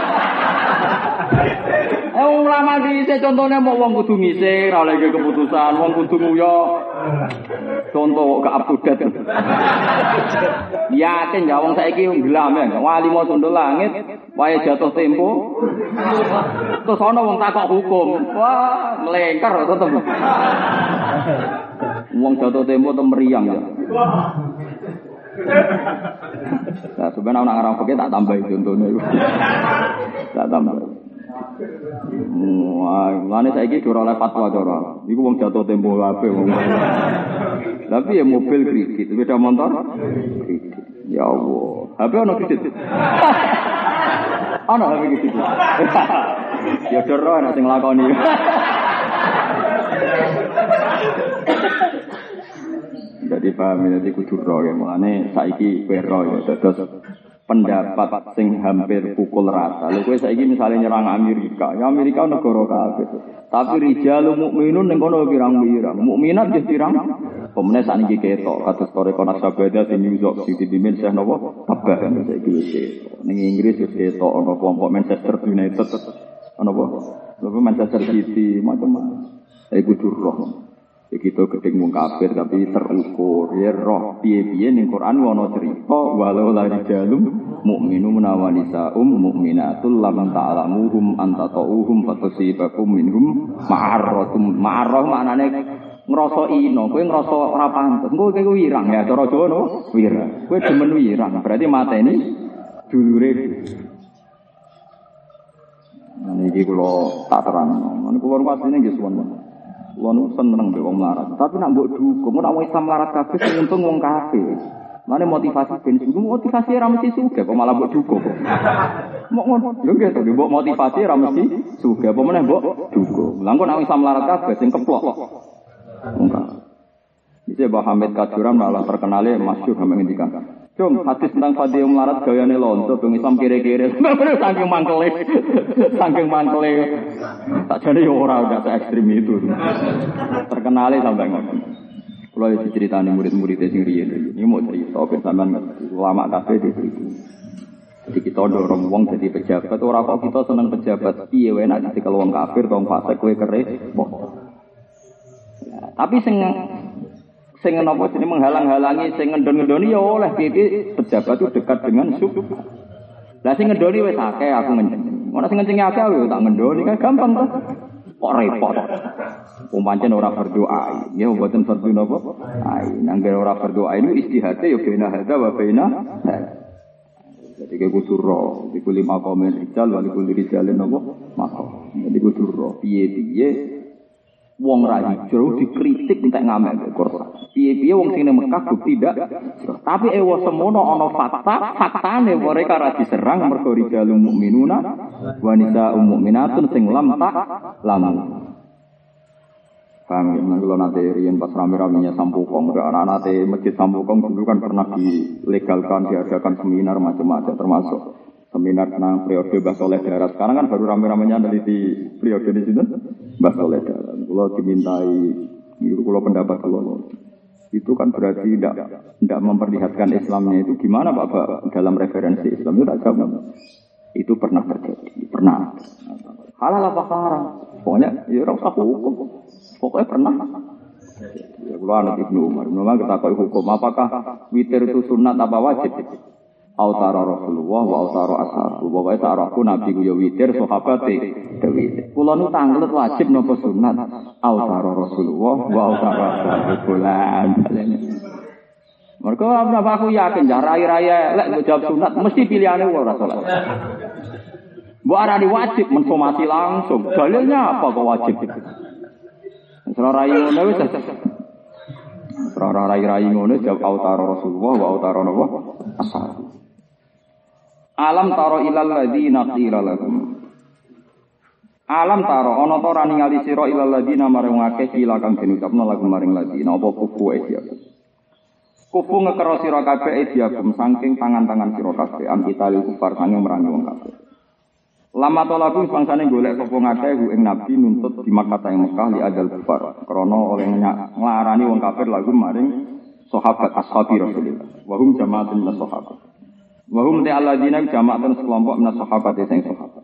Ulama dhisik contone mau wong kudu ngising, ora oleh keputusan, wong kudu nguyah. Contoh gak up to date. Yakin ya wong saiki nggelam ya, wali mau sundul langit, wae jatuh tempo. Terus ana wong takok hukum. Wah, melengker tetep. Wong jatuh tempo tem meriang ya. Nah, sebenarnya orang Arab pakai tak tambah contohnya itu, tak tambah. Wah, mana saya ini curang oleh fatwa curang. Iku wong jatuh tempo apa? Tapi ya mobil kredit, beda motor kredit. Ya Allah, HP ono kredit. Ono HP kredit. Ya curang, nanti ngelakoni. Jadi paham jadi kudu ro ya mulane saiki kowe ro ya terus pendapat sing hampir pukul rata. Lha kowe saiki misale nyerang Amerika, ya Amerika negara kafir. Tapi rijalul mukminun ning kono pirang-pirang. Mukminat nggih pirang. Pemene sakniki ketok kados tore kono sabada sing nyusuk sing dipimpin Syekh napa Tabah saiki wis ketok. Ning Inggris wis ketok ana kelompok Manchester United ana apa? Lha Manchester City macam-macam. Saiki kudu ro. Begitu gedeng wong kafir tapi terukur ya roh piye-piye ning Quran ana cerita walau la rijalum mukminun wanisa mukminatul lam ta'lamuhum antatauhum fatusibakum minhum ma'arratum ma'arrah maknane ngrasa ino kowe ngrasa ora pantes engko kowe wirang ya cara Jawa no wirang kowe demen wirang berarti mateni dulure niki kula tak terangno niku kula pasine nggih suwun. Kulo nu seneng mbek wong melarat, tapi nak mbok dukung, nak wong Islam melarat kabeh sing untung wong kafir. Mane motivasi ben sing motivasi ra mesti sugih, kok malah mbok dukung. Mok ngono, lho nggih to, mbok motivasi ra mesti sugih, apa meneh mbok dukung. Lah kok nak wong Islam melarat kabeh sing keplok. Enggak. Bisa Mbah Hamid Kajuran malah terkenale masyhur sampe ngendikan. Cung, hadis tentang fadhil melarat gayane lonto, bang Islam kire-kire. Saking mangkele. Tak jane yo ora gak se ekstrem itu. Terkenale sampai ngono. Kulo diceritani murid-murid sing riyen. Ini mau cerita ben sampean ulama kabeh itu. Jadi kita dorong wong dadi pejabat, ora kok kita seneng pejabat. Piye wae nek dadi wong kafir, wong fasik kowe kere. Tapi sing napa jenenge menghalang-halangi sing ngendon-ngendoni ya oleh piye pejabat itu dekat dengan sub. Lah sing ngendoni wis akeh aku ngenceng. Ora sing ngencenge akeh yo tak ngendoni kan gampang to. Kok repot. Pancen ora berdoa. Ya mboten fardu napa? Ai nangger ora berdoa ini istihate yo bena hadza wa bena. Jadi kudu ro, iku 5 komen rijal wali kudu rijalin napa mako. Jadi kudu ro piye-piye wong ra hijrah dikritik entek ngamen Quran. Piye-piye wong sing nang Mekah bukti ndak. Tapi ewa semono ana faktane mereka ra diserang mergo rijalul mukminuna wa nisaa'ul mukminatun sing lam tak lamun. Paham ya, kalau nanti rian pas rame-ramenya Sampukong, nanti masjid Sampukong dulu kan pernah dilegalkan, diadakan seminar macam-macam, termasuk seminar tentang periode Mbah Soleh Darat. Sekarang kan baru rame-ramenya meneliti periode di sini, Mbah Soleh Darat. Kalau dimintai, kalau pendapat kalau itu kan berarti tidak memperlihatkan Islamnya itu gimana Pak dalam referensi Islam itu tak jawab. Itu pernah terjadi, pernah. Halal apa haram? Pokoknya ya ora usah hukum. Pokoknya pernah. Ya kula anak Ibnu Umar ketahui hukum apakah witir itu sunat apa wajib? Autara Rasulullah wa autara ashabu. Pokoknya sarahku Nabi ku ya witir, sahabat e witir. Kula nu tanglet wajib napa sunat? Autara Rasulullah wa autara ashabu. Bulan. Mergo apa aku yakin jar rai-rai lek jawab sunat mesti pilihane ora salat. Mbok arani wajib mensomasi langsung. Dalilnya apa kok wajib? Ora rai ngono wis. Ora rai ngono jawab autara Rasulullah wa autara nabi ashab. Alam taro ilal ladzina qila lahum. Alam taro ana ta ora ningali sira ilal ladzina marang akeh kila kang den ucapno lagu maring ladzina apa kufu ya. Kufu ngekero sira kabeh diagem saking tangan-tangan sira kabeh am kita kufar sanging merangi wong kabeh. Lama tolaku bangsane golek sapa ngakeh ing nabi nuntut di Makkah ing Mekah li adal kufar krana oleh nglarani wong kafir lagu maring sahabat ashabi Rasulullah wa hum jamaatun min sahabat wa hum ta'alladina jamaatun sekelompok min sahabat sing sahabat.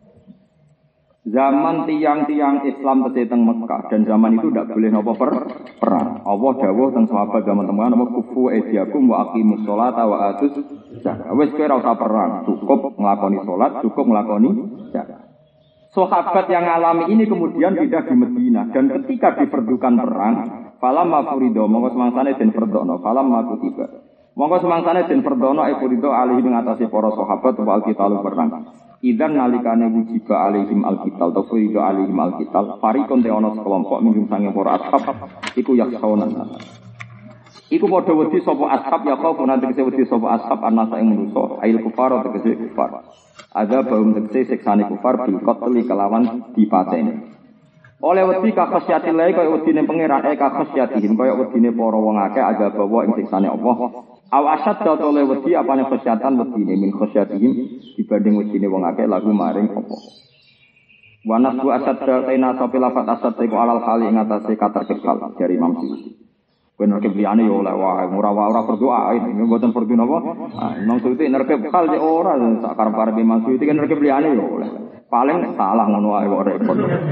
Zaman tiang-tiang Islam tesih teng Mekah dan zaman itu tidak boleh napa perang. Allah dawuh teng sahabat zaman teman napa kufu ediakum wa aqimus sholata wa atuz zakat. Wis kowe ora usah perang, cukup nglakoni salat, cukup nglakoni zakat. Sahabat yang alami ini kemudian pindah di Madinah dan ketika diperdukan perang, falamma furido monggo semangsane den perdono, falamma kutiba. Monggo semangsane den perdono furido alih ing atase para sahabat wal qitalu perang. Idan nalikane wujiba alaihim alqital ta furido alaihim alqital farikon te ana sekelompok minggum sange para ashab iku yakhawna. Iku padha wedi sapa ashab ya kau nanti kese wedi sapa ashab anasa ing manusa ail kufar tegese kufar. Ada baum tegese siksane kufar bil qatli kelawan dipateni. Oleh wedi ka khasyati lae kaya wedine pangeran ka khasyatihim kaya wedine para wong akeh ada bawa ing siksane Allah. Aw asad oleh wedi apane khasyatan wedine min khasyatihim dibanding wedine wong akeh lagu maring apa. Wa nasbu asad taina sapi lafat asad iku alal khali ing atase kata kekal dari Imam Suyuti. Bener kebliane yo oleh wae ora berdoa ini mboten perdu napa. Imam Suyuti nerke kekal yo ora sak karep-karep Imam Suyuti kan nerke kebliane yo oleh. Paling salah ngono wae kok repot.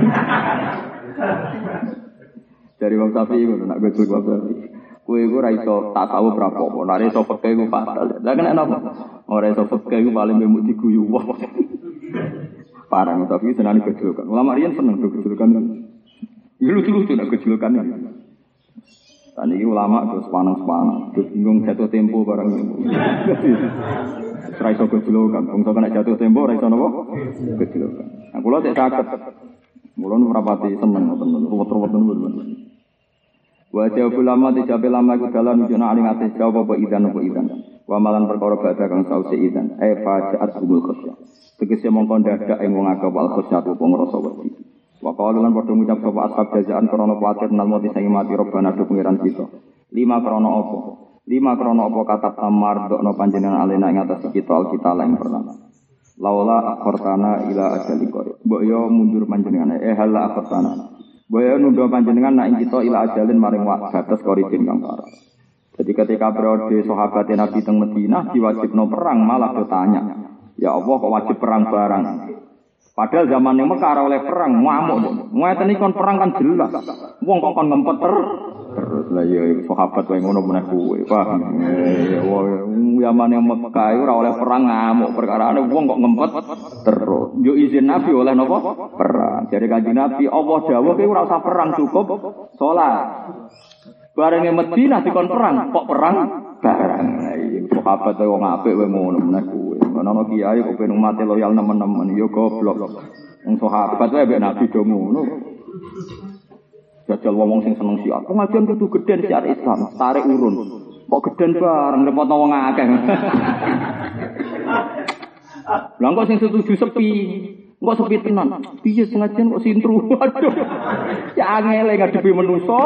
Dari Imam Syafi'i ngono nak gojol bapak. Kowe iku ora iso tasawuf rapopo, nek iso fikih iku fatal. Lah kena napa? Ora iso fikih iku paling mbek diguyu wah. Parang tapi senane gojolokan. Ulama riyen seneng gojolokan. Lucu-lucu nek gojolokan. Tadi iki ulama terus panang-panang, terus bingung jatuh tempo barang itu. Ora iso gojolokan, wong kena jatuh tempo ora iso napa? Gojolokan. Nah, kula cek saged. Mula nu rapati seneng ngoten, ruwet-ruwet ngoten. Wa jawab ulama dijawab lama iku dalan nunjukna aling ate jawab apa idan. Wa malan perkara badha kang sause idan. Fajaat humul khasyah. Tegese mongkon dadak ing wong akeh wal khasyah apa ngrasa wedi. Wa qalu lan padha ngucap sapa ashab jazaan krana kuwatir nal mati sing mati robana do pengiran kita. 5 krana apa? 5 krana apa katab tamar dokno panjenengan alena ing atas kita alkitab yang pertama. Laula akhortana ila ajali qarib. Mbok yo mundur panjenengan hala akhortana. Boyo nundo panjenengan nak kita ila ajalin maring batas koribin kang parah. Jadi ketika periode sahabat Nabi teng Madinah diwajibno perang malah bertanya, ya Allah kok wajib perang barang? Padahal zaman yang Mekah oleh perang ngamuk. Ngeten iki kon perang kan jelas. Wong kok kon ngempet terus lah ya sahabat wae ngono meneh kuwe. Paham. Zaman yang Mekah ora oleh perang ngamuk perkarane wong kok ngempet terus. Yo izin Nabi oleh napa? Perang. Jadi Kanjeng Nabi Allah dawuh kowe ora usah perang cukup salat. Bareng Madinah dikon perang, kok perang? barang. Sahabat wong apik wae ngono meneh kuwe. Ana kiai kok ben umat loyal nemen-nemen ya goblok. Wong sahabat wae mbek Nabi do ngono. Jajal wong sing seneng syiar. Pengajian kudu gedhen syiar Islam, tarik urun. Kok gedhen bareng repotno wong akeh. Lah kok sing setuju sepi. Kok sepi tenan. Piye pengajian kok sintru. Waduh. Ya angel ngadepi manusa.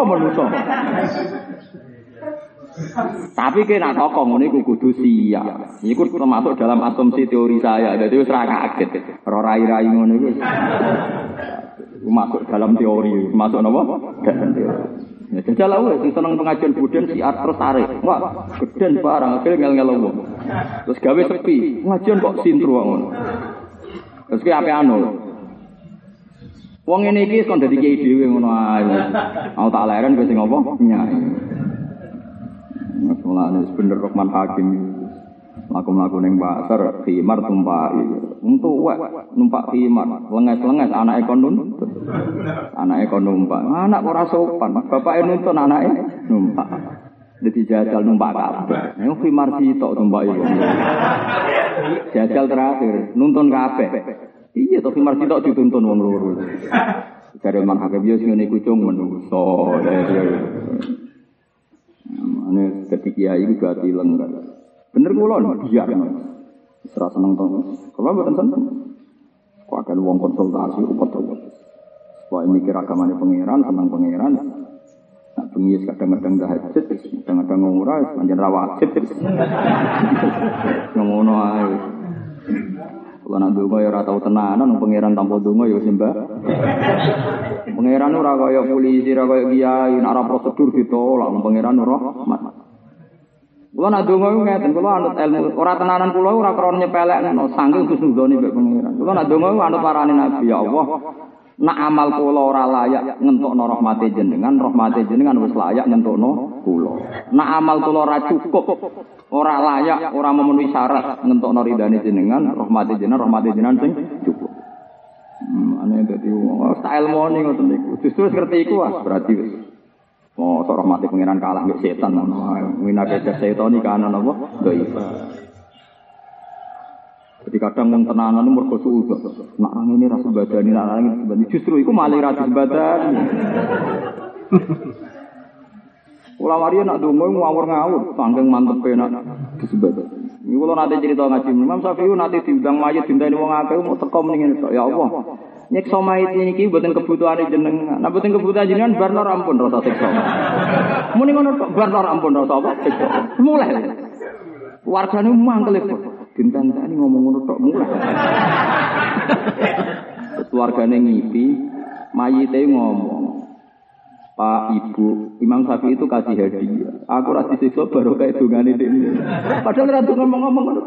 Tapi kena tokoh ngono iku kudu siap. Iku termasuk dalam asumsi teori saya. Dadi wis ra kaget. Ora rai-rai ngono iku. Masuk dalam teori, masuk napa? Dalam teori. Ya jajal wae sing seneng pengajian budhen siar terus tarik. Wah, gedhen barang akhir ngel-ngel wong. Terus gawe sepi. Pengajian kok sintru ngono. Terus ki ape anu. Wong ngene iki kon dadi kiai dhewe ngono ae. Aku tak leren kowe sing apa? Nyai. Masalahnya bener Rahman Hakim laku-laku neng pasar khimar tumpaki untuk numpak khimar lenges-lenges anak numpak anak ora sopan bapake nuntun anake numpak dadi jajal numpak kabeh nek khimar sitok tumpak iku jajal terakhir nuntun kabeh iya to khimar sitok dituntun wong loro jare Rahman Hakim yo sing ngene iku cung menungso ane dadi kiai iku gati lengkap. Bener kula biar ora seneng to. Kula mboten seneng. Kok akan wong konsultasi upet-upet. Wae mikir agamane pangeran, seneng pangeran. Nak bengi kadang-kadang tahajud, kadang-kadang ora pancen ra wajib. Ngono ae. Kula nak ndonga ya ora tau tenanan pangeran tanpa ndonga ya sembah. Pangeran ora kaya polisi, ora kaya kiai, nek ora prosedur ditolak pangeran ora rahmat. Kula nak ndonga iku ngeten, kula anut ilmu ora tenanan kula ora krana nyepelekno saking husnudzone mbek pangeran. Kula nak ndonga iku anut parane Nabi ya Allah. Nak amal kula ora layak ngentokno rahmate jenengan wis layak ngentokno kula. Nak amal kula ora cukup, ora layak, ora memenuhi syarat ngentokno ridane jenengan, rahmate jenengan sing cukup. Ane dadi sak ilmone ngoten niku. Justru ngerti iku berarti wis oh, sok rahmati pangeran kalah mbek setan ngono. Winake setan iki ana napa? Dhaif. Jadi kadang wong tenanan mergo suudzon. Nak nang ngene ra sembadani, nak nang ngene sembadani. Justru iku malah ra sembadani. Ora wari nak donga ngawur-ngawur, sangking mantepe nak disembadani. Iki kula nate cerita ngaji Imam Syafi'i nate diundang mayit dinteni wong akeh mau teko mendingin tok. Ya Allah. Nyekso mayit niki mboten kebutuhane jenengan. Nek mboten kebutuhan jenengan barno rampun rasa siksa. Muni ngono tok barno rampun rasa apa siksa. Mulai. Wargane mangkel kok. Dinten-teni ngomong ngono tok mulai. Keluargane ngipi, mayite ngomong. Pak Ibu, Imam Syafi'i itu kasih hadiah. Aku ra disiksa baru kayak dungane dene. Padahal ra ngomong-ngomong ngono.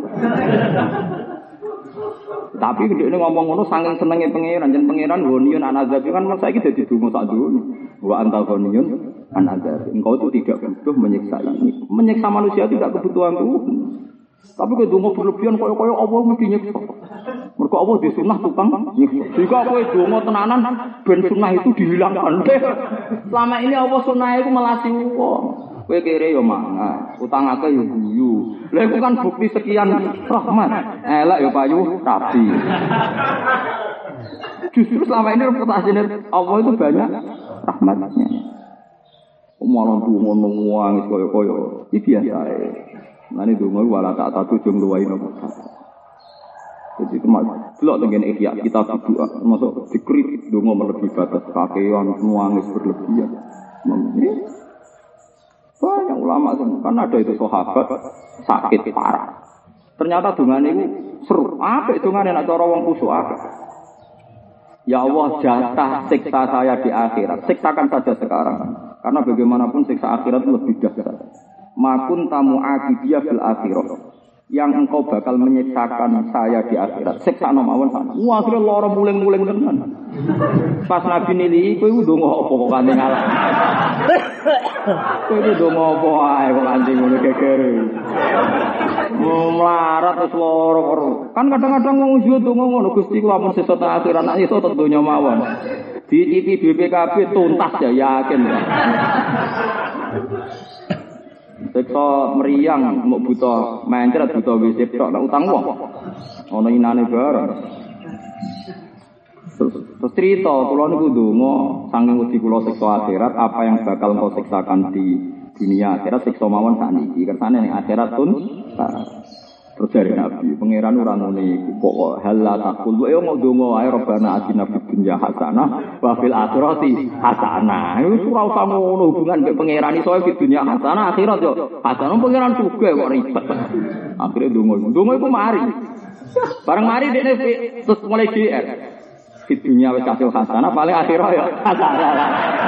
Tapi gede ngomong ngono saking senenge pangeran, jan pangeran ghaniyun an azab kan saiki dadi donga sak dunya. Wa anta ghaniyun an azab. Engkau itu tidak butuh menyiksa ini. Menyiksa manusia tidak kebutuhan Tuhan. Tapi kowe donga berlebihan koyo-koyo Allah mesti nyiksa. Mergo Allah di sunah tukang nyiksa. Jika kowe donga tenanan ben sunah itu dihilangkan. Selama ini Allah sunah iku melasi wong. Kowe kere yo mangan, utang akeh yo guyu. Lha iku kan bukti sekian rahmat. Elek yo payu rabi. Justru selama ini reputasinya Allah itu banyak rahmatnya. Malah ngono wangis koyo-koyo. Iki biasa ae. Nane donga wala tak tujung luwai nopo. Jadi kemak delok tengene ihya kita berdoa masuk dikrit donga melebihi batas kakean nangis berlebihan. Banyak ulama kan ada itu sahabat sakit parah. Ternyata dongane itu seru. Apik dongane nek cara wong kusuk akeh. Ya Allah jatah siksa saya di akhirat. Siksakan saja sekarang. Karena bagaimanapun siksa akhirat lebih dahsyat. Makun tamu akibiyah fil akhirat. Yang engkau bakal menyiksakan saya di akhirat. Siksa mawon sana. Wah, akhirnya lara muling-muling tenan. Pas Nabi nili kowe ndonga apa kok kanthi ngalah. Kowe ndonga apa ae kok kanthi ngono gegere. Melarat wis lara karo. Kan kadang-kadang wong yo ndonga ngono Gusti kula ampun sesuk akhirat nek iso tek donya mawon. Dicipi BPKB tuntas ya yakin. Siksa meriang mau buta mencret buta WC tok nek utang wong. Ana inane bareng. Terus cerita kula niku ndonga saking wedi kula siksa akhirat apa yang bakal kau siksakan di dunia akhirat siksa mawon sakniki kersane ning akhirat pun terus dari Nabi pangeran ora ngene iku kok halla taqul yo ndonga ae robana atina fid dunya hasanah wa fil akhirati hasanah iku ora usah ngono hubungan mek pangeran iso fid dunya hasanah akhirat yo hasanah pangeran sugih kok ribet akhire ndonga iku mari bareng mari dekne terus mulai GR fid dunya wis hasil hasanah paling akhirat yo hasanah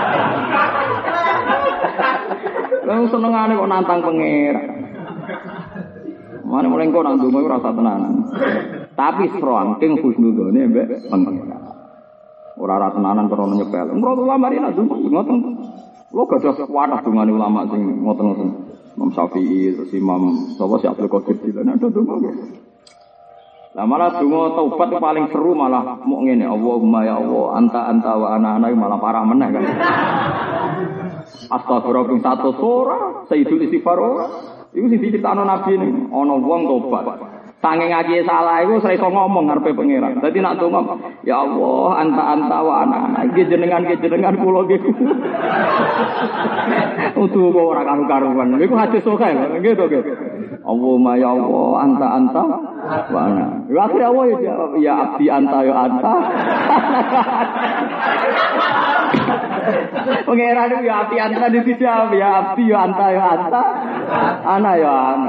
Wong senengane kok nantang pangeran Mane mulai kok nang donga ora usah tenanan. Tapi serangking husnudzone mbek pangeran. Ora tenanan perlu nyepel. Menurut ulama iki nak ngoten. Lho gadah kuatah dongane ulama sing ngoten-ngoten. Imam Syafi'i, terus Imam sapa si Abdul Qadir Jilani ada donga nggih. Lah malah donga taubat paling seru malah mok ngene, Allahumma ya Allah, anta wa ana malah parah meneh kan. Astagfirullah satu surah, sayyidul istighfar. Iku sing dicritakno Nabi ini, ana wong tobat. Saking ngaji salah iku ora iso ngomong ngarepe pangeran. Dadi nak donga, ya Allah, anta wa ana. Iki jenengan kula nggih. Utuh kok ora karu-karuan. Iku hadis sokae lho, nggih to nggih. Allahumma ya Allah, anta wa ana. Yo akhire Allah ya jawab, ya abdi anta ya anta. Pangeran itu ya abdi anta dijawab, ya abdi ya anta ya anta. Ana ya ana.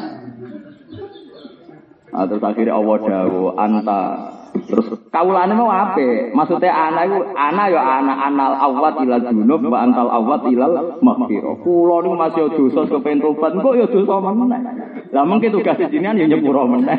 Terus akhirnya Allah dawuh anta. Terus kaulane mau apik? Maksudnya ana iku ana ya ana anal awwat ilal junub wa antal awwat ilal maghfirah. Kula niku masih dosa kepen tobat, kok ya dosa meneh. Lah mengke tugas jenengan ya nyepuro meneh.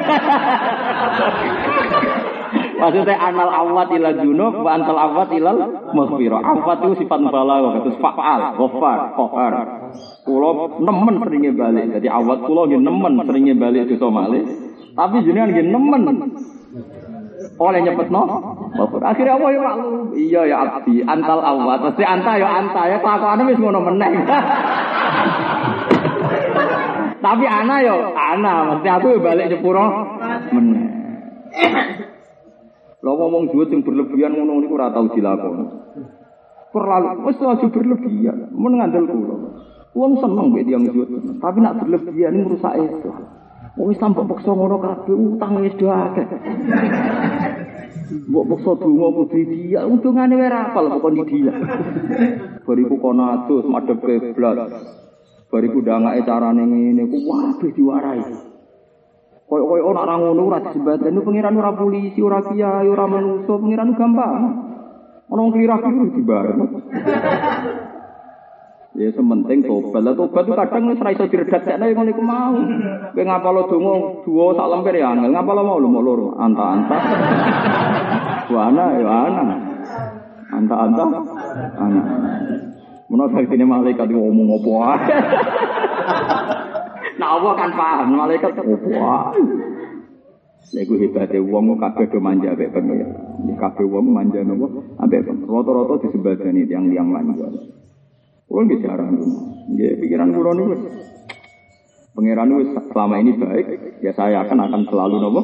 Maksudnya anal awwat ilal junub wa antal awwat ilal maghfirah. Awwat itu sifat mubalaghah, terus fa'al, ghafar, qahar. Kula nemen seringe balik. Dadi awat kula nggih nemen seringe balik dosa malih. Tapi jenengan nggih nemen oleh nyepetno. Akhirnya apa ya maklum? Iya ya abdi, antal awat. Mesti anta ya kelakuane wis ngono meneh. Tapi ana mesti aku balik nyepuro meneh. Lha ngomong duit sing berlebihan ngono niku ora tau dilakoni. Terlalu wis aja berlebihan, men ngandel kula. Wong seneng mbek tiyang duit, tapi nak berlebihan niku rusak itu. Wong Islam kok paksa ngono kabeh utang wis do akeh. Mbok paksa donga kudu dia, untungane wae ra apal kok dia. Bariku kono adus madhep kiblat. Bariku ndangake carane ngene ku waduh diwarai. Koyo ora ngono ora disebatan pengiran ora polisi, ora kiai, ora manusa, pengiran gampang. Ana wong kira-kira dibareng. Ya sementing tobat. Lah tobat itu kadang wis ora iso diredakne ngono iku mau. Kowe ngapalo donga duwa sak lemper ya angel, ngapalo mau lho mok loro. Anta. Wana ya ana. Anta. Ana. Menawa saktine malaikat ngomong apa wae. Nah Allah kan paham malaikat opo wae. Lha iku hebate wong kabeh do manja mek pengen. Kabeh wong manja nopo ambek rata-rata disebadani tiyang-tiyang manja. Kulo nggih jarang. Nggih pikiran kula niku pangeran wis selama ini baik, ya saya akan selalu nopo.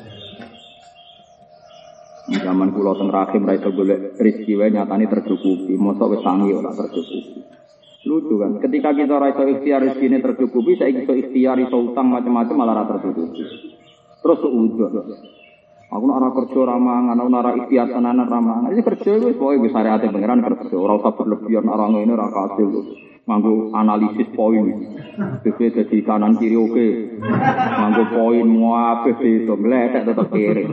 Zaman kula teng rahim ra iso golek rezeki wae nyatane tercukupi, mosok wis sangi ora tercukupi. Lucu kan, ketika kita ora iso ikhtiar rezekine tercukupi, saiki iso ikhtiar iso utang macam-macam malah ora tercukupi. Terus udah. Aku nak ora kerja ora mangan, aku ora ikhtiar tenanan ora mangan. Iki kerja wis pokoke wis syariate pangeran kerja, ora usah berlebihan ora ngene ora kasil. Nganggo analisis poin. Dhewe dadi kanan kiri oke. Nganggo poin muapeh itu meletek tetep kiri.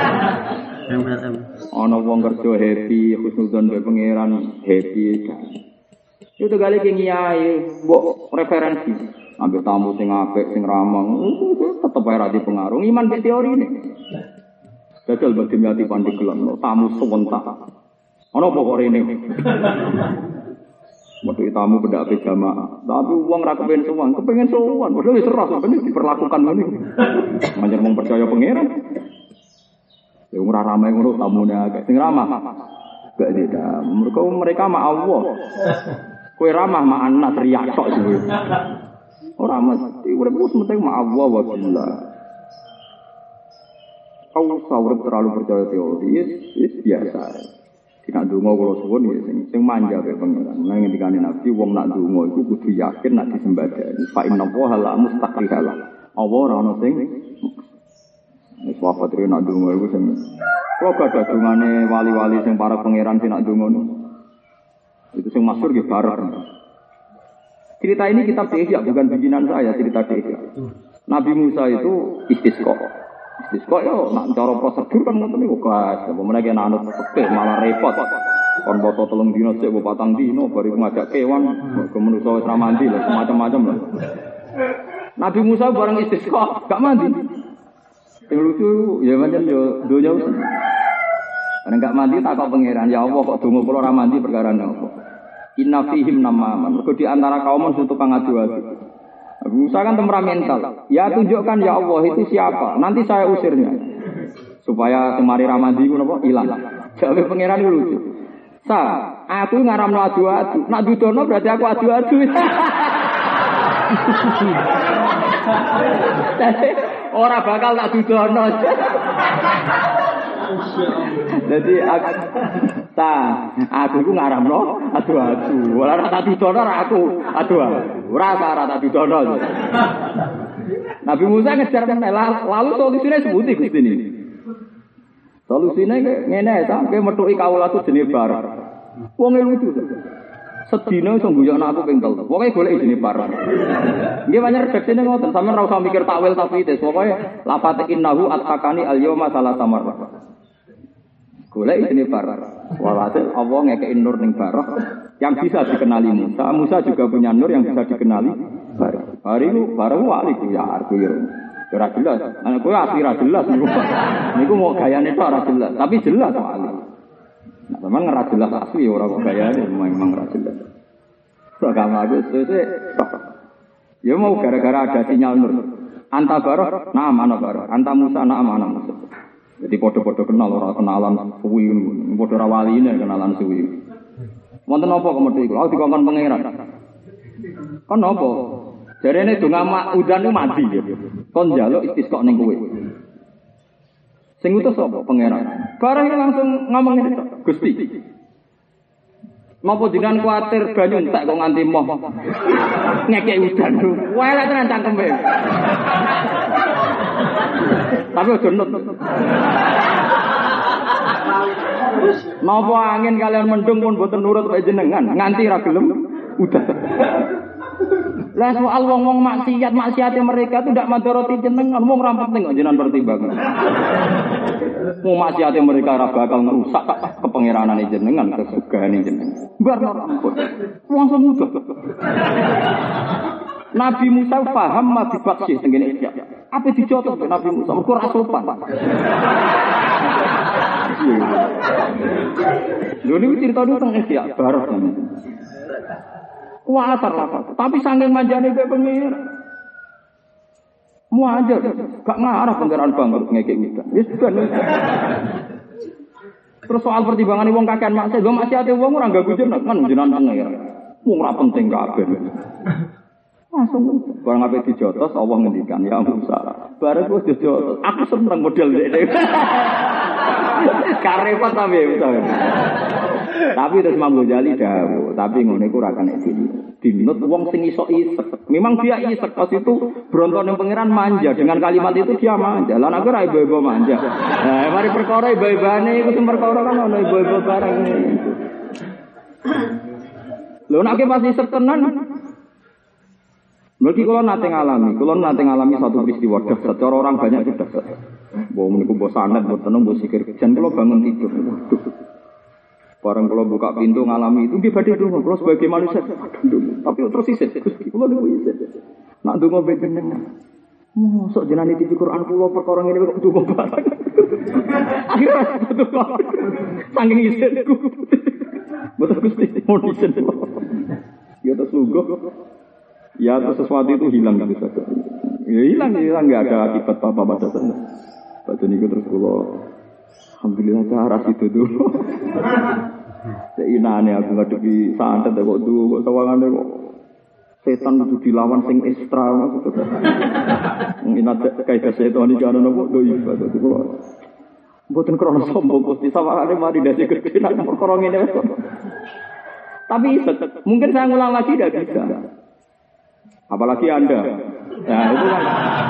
Ana wong kerja happy, khusnudzon be pangeran happy. Itu kali ki ngiyai mbok referensi. Ambil tamu sing apik, sing ramah, tetep ae ra dipengaruh. Iman be teori ini. Jajal bagi nyati pandeglan, tamu sewentak. Ana apa kok rene? Modhe tamu pendak jamaah. Tapi wong ra kepengin sowan, kepengin sowan. Padahal wis seras ben diperlakukan ngene. Manjen mung percaya pangeran. Ya ora ramai ngono tamune akeh. Sing ramah. Gak beda. Mereka mak Allah. Kowe ramah mak anak riak tok. Ora mesti urip ku penting ma'allah wa billah. Kau urip terlalu percaya teori, biasa. Tidak ndonga kula suwun ya sing manja kaya pengiran. Nang ngendikane Nabi wong nak ndonga iku kudu yakin nak disembadani. Fa inna wa la mustaqrihala. Allah ora ono sing wis wafat rene nak ndonga iku sing kok gak dungane wali-wali sing para pengiran sing nak ndonga. Itu yang masyhur nggih bareng. Cerita ini kitab Ihya bukan bikinan saya, cerita Ihya. Nabi Musa itu istisqa. Istisqa yo nak cara prosedur kan ngoten niku guys. Apa meneh kena anut fikih malah repot. Kon poso 3 dina sik 4 dina bari ngajak kewan, ke manusa wis ra mandi lho, macam-macam lho. Nabi Musa bareng istisqa gak mandi. Yang lucu ya pancen yo donya wis. Nek gak mandi takok pangeran, ya Allah kok donga kula ora mandi perkara napa? Inna fihim namaman. Mergo di antara kaum itu tukang adu-adu. Musa kan temperamental. Ya tunjukkan ya Allah itu siapa. Nanti saya usirnya. Supaya semari ramadi ku napa ilang. Jawe pangeran lucu. Aku ngaramno adu-adu. Nak dudono berarti aku adu-adu. Ora bakal tak dudono. Jadi aku ku ngaramno adu-adu. Ora tak dudono aku adu-adu. Ora tak dudono. Nabi Musa ngejar lalu solusinya sebuti Gusti ini. Solusinya ngene sampe metuki kawula tu jenenge bar. Wong lucu. Sedina iso guyokno aku ping 3. Pokoke golek jenenge bar. Nggih banyak redaksine ngoten, sampeyan ora usah mikir takwil tafsir. Pokoke lafat innahu atqani al-yauma salasamar. Golek jenenge bar. Walhasil Allah ngekeki nur ning barah yang bisa dikenali Musa. Musa juga punya nur yang bisa dikenali barah. Hari itu barang wali ku ya arku ya. Ora jelas. Ana kowe asli ra jelas niku. Niku mau gayane tok ora jelas, tapi jelas wali. Nah, memang ora jelas asli ora kok gayane memang ora jelas. Agama aku sesuk. Ya mau gara-gara ada sinyal nur. Anta barah, nah mana barah. Anta Musa, nah mana Musa. Jadi podo-podo kenal orang kenalan suwi ngono. Podo ra waline kenalan suwi. Wonten apa kemeti kula dikongkon pangeran. Kon napa? Jarene donga udan ku mati ya. Kon njaluk istisqa ning kowe. Sing utus sapa pangeran? Bareng langsung ngomong ngene tok. Gusti. Napa jenengan kuwatir banyu entek kok nganti moh. Ngekek udan. Wae lek tenan cangkeme. Tapi ojo nut. Napa angin kalian mendung pun boten nurut wae jenengan, nganti ra gelem udah. Lah soal wong-wong maksiate mereka itu ndak madharati jenengan, wong ra penting kok jenengan pertimbangan. Wong maksiate mereka ora bakal ngrusak kepengeranane jenengan, kesugahane jenengan. Bar ampun. Langsung udah. Nabi Musa paham mati baksih tengene iki. Apa dicotot Nabi Musa? Mergo ora sopan. Lho niku cerita niku teng iki ya, baros tenan. Kuwatar lah, tapi saking manjane kowe pengir. Muajar, gak ngarah pangeran bangkrut ngekek udah. Wis ben. Terus soal pertimbangan wong kakean maksiat, lho maksiate wong ora ganggu jenengan kan jenengan pengir. Wong ora penting kabeh. Langsung barang apa dijotos Allah ngendikan ya Musa. Bareng wis dijotos. Aku seneng model dhek. Karepot sampe Musa. Tapi terus Imam Ghazali dawuh, tapi ngono iku ora kena dinut wong sing iso isek. Memang dia isek pas itu brontone pangeran manja dengan kalimat itu dia manja. Lah nek ora ibu-ibu manja. Nah, mari perkara ibu-ibane iku sing perkara kan ono ibu-ibu bareng. Lho nek pas isek tenan Mergi kalau nate ngalami satu peristiwa dahsyat. Cara orang banyak itu dahsyat. Bawa meniku bawa sanad, bawa tenung, bawa sikir. Dan kalau bangun tidur, barang kalau buka pintu ngalami itu dia badai dulu. Kalau sebagai manusia, tapi terus iset. Kalau dulu iset, nak dungo bejeneng. Sok jenani di Quran pulau perkara ini kok dungo barang. Akhirnya betul saking iset. Betul Gusti, mau iset. Ya terus lugu. Ya atau sesuatu itu hilang gitu saja. Ya hilang nggak ada akibat apa pada sana. Pada niku terus kalau alhamdulillah cara itu dulu. Seinane aku ngadepi santet kok tuh kok sawangane kok setan kudu dilawan sing ekstra maksudnya. Inat kaidah setan iki ana napa do ibadah kula. Mboten krono sombong Gusti sawangane mari dadi gede nek perkara ngene wis. Tapi mungkin saya ngulang lagi tidak bisa. Apalagi Anda. Nah, itu kan.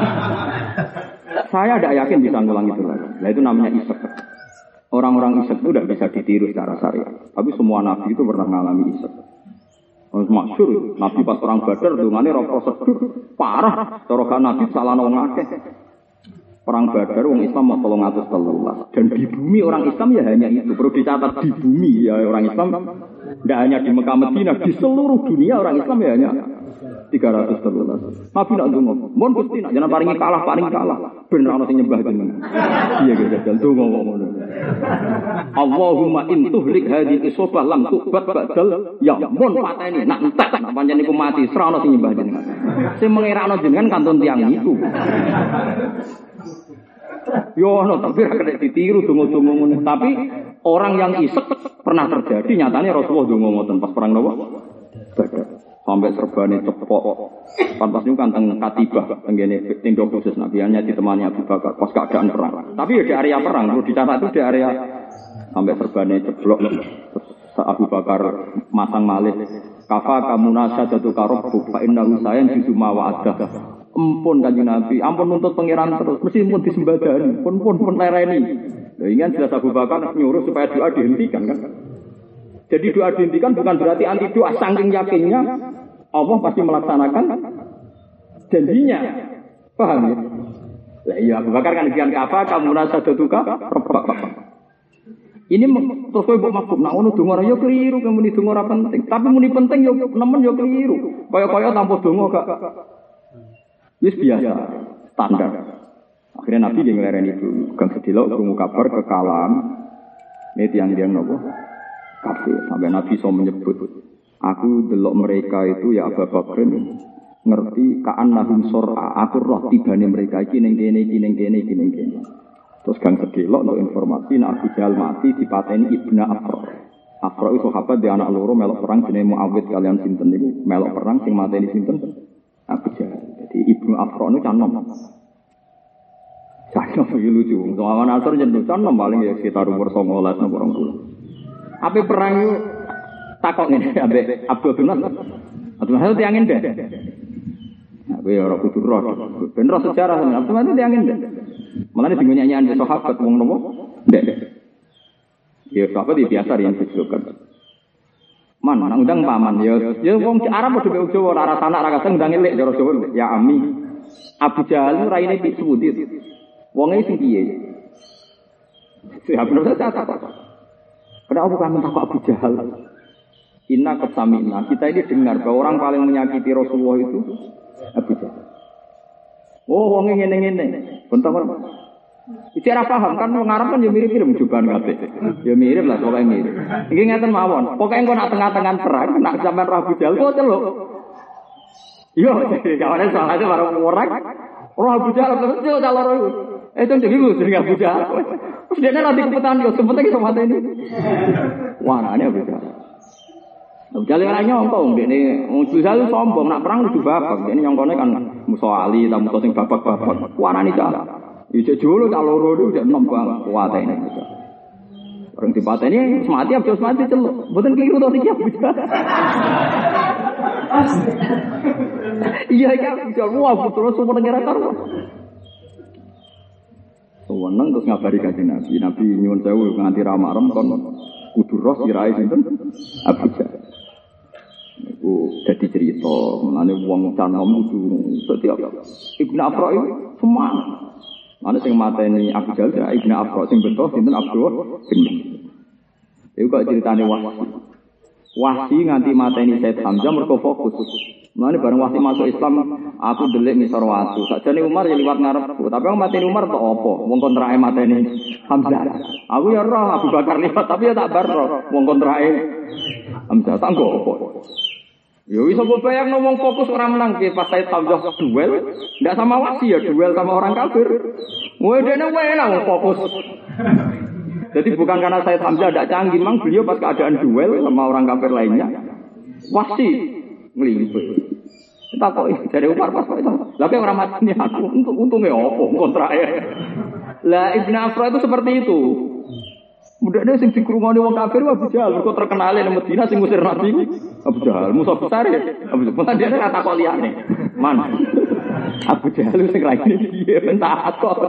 Saya tidak yakin bisa ngulang itu lagi. Nah, itu namanya isek. Orang-orang isek itu tidak bisa ditiru secara syariat. Tapi semua nabi itu pernah mengalami isek. Masyhur, nabi pas perang Badar dungane ora prosedur parah. Cara nabi salah wong akeh. Perang Badar wong Islam 313 dan di bumi orang Islam ya hanya itu. Perlu dicatat di bumi ya orang Islam tidak hanya di Mekah Madinah, di seluruh dunia orang Islam ya hanya 313. Nabi nak donga, mon Gusti nak jangan paringi kalah. Ben ana sing nyembah jenengan. Iya gitu, donga ngono. Allahumma in tuhlik hadhihi isabah lam tuqbat ba'dal ya mon pateni nak entek nak pancen iku mati ora ana sing nyembah jenengan. Sing mengerakno jenengan kantun tiyang niku. Yo no, tapi kena ditiru donga-donga ngono. Tapi orang yang isek pernah terjadi nyatanya Rasulullah donga ngoten pas perang napa? Badar. Sampai serbane cepok. Pantas niku kan teng Katibah, tenggene tenda khusus Nabi hanya ditemani Abu Bakar pas keadaan perang. Tapi ya di area perang, perlu dicatat itu di area sampai serbane ceblok. Abu Bakar masang malih. Kafa kamunasa jatuh karobuk fa innahu sayan jisuma wa adah. Ampun Kanjeng Nabi, ampun nuntut pangeran terus, mesti pun disembadani, pun lereni. Lah ingin jelas Abu Bakar nyuruh supaya doa dihentikan kan. Jadi doa dihentikan bukan berarti anti doa, saking yakinnya Allah pasti melaksanakan janjinya. Paham ya? Lah iya Abu Bakar kan dian kafa kamu nasa duka. Ini terus kowe mbok maksud nak ngono donga yo keliru, muni donga ora penting. Tapi muni penting yo nemen yo keliru. Kaya-kaya tanpa donga gak wis biasa, standar. Akhirnya Nabi yang ngelereni itu, gang sedilok krungu kabar kekalahan. Ini tiang-tiang nopo kafir. Sampai Nabi so menyebut, aku delok mereka itu ya Abu Bakar ngerti ka'annahum sur'a. Aku roh tibane mereka iki ning kene. Terus gang sedilok untuk informasi nek Abu Jahal mati dipateni Ibnu Afra. Afra itu sahabat di anak loro melok perang jenenge Muawid kalian sinten niku melok perang sing mateni sinten? Abu Jahal. Jadi Ibnu Afra itu canom. Canom itu lucu. Soalan asar jeneng canom paling ya sekitar umur 19 nang orang tua. Apa perang itu takok ngene ambek Abdul bin Nas. Abdul Nas itu tiangin deh. Nah, kowe ora kudu roh. Ben roh sejarah Abdul Nas itu tiangin deh. Mulane sing nyanyian sahabat wong nopo? Ndek. Ya sahabat biasa yang dijulukan. Man, nang undang paman ya wong Arab padha karo Jawa ora sanak ora kadang ndang elek cara Jawa ya ami. Abu Jahal raine pitsudit. Wonge sing piye? Siapa bener saya takut. Kenapa kamu takut Abu Jahal? Inna kesamina. Kita ini dengar bahwa orang paling menyakiti Rasulullah itu Abu Jahal. Oh, wonge ngene-ngene. Bentar. Bicara paham kan wong Arab kan ya mirip-mirip jubahan kabeh. Ya mirip lah pokoke mirip. Iki ngeten mawon. Pokoke engko nak tengah-tengah perang nak sampean Abu Jahal kok celuk. Yo, kawane soalnya baru orang. Roh Abu Jahal terus celuk ta loro iku. Itu jenenge Abu Jahal. Terus dene nanti kepetan yo sempet iki sama ini. Wah, ini Abu Jahal. Abu Jahal ora nyongkong dene wong Jahal sombong nak perang kudu babak. Dene nyongkone kan musuh ali ta musuh sing babak-babak. Warani ta. Iki jolo tak loro itu udah nombang kuatene. Orang dipateni mati habis mati celuk. Mboten keliru to iki. Iya ya bisa wah terus semua negara karo. Sewenang terus ngabari Kanjeng Nabi. Nabi nyuwun sewu nganti ramarem kon kudu roh sirahe sinten Abu Jahal. Niku dadi cerita menane wong canom kudu setiap Ibnu Afra itu semangat. Mana sing mateni Abu Jahal ya Ibnu Afra sing beto sinten Abdul bin Iku kok ceritane Wahsi nganti mateni Said Hamzah mergo fokus. Mulane bareng Wahsi masuk Islam aku delik ngisor watu. Sakjane Umar ya liwat ngarepku, tapi wong mateni Umar tok apa? Wong kontrake mateni Hamzah. Aku ya roh Abu Bakar liwat tapi ya tak bar roh wong kontrake Hamzah tak nggo apa. Ya wis kok bayang ngomong fokus ora menang ki pas Said Hamzah duel, ndak sama Wahsi ya duel sama orang kafir. Woi dene enak fokus. Jadi bukan karena Said Hamzah tidak canggih, memang beliau pas keadaan duel sama orang kafir lainnya, Wahsi ngelimpih. Tak kok dari Umar pas itu. Lah kok ora mati aku untungnya opo kontrake. Lah Ibnu Afra itu seperti itu. Mudane sing dikrungoni wong kafir Abu Jahal kok terkenal nang Madinah sing ngusir Nabi Abu Jahal musuh besar ya. Abu Jahal dia kata kok liyane. Man. Abu Jahal sing raine piye entak kok.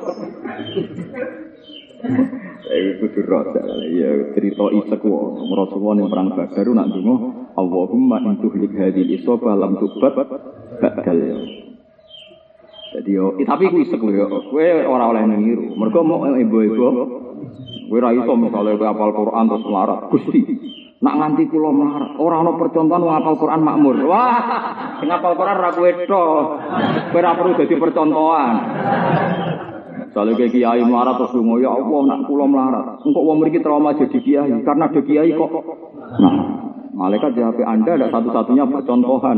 Iku dirasa ya cerita isek wae Rasulullah ning perang Badar nak ndonga Allahumma intuhlik hadhil isaba lam tubat badal. Jadi tapi ku isek lho kowe ora oleh niru. Mergo mau ibu-ibu kowe ra iso misale kowe hafal Quran terus melarat. Gusti, nak nganti kula melarat, ora ana percontohan wong hafal Quran makmur. Wah, sing hafal Quran ra kowe tok. Kowe ora perlu dadi percontohan. Soale kiai melarat terus lunga ya Allah nak kula melarat. Engkok wong mriki trauma jadi kiai karena ada kiai kok. Nah, malaikat di HP Anda ada satu-satunya percontohan.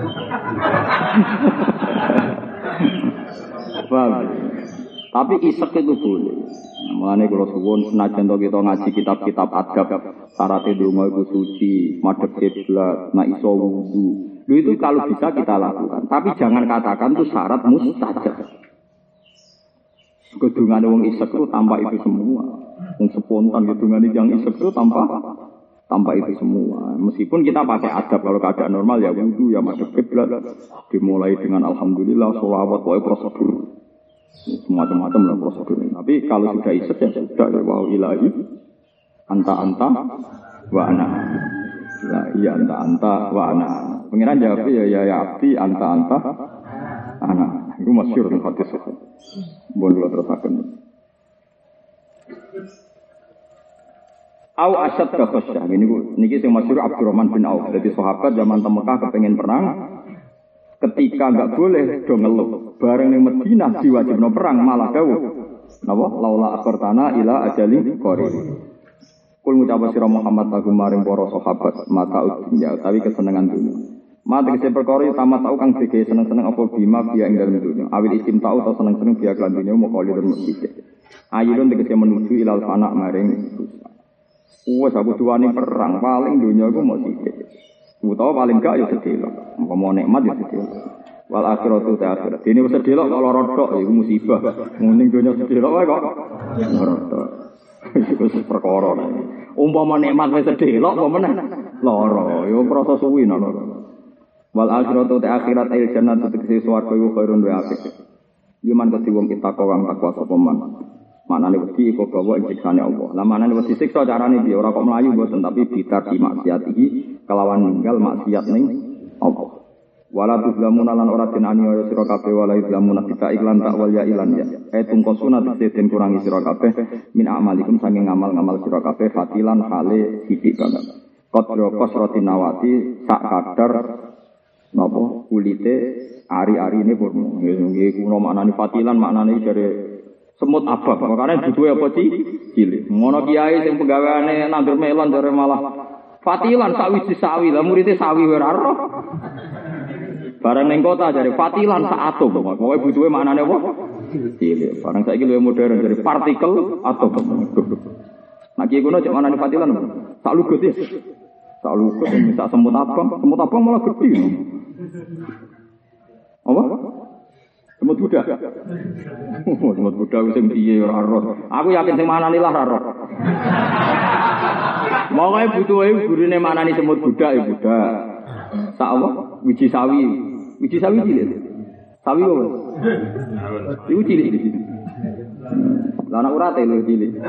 Paham? Tapi isek itu boleh. Mulane kula suwun senajan to kita ngaji kitab-kitab adab, syarat ndonga iku suci, madhep kiblat, nek iso wudu. Lho itu kalau bisa kita lakukan, tapi jangan katakan itu syarat mustajab. Kedungan wong isek itu tanpa itu semua. Wong spontan kedungan yang isek itu tanpa itu semua. Meskipun kita pakai adab kalau keadaan normal ya wudu ya madhep kiblat. Dimulai dengan alhamdulillah, sholawat, pokoknya prosedur. Semacam-macam lah prosedur. Tapi kalau sudah isek ya sudah ya wa ilahi anta wa ana. La iya anta wa ana. Pengiran jawab ya abdi anta ana. Itu masyhur ning hadis. Bon kula terusaken. Au asyad ka khasyah. Niki sing masyhur Abdurrahman bin Auf. Dadi sahabat zaman teng Mekah kepengin perang. Ketika enggak boleh do ngeluh. Bareng ning Madinah diwajibno perang malah dawuh. Napa? Laula akhirtana ila ajali qarib. Kul ngucap sira Muhammad lagu maring para sahabat mata dunya tapi kesenengan dunya. Mate kese perkara tamat tau kang dhewe seneng-seneng apa bima biya ing dalem dunya. Awil istim tau atau seneng-seneng biya lan dunya mokali dan mesti. Ayun tegese menuju ilal fana maring wis aku duwane perang paling dunya iku mok sithik. Utawa paling gak ya sedelok. Umpama nikmat ya sedelok. Wal akhiratu ta akhirat. Dene wis sedelok kok lara tok iku musibah. Muning dunya sedelok wae kok lara tok. Iku perkara. Umpama nikmat wis sedelok kok meneh lara. Ya krasa suwi lara. Wal akhiratu ta akhirat il jannatu tegese swarga iku khairun wa apik. Yuman kedhi wong kita kawang takwa sapa man. Manane wedi iku gawa ing siksane Allah. Lah manane wedi siksa carane piye ora kok mlayu mboten tapi bitar di maksiat iki kelawan ninggal maksiat ning Allah. Wala tuzlamuna lan ora den aniaya sira kabeh wala tuzlamuna kita iklan tak wal ya ilan ya. Tungkosuna den kurangi sira kabeh min amalikum saking ngamal-ngamal sira kabeh fatilan hale sithik banget. Qadra qasratin nawati sak kadar napa kulite ari-ari ini purno nggih kuno maknane fatilan maknane dari semut abang makane duduhe apa cilik ngono kiai sing penggaweane nandur melon jare malah fatilan sawiji sawi lah muridé sawi ora roh bareng ning kota jare fatilan sak atom pokoke butuhe maknane apa cilik bareng saiki luwih modern jare partikel atom nek iki kuno cek maknane fatilan sak lugut ya sak lugut minta semut abang malah gede. Apa? Semut budak. Semut budak sing piye ora roh. Aku yakin sing manani lah ora roh. Mokoke butuhe gurine manani semut budak ya budak. Sak apa? Wiji sawi. Wiji sawi cilik. Sawi apa? Iku cilik iki. Lah anak urate lho cilik.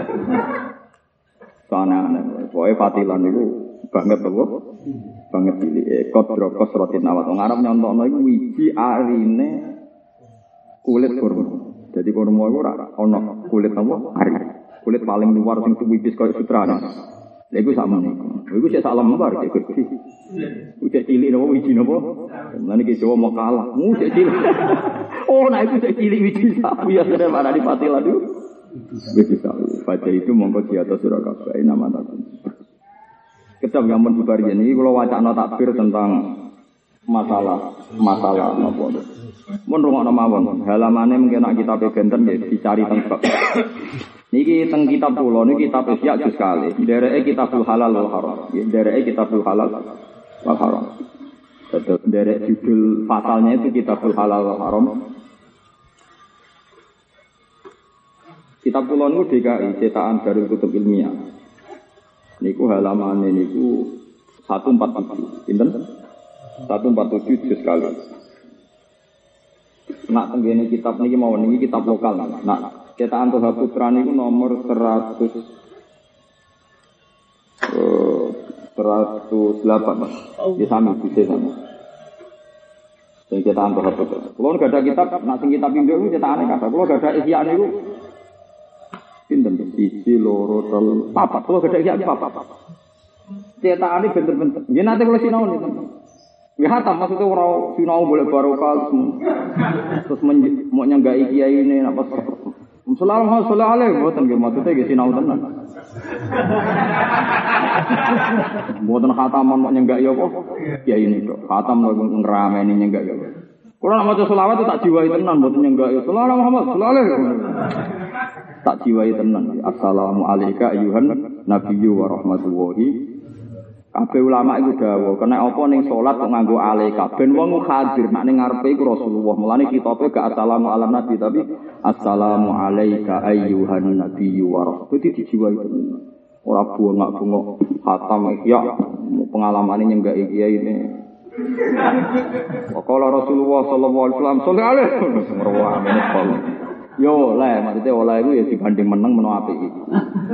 Sana pokoke fatilan niku banget apa? Banget cilik kodro kosrotin awat wong Arab nyontokno iku wiji arine kulit kurma. Jadi kurma iku ora ana kulit apa? Ari. Kulit paling luar sing wipis koyo sutrane. Lha iku sakmene iku. Iku sik sak lembar iki gede. Ucek cilik napa wiji napa? Lan iki Jawa mau kalah. Cek cilik. Oh, nah iku cek cilik wiji sapi ya sare ana di patilan iku. Wiji sapi. Baca itu mongko di atas surah kabeh nama takon. Kitab Yamun Bukhari ini kalau wacana takbir tentang masalah apa itu. Mun rungokno mawon, halamane mungkin nak kitab benten ya dicari teng bab. Niki teng kitab kula niki kitab Ihya juz kali. Dereke kitabul halal wal haram. Dereke kitabul halal wal haram. Terus dari judul pasalnya itu Kitabul Halal wal Haram. Kitab kula niku DKI cetakan Darul Kutub Ilmiah. Niku halaman niku 147. Pinten? 147 juz kali. Nak tenggene kitab niki mawon niki kitab lokal. Nak cetakan Toha Putra niku nomor 108 Mas. Di sami bisa sama. Sing cetakan Toha Putra. Kulo gak ada kitab, nak sing kitab Indo niku cetakane kathah. Kulo gak ada Ihya niku pinten 1 2 3 4. Kulo gak ada Ihya 4. Cetakane bener-bener. Nggih nate kulo sinau niku. Ya hatam maksudnya ora sinau boleh barokah terus mau nyanggai kiai ini apa sallallahu alaihi mboten nggih maksudnya nggih sinau tenan. Mboten khataman mau nyanggai apa kiai ini kok. Khatam ngrameni nyanggai ya. Kulo nek maca selawat tak jiwai tenan mboten nyanggai. Sallallahu Muhammad sallallahu alaihi tak jiwai tenan. Assalamu alayka ayyuhan nabiyyu wa rahmatullahi. Kabeh ulama iku dawuh, kena apa ning salat kok nganggo alaika ben wong hadir nek ning ngarepe iku Rasulullah. Mulane kitabe gak assalamu ala nabi tapi assalamu alayka ayyuhan nabiyyu wa rahmatullahi dijiwai tenan. Ora bungak-bungok khatam ya pengalamane nyenggak kiai ini. Qala Rasulullah sallallahu alaihi wasallam sallallahu alaihi wasallam. Yo oleh, maksudnya oleh itu ya dibanding menang apik iki.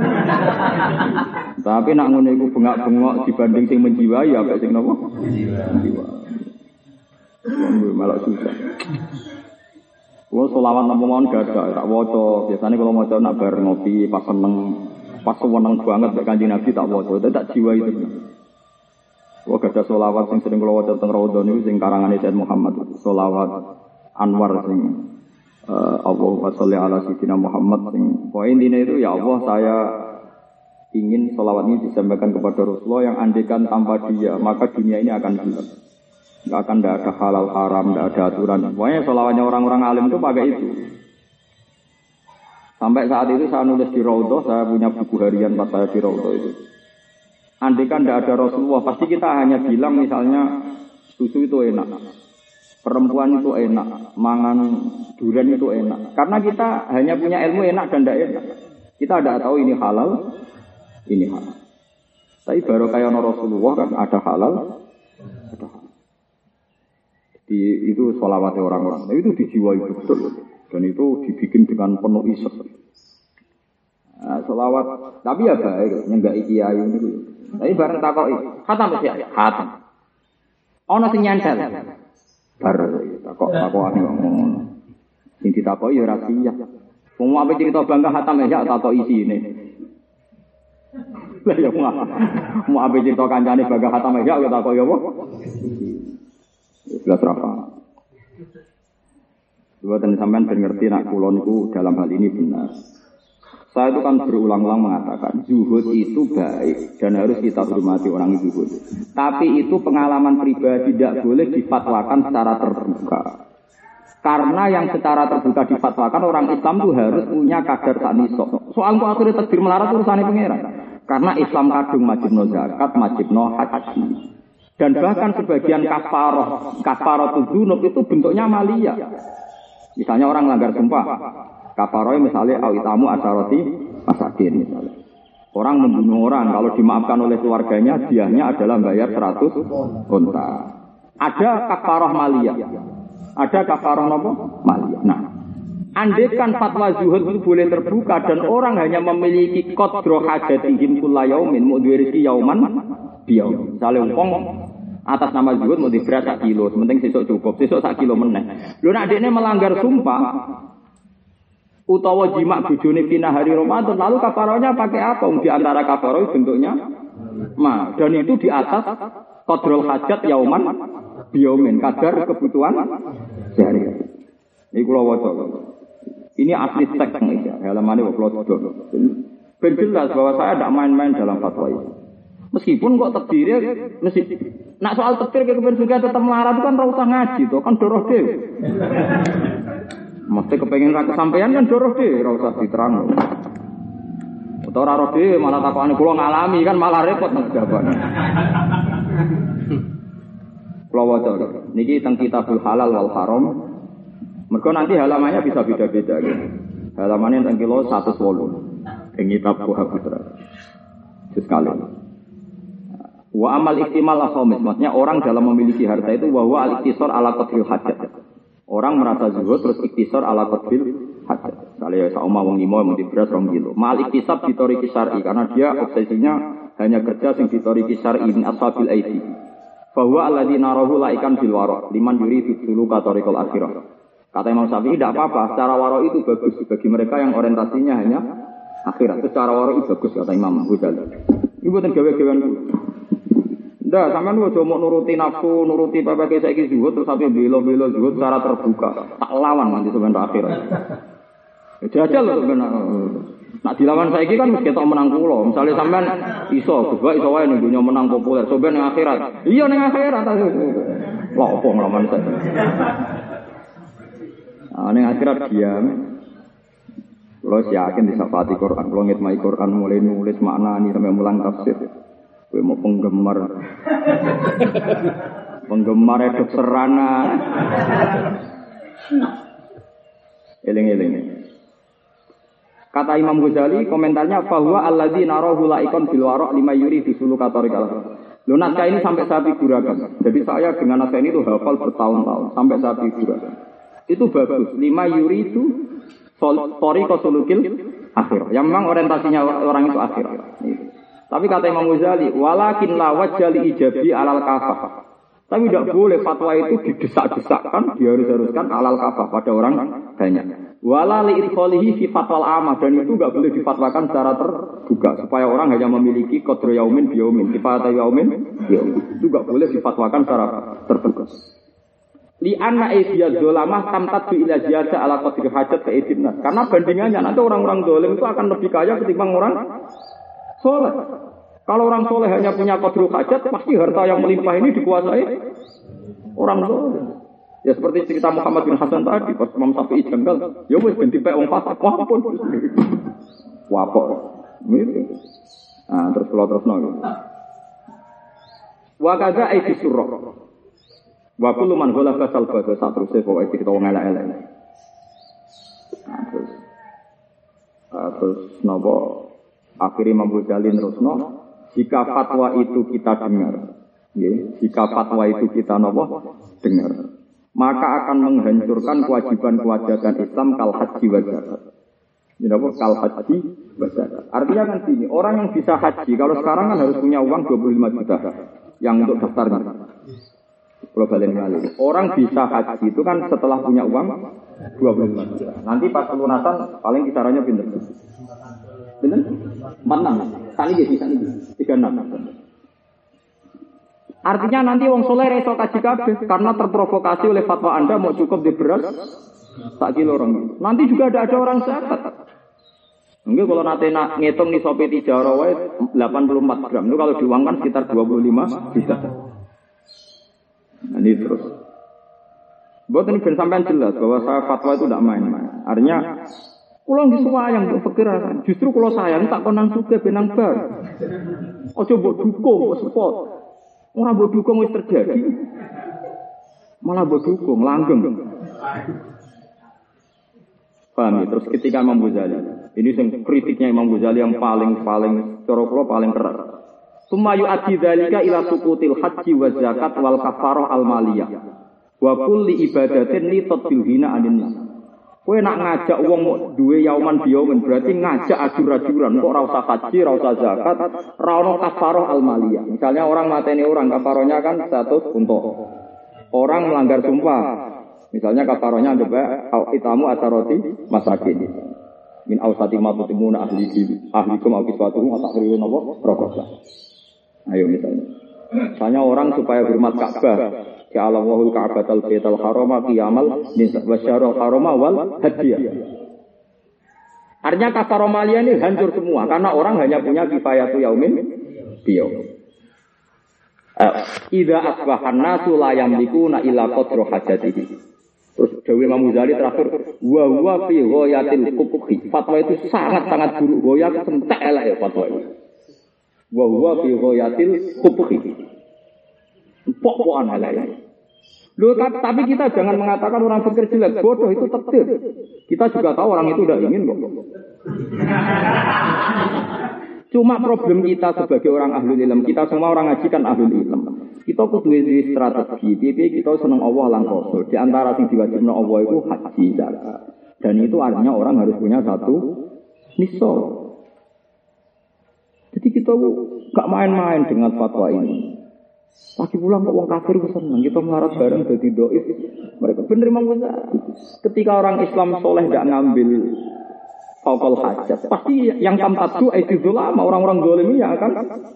Tapi nak ngono iku bengak-bengok dibanding sing menjiwai ya apik sing napa? Menjiwai. Malah susah. Kulo selawat napa mawon gadah tak waca. Biasane kalau maca nak bar ngopi pas seneng, pas seneng banget mek Kanjeng Nabi tak waca, tak jiwai tenan. Kulo gadah selawat sing sering kulo waca teng Raudhah niku sing karangane Sayyid Muhammad. Selawat Anwar sing Allahumma sholli ala sayyidina Muhammad. Poin ini itu ya Allah saya ingin sholawat ini disampaikan kepada Rasulullah yang andekan tanpa dia maka dunia ini akan gelap. Tidak ada halal haram, tidak ada aturan. Pokoknya sholawatnya orang-orang alim itu pakai itu. Sampai saat itu saya nulis di Raudhah, saya punya buku harian pas saya di Raudhah itu. Andekan tidak ada Rasulullah, pasti kita hanya bilang misalnya susu itu enak. Perempuan itu enak, mangan durian itu enak. Karena kita hanya punya ilmu enak dan tidak enak. Kita tidak tahu ini halal, ini halal. Tapi baru kayak Rasulullah kan ada halal, ada halal. Itu sholawatnya orang-orang. Itu dijiwai betul. Dan itu dibikin dengan penuh isek. Nah, sholawat, tapi ya baik, nyenggak kiai itu. Tapi bareng takoi, khatam ya, khatam. Ono sing nyantel. Bar takok-takokane ngono. Sing ditakoki ya rahasia. Wong ape cerita bangga hatam ya takok isine. Lah ya mau ape cerita kancane bangga hatam ya takok ya apa? Jelas apa? Coba tenan sampean ben ngerti nek kula niku dalam hal ini benar. Saya itu kan berulang-ulang mengatakan zuhud itu baik dan harus kita hormati orang zuhud. Tapi itu pengalaman pribadi tidak boleh difatwakan secara terbuka. Karena yang secara terbuka difatwakan orang Islam itu harus punya kadar taknisok. Soal kok akhirnya takdir melarat urusannya pangeran. Karena Islam kadung wajibno zakat, wajibno haji. Dan bahkan sebagian kafaroh dzunub itu bentuknya maliyah. Misalnya orang melanggar sumpah. Kafaroh misalnya awitamu asaroti masakin misalnya. Orang membunuh orang kalau dimaafkan oleh keluarganya diahnya adalah bayar 100 unta. Ada kafaroh maliyah. Ada kafaroh apa? Maliyah. Nah, andaikan fatwa zuhud itu boleh terbuka dan orang hanya memiliki qadra hajatihim kullayaumin mudwirisi yauman biyaum. Misalnya wong atas nama zuhud mau diberat 1 kilo, penting sesuk cukup, sesuk 1 kilo meneh. Lho nek dekne melanggar sumpah utawa jima bojone fina hari Ramadan, lalu kafarohnya pakai apa? Di antara kafaroh bentuknya dan itu di atas qadrul hajat yauman biyaumin, kadar kebutuhan sehari. Ini kula waca. Ini asli teks ya, halamane kula dodol. Ben jelas bahwa saya tidak main-main dalam fatwa ini. Meskipun kok terdiri mesti nak soal takdir kepen juga tetap melarat itu kan ora usah ngaji to, kan doroh dhewe. Mesti kepengen ra kesampaian kan doroh dhewe, ora usah diterang. Utawa ora dhewe malah takokane kula ngalami kan malah repot nang jawabane. Kula waca niki teng Kitabul Halal wal Haram. Mergo nanti halamannya bisa beda-beda gitu. Halamannya teng kilo 108. Ing kitab Putra. Sekali. Wa amal ihtimal akhamis, maksudnya orang dalam memiliki harta itu bahwa al-iktisar ala qadril hajat. Orang merasa zuhud terus iktisar ala qadril hajat. Kalau ya sauma wong limo mung beras 2 kilo. Mal iktisab ditori kisari karena dia obsesinya hanya kerja sing ditori kisari min ashabil aidi. Bahwa alladzina rahu laikan bil wara liman yuridu suluka tariqal akhirah. Kata Imam Syafi'i tidak apa-apa, secara wara itu bagus bagi mereka yang orientasinya hanya akhirat. Secara wara itu bagus kata Imam Ghazali. Ibu ten gawe-gawean. Ndak, sampean ojo mau nuruti nafsu, nuruti PPK saiki zuhud terus sampe belo-belo zuhud secara terbuka. Tak lawan nanti sampean akhirat. Jajal lho sampean. Nak dilawan saiki kan mesti ketok menang kula. Misale sampean iso, gebak iso wae ning dunya menang populer, sampean ning akhirat. Iya ning akhirat. Lha opo nglawan saiki. Ning akhirat diam. Kulo yakin disafati Quran, kulo ngitmai Quran mulai nulis maknani sampai mulang tafsir. Kowe mau penggemar eduk serana. Eling-eling. Kata Imam Ghazali komentarnya bahwa alladzina rahu laikon bil wara' lima yuri disuluka tariqal. Lho naskah ini sampai saya figurakan. Jadi saya dengan naskah ini tuh hafal bertahun-tahun sampai saya figurakan. Itu bagus. Lima yuri itu tariqal sulukil akhir. Yang memang orientasinya orang itu akhir. Tapi kata Imam Ghazali, walakin la wajali ijabi alal kafah. Tapi tidak boleh fatwa itu didesak-desakkan, diharus-haruskan alal kafah pada orang banyak. Wala li idkhalihi fi fatwal amah, dan itu enggak boleh difatwakan secara terbuka supaya orang hanya memiliki qadru yaumin bi yaumin, kifayat yaumin yaumin. Itu enggak boleh difatwakan secara terbuka. Li anna aidiyaz zulamah tamtad bi ila ziyada ala qadri hajat ka idinnas. Karena bandingannya nanti orang-orang zalim itu akan lebih kaya ketimbang orang soleh. Kalau orang soleh hanya punya qadru hajat, pasti harta yang melimpah ini dikuasai orang soleh. Ya seperti cerita Muhammad bin Hasan tadi, pas Imam Syafi'i janggal, ya wis ben dipek wong fasik, wapun. Wapok. Gitu. Nah, terus kula terusno. Wa kadza aiti surra. Wa kullu man ghalaba salba satruse pokoke kita wong elek-elek. Nah, terus napa akhirnya Imam Ghazali terusno, jika fatwa itu kita dengar, jika fatwa itu kita dengar, maka akan menghancurkan kewajiban-kewajiban Islam kal haji wa zakat. Kal haji wa zakat. Artinya kan gini, orang yang bisa haji, kalau sekarang kan harus punya uang 25 juta yang untuk daftarnya. Kalau balik lagi, orang bisa haji itu kan setelah punya uang 25 juta. Nanti pas pelunasan paling kisarannya pinter. Benar? 46. Tadi jadi 36. Artinya nanti wong soleh reso kaji kabeh karena terprovokasi oleh fatwa Anda mau cukup di beras tak kilo orang. Nanti juga ada orang zakat. Enggak kalau nanti ngitung nih sopi tijaro wae 84 gram. Itu kalau diuangkan sekitar 25 juta. Nah, ini terus. Buat ini ben sampean jelas bahwa saya fatwa itu tidak main-main. Artinya kulo nggih suwayang mbok pikiran. Justru kulo sayang tak konang sugih benang bar. Aja mbok dukung spot. Ora mbok dukung wis terjadi. Malah mbok dukung langgeng. Paham ya? Terus ketika Imam Ghazali, ini kritiknya Imam Ghazali yang paling cara kula paling keras. Sumayu adi dzalika ila suqutil haji wa zakat wal kafarah al maliyah. Wa kulli ibadatin li tadbil hina anin nas. Kowe nak ngajak wong duwe yauman biyauman berarti ngajak ajur-ajuran kok ora usah haji, ora usah zakat, ora ono kafarah al-maliyah. Misalnya orang mateni orang, kafarahnya kan 100 untuk. Orang melanggar sumpah. Misalnya kafarahnya ada itamu ataroti masakin. Min ausati ma tutimuna ahlikum au kiswatuhum atahriru napa rokosa. Ayo misalnya orang supaya hormat Ka'bah. Ya Allahul Ka'batal Baitul Harama qiyamal wasyarul harama wal hadiyah. Artinya kafarah maliyah ini hancur semua karena orang hanya punya kifayatu yaumin biyaum. Idza asbahan nasu la yamlikuna illa qadra hajatihi. Terus Dewi Imam Ghazali terakhir wa huwa fi ghayatil qubhi. Fatwa itu sangat-sangat buruk, goyak entek elek ya fatwa itu. Wa huwa fi ghayatil qubhi. Pok-pokan halai. Loh, tapi kita jangan mengatakan orang fikir jelek, bodoh itu takdir. Kita juga tahu orang itu udah ingin kok. Cuma problem kita sebagai orang ahlul ilm, kita semua orang ngaji kan ahlul ilm. Kita kudu duwe strategi, piye kita seneng Allah lan Rasul. Di antara sing diwajibno Allah itu haji zakat. Dan itu artinya orang harus punya satu nisab. Jadi kita gak main-main dengan fatwa ini. Pagi pulang kok wong kafir seneng, kita melarat bareng dadi dhaif. Mereka bener Imam Ghazali. Ketika orang Islam soleh gak ngambil faukal hajat, pasti yang tamtadu itu lama orang-orang dolim ya kan.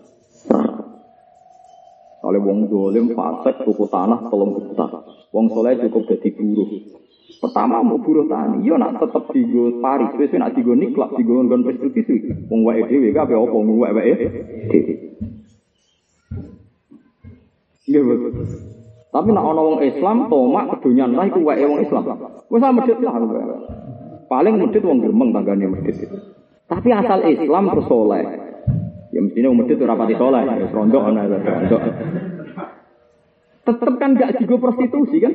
Oleh wong dolim fasik tuku tanah 3 juta. Wong soleh cukup dadi buruh. Pertama mau buruh tani, yo nak tetep digo Paris, wis nak digo niklak, digo nggon prostitusi. Wong wae dhewe kabeh apa wong wae dhewe. Nggih, betul. Tapi nak ana wong Islam tomak kedonyan lah iku wae wong Islam. Wis medhit lah. Paling medhit wong gremeng tanggane medhit itu. Tapi asal Islam terus saleh. Ya mestine wong medhit ora pati saleh, wis rondok ana rondok. Tetep kan gak digo prostitusi kan?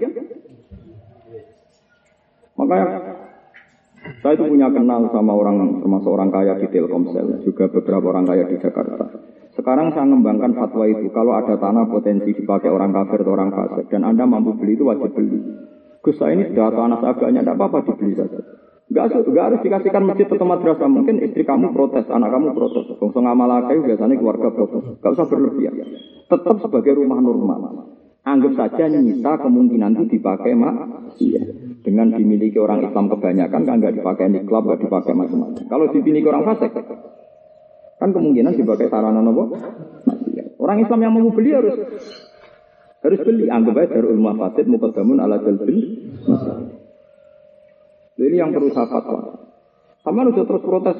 Makanya saya itu punya kenal sama orang, termasuk orang kaya di Telkomsel, juga beberapa orang kaya di Jakarta. Sekarang saya mengembangkan fatwa itu, kalau ada tanah potensi dipakai orang kafir atau orang fasik, dan Anda mampu beli itu wajib beli. Gus, saya ini sudah tanah seagaknya, tidak apa-apa dibeli saja. Enggak harus dikasihkan masjid atau madrasah. Mungkin istri kamu protes, anak kamu protes. Bangsa ngamal kayu biasanya keluarga protes. Enggak usah berlebihan. Tetap sebagai rumah normal. Anggap saja nyisa kemungkinan itu dipakai maksiat. Dengan dimiliki orang Islam kebanyakan kan nggak dipakai niklab, nggak dipakai macam-macam. Kalau dimiliki orang fasik, kan kemungkinan dipakai sarana nopo. Orang Islam yang mau beli harus beli. Anggap aja darul mafasid muqaddamun ala jalbil masalih. Jadi yang perlu saya fatwa. Sama udah terus protes.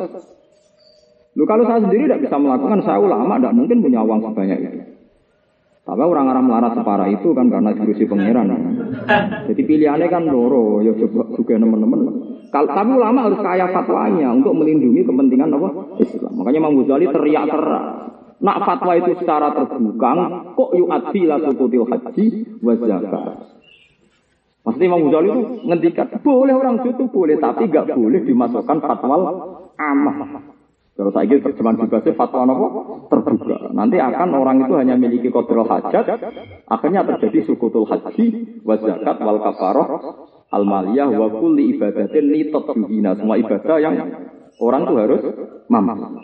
Lu kalau saya sendiri tidak bisa melakukan, saya ulama tidak mungkin punya uang sebanyak itu. Tapi orang-orang melarat separah itu kan karena diurusi pangeran. Jadi pilihannya kan loro, ya juga teman-teman. Tapi ulama harus kaya fatwanya untuk melindungi kepentingan apa? Islam. Makanya Imam Ghazali teriak keras. Nak fatwa itu secara terbuka, kok yu'adzi la sukutil haji wa zakat. Maksudnya Imam Ghazali itu ngendikan boleh orang itu boleh, tapi enggak boleh dimasukkan fatwa amah. Kalau saya kira terjemahan bebasnya fatwa apa? Terbuka. Nanti akan orang itu hanya memiliki qadrul hajat, akhirnya terjadi sukutul haji, wa zakat, wal kafarah, al maliyah, wa kulli ibadatin li tatbihina. Semua ibadah yang orang itu harus mampu.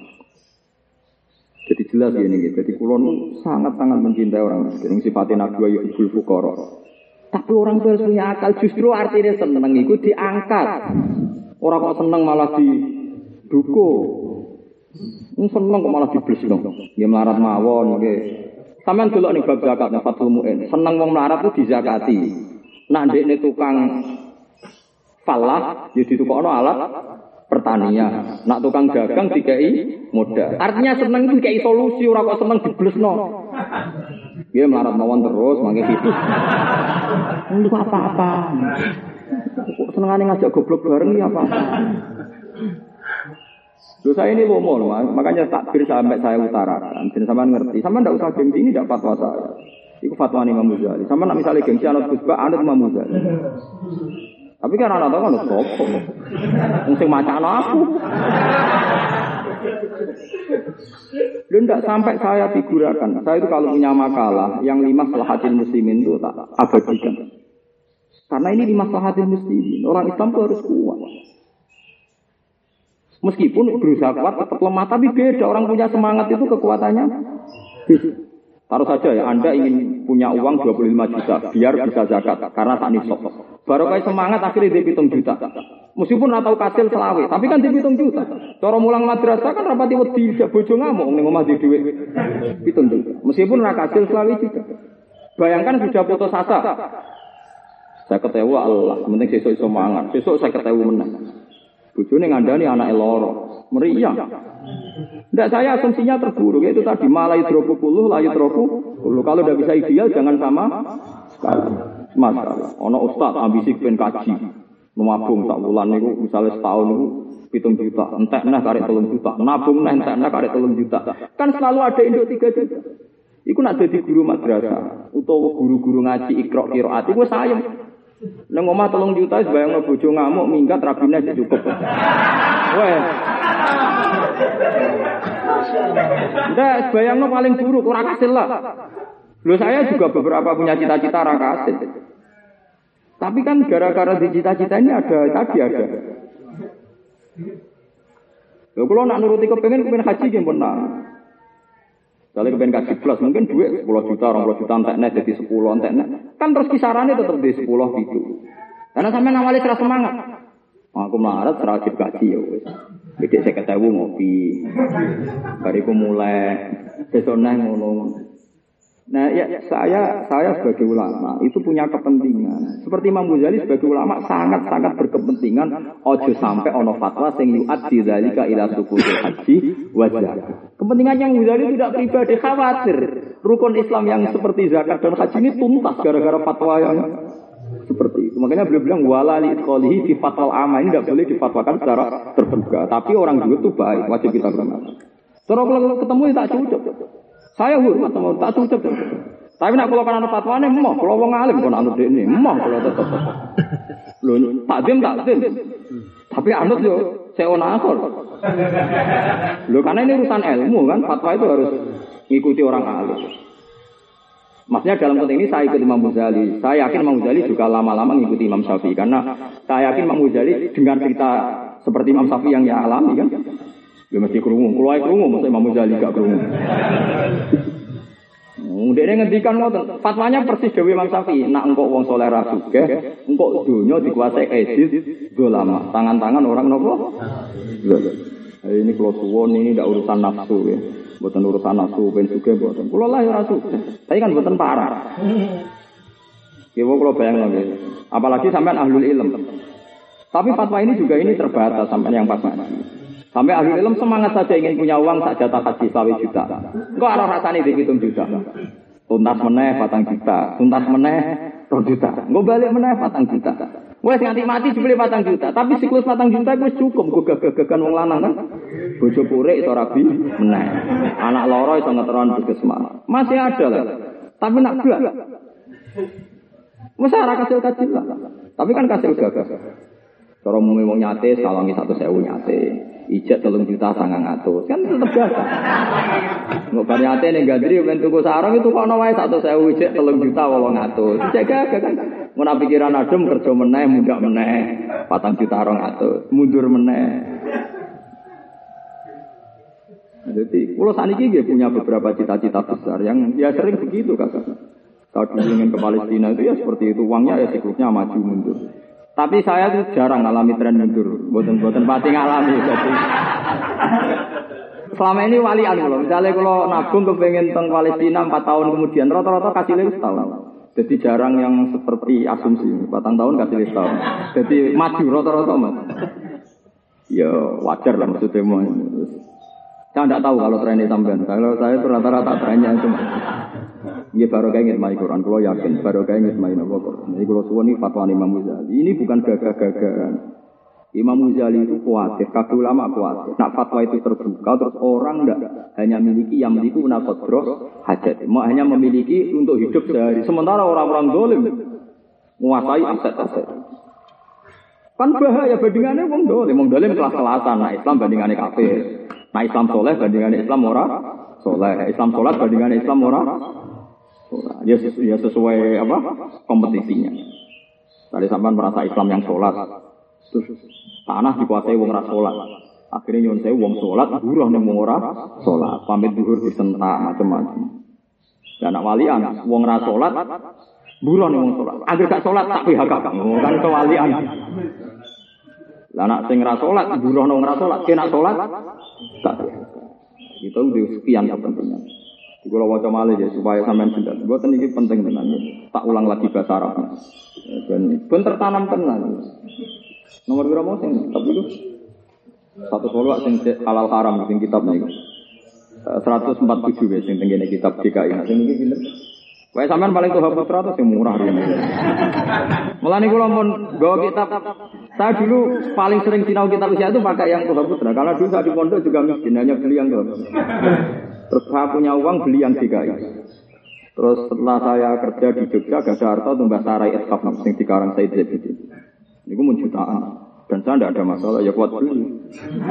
Jadi jelas ya ini. Jadi kulon sangat-sangat mencintai orang miskin. Sifatnya Nabi wa yuhibbul fuqara. Tapi orang itu harus punya akal. Justru artinya seneng itu diangkat. Orang kok seneng malah didukung. Seneng kok malah diblesno. Nggih melarat mawon nggih. Sampeyan delok ning bab zakat nang Fathul Mu'in. Seneng wong melarat ku dizakati. Nak ndekne tukang falah ya ditukokno alat pertanian. Nak tukang dagang dikai modal. Artinya seneng itu dikai solusi, ora kok seneng diblesno. Nggih melarat mawon terus mangke hidup. Untuk apa-apa. Kok senengane ngajak goblok bareng ya apa? Loh saya ini lomo, makanya takbir sampai saya utarakan. Dan sama ngerti, sama ndak usah gengsi, ini tidak fatwa saya. Itu fatwa Imam Ghazali. Sama nak misalnya gengsi anut Gus-Bak, anut Imam Ghazali. Tapi kan anak tahu kan sopok. Mungkin macam aku. Loh ndak sampai saya figurakan. Saya itu kalau punya makalah yang 5 maslahatil muslimin itu tak abadikan. Karena ini 5 maslahatil muslimin. Orang Islam itu harus kuat. Meskipun berusaha kuat tetap lemah, tapi beda. Orang punya semangat itu kekuatannya. Taruh saja ya, Anda ingin punya uang 25 juta, biar bisa zakat, karena tak nisab. Baru kayak semangat akhirnya dia 7 juta. Meskipun atau kasil selawe, tapi kan dia 7 juta. Cara mulang madrasah kan rapati wedi bojo ngamuk ning omah di dhuwit 7 juta. Meskipun ra kasil selawe juga. Bayangkan sudah putus asa. Saya ketawa Allah, penting sesuk iso mangan. Sesuk saya ketawa menang. Bojone ngandani anake loro. Meriah. Ndak saya asumsinya terburuk yaitu tadi malai dropu puluh layu dropu. Kalau udah bisa ideal jangan sama sekali. Masalah. Ono ustaz ambisi pengen kaji. Nabung sak wulan niku misale setahun niku 7 juta, entek nah karek 3 juta. Nabung nah entek nah karek 3 juta. Kan selalu ada induk 3 juta. Iku nak dadi guru madrasah utawa guru-guru ngaji Iqra qiraat iku sayem. Nang omah 3 juta wis bayangno bojo ngamuk minggat rabine cukup. Weh. Ndak bayangno paling buruk ora kasil lah. Loh saya juga beberapa punya cita-cita ora kasil. Tapi kan gara-gara di cita-cita ini ada. Lho kalau nak nuruti kepengen haji nggih pernah. Kalau kepengen haji plus mungkin duit 10 juta, 20 juta entekne jadi 10 entekne. Kan terus kisarannya tetap di 10 gitu. Karena sampean awalnya serah semangat. Aku melarat serah wajib gaji ya wis. Bedek 50.000 ngopi. Bariku mulai besoknya ngono. Nah, ya saya sebagai ulama itu punya kepentingan. Seperti Imam Ghazali sebagai ulama sangat-sangat berkepentingan ojo sampai ono fatwa sing yu'addi dzalika ila sukutul haji wajah. Kepentingannya Imam Ghazali tidak pribadi, khawatir rukun Islam yang seperti zakat dan haji ini tuntas gara-gara fatwa yang seperti itu. Makanya beliau bilang wala li idkhalihi fi fatwal amma, ini tidak boleh difatwakan secara terbuka. Tapi orang dulu itu baik, wajib kita hormati. Terus kalau ketemu tak cocok. Saya hormat sama tak cocok. Tapi nak kalau kan ana fatwane emoh, kalau wong alim kon anut dekne, emoh kalau tetep. Lho, takdim. Tapi anut yo seona akor. Lho karena ini urusan ilmu kan, fatwa itu harus ngikuti orang alim. Maksudnya dalam konteks ini saya ikut Imam Ghazali. Saya yakin Imam Ghazali juga lama-lama mengikuti Imam Syafi'i karena saya yakin Imam Ghazali dengan cerita seperti Imam Syafi'i yang dia alami kan. Ya mesti krungu, kulo ae krungu mesti Imam Ghazali gak krungu. Ndekne ngendikan ngoten, fatwanya persis dhewe Imam Syafi'i, nak engko wong saleh ra sugih, engko donya dikuasai edit dolama, tangan-tangan orang nopo? Ini kulo suwon ini ndak urusan nafsu ya. Mboten urusan nafsu ben sugih mboten. Kulo lah ya ora sugih. Tapi kan mboten parah. Ki kulo bayangno nggih. Apalagi sampean ahlul ilm. Tapi fatwa ini juga ini terbatas sampean yang pas ngaji. Sampai ahli ilmu semangat saja ingin punya uang sak jatah haji 20 juta. Engko ora rasane di 7 juta. Tuntas meneh 4 juta, tuntas meneh 2 juta. Engko balik meneh 4 juta. Wes nganti mati dibeli 4 juta, tapi siklus 4 juta wis cukup go gagagan wong lanang kan. Bojo purik iso rabi meneh. Anak loro iso ngeteron puskesmas. Masih ada lah. Tapi nak blas. Wes ora kasil-kasil lah. Tapi kan kasil gagah. Cara umumnya wong nyate sawangi 100.000 nyate. Ijek 3 juta 900 kan tetep biasa. Nggak variate ning Gandri ben tuku sarung itu kok ana wae 100.000 ijek 3 juta 800. Ijek gak kan. Mun pikiran adem kerja meneh mundak meneh 4 juta 200 mundur meneh. Jadi kula saniki nggih punya beberapa cita-cita besar yang ya sering begitu Kakak. Kalau ingin ke Palestina itu ya seperti itu, uangnya ya siklusnya maju mundur. Tapi saya tuh jarang ngalami tren mundur, boten pati ngalami. Jadi selama ini walian loh. Misalnya kalau nabung kepengen teng Palestina 4 tahun kemudian, rata-rata kasih setahun. Jadi jarang yang seperti asumsi 4 tahun kasih setahun. Jadi maju rata-rata mas. Ya wajar lah maksudnya mau. Saya tidak tahu kalau trennya sampean. Kalau saya itu rata-rata trennya itu. Ini baru kayak ngitmai Quran, kalau yakin baru kayak ngitmai Quran. Jadi kalau suwon ini fatwa Imam Ghazali, ini bukan gagah-gagahan. Imam Ghazali itu khawatir, kabeh ulama khawatir. Nak fatwa itu terbuka, terus orang tidak hanya memiliki yang memiliki unakodro hajat, hanya memiliki untuk hidup sehari. Sementara orang-orang dolim menguasai aset-aset. Kan bahaya bandingannya wong dolim kelas-kelasan. Nah Islam bandingannya kafir. Nah Islam soleh bandingannya Islam ora soleh. Islam sholat bandingannya Islam ora. Ya sesuai apa kompetisinya. Tadi sampean merasa Islam yang sholat, terus tanah dikuasai wong ora sholat. Akhirnya nyon sewu wong sholat, buruh ning wong ora sholat. Pamit zuhur disentak macam-macam. Dan nak walian wong ora sholat, buruh ning wong sholat. Agar gak sholat tak PHK kan kewalian. Lah nak sing ora sholat, buruh ning ora sholat, kena sholat tak. Itu udah sekian kepentingan. Kalau waca malih ya supaya sampean jelas. Mboten iki penting tenan. Tak ulang lagi bahasa Arab. Dan ben tertanam tenan. Nomor berapa mau sing tapi itu 112 sing halal haram sing kitab niku. 147 wis sing tengene kitab DKI. Nah sing iki pinten? Wae sampean paling tuh putra atau sing murah rene. Mulane kula mun nggawa kitab saya dulu paling sering sinau kitab usia itu pakai yang tuh putra. Karena dulu saya di pondok juga miskin hanya beli yang tuh. Terus saya punya uang beli yang DKI. Terus setelah saya kerja di Jogja, gak ada harta untuk Mbah Sarai Eskaf yang dikarang Said Zabidi. Ini pun jutaan. Dan saya tidak ada masalah, ya kuat beli.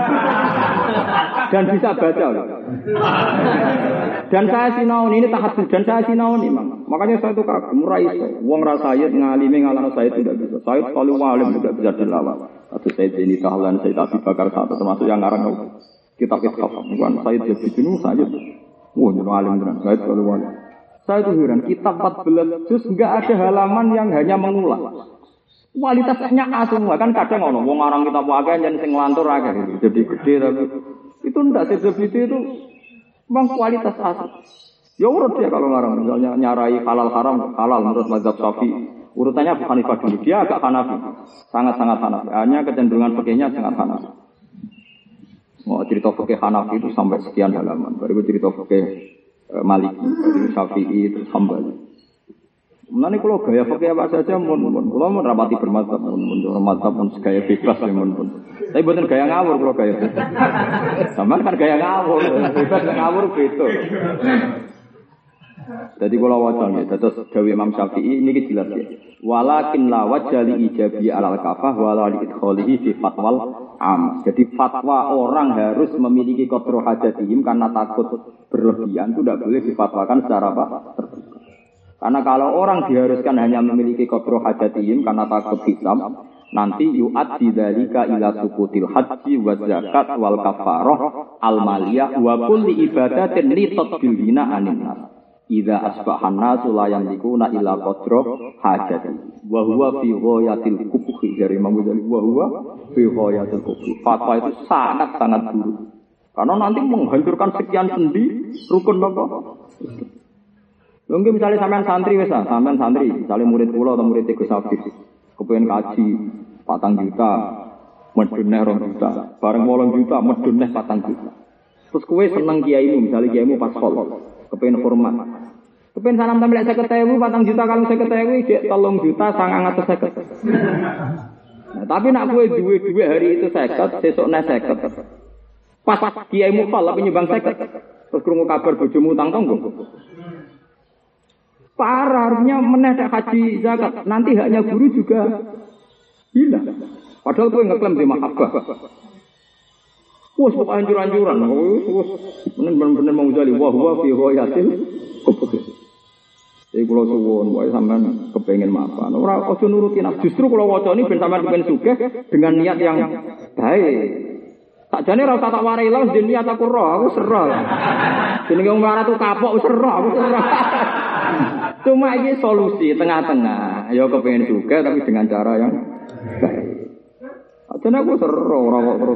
Dan bisa baca. Dan saya sinaun, ini tahajud. Dan saya sinaun imam. Makanya saya itu kagum, raih. Wong rasayid, ngalimi, ngalana saya tidak bisa. Saya sekali walim tidak bisa dilawan. Atau saya ini Tahlan, saya Abi Bakar satu. Termasuk yang ngarang kitab Eskaf. Bukan saya jadi jenuh, saya. Wah, jenuh alim benar. Saya sekali walim. Saya itu heran, kitab 14 juz enggak ada halaman yang hanya mengulang. Kualitasnya A semua kan kadang ngono wong aran kitab wae yen sing nglantur akeh gitu. Jadi gede tapi itu ndak sejebiti itu memang kualitas A. Ya urut dia kalau ngarang misalnya nyarai halal haram halal menurut mazhab Syafi'i. Urutannya bukan Hanifah dulu, dia agak Hanafi. Sangat-sangat Hanafi. Hanya kecenderungan fikihnya sangat Hanafi. Mau cerita fikih Hanafi itu sampai sekian halaman. Baru cerita fikih Maliki, Syafi'i, terus Hambali. Mengenai kalau gaya pakai apa saja, kalau mau rapati bermadzhab, bermadzhab pun gaya bebas ya pun. Tapi bukan gaya ngawur kalau gaya bebas. Sama kan gaya ngawur, bebas ngawur betul. Jadi kalau wajan ya, terus Dawi Imam Syafi'i ini jelas ya. Walakin la wajali ijabi alal kafah walali idkholihi fi fatwal am. Jadi fatwa orang harus memiliki qadru hajatihim karena takut berlebihan itu tidak boleh difatwakan secara apa? Terbuka. Karena kalau orang diharuskan hanya memiliki qadru hajatihim karena takut hisab, nanti yu'addi dzalika ila sukutil haji wa zakat wal kafarah al maliyah wa kulli ibadatin li tadbirina anin nas. Idza asbahan nasu la yamlikuna illa qadru hajati. Wa huwa fi ghayatil kubhi dari Imam Ghazali wa huwa fi ghayatil kubhi. Fatwa itu sangat-sangat buruk. Karena nanti menghancurkan sekian sendi rukun apa? Mungkin misalnya sampean santri wis sampean santri, misalnya murid kula atau murid Gus Afif, kepengin kaji 4 juta, medune 2 juta, bareng 8 juta, medune 4 juta. Terus kowe seneng kiaimu, misalnya kiaimu pas khol, kepengin hormat. Kepengin salam tampil 50.000, 4 juta kalau 50.000 jek 3 juta 950. Nah, tapi nak kowe duwe hari itu 50, sesuk nek 50. Pas kiaimu khol tapi nyumbang 50. Terus krungu kabar bojomu utang tanggung. Parah, harusnya menedak haji zakat. Nanti haknya guru juga hilang. Padahal gue ngeklaim di mahabbah. Wah, kok anjur-anjuran. Bener-bener mau jadi. Wah, fi ghayatil kubhi. Jadi kalau suwon, wae sampean kepengen mapan. Ora ojo nuruti nafsu. Justru kalau waca ini ben sampean kepen sugih dengan niat yang baik. Sakjane ora usah tak warai lho, niat aku roh, aku serah. Jenenge wong melarat tuh kapok wis serah, aku serah. Cuma ini solusi tengah-tengah. Ya kepengen juga tapi dengan cara yang baik. Jadi aku seru orang kok terus.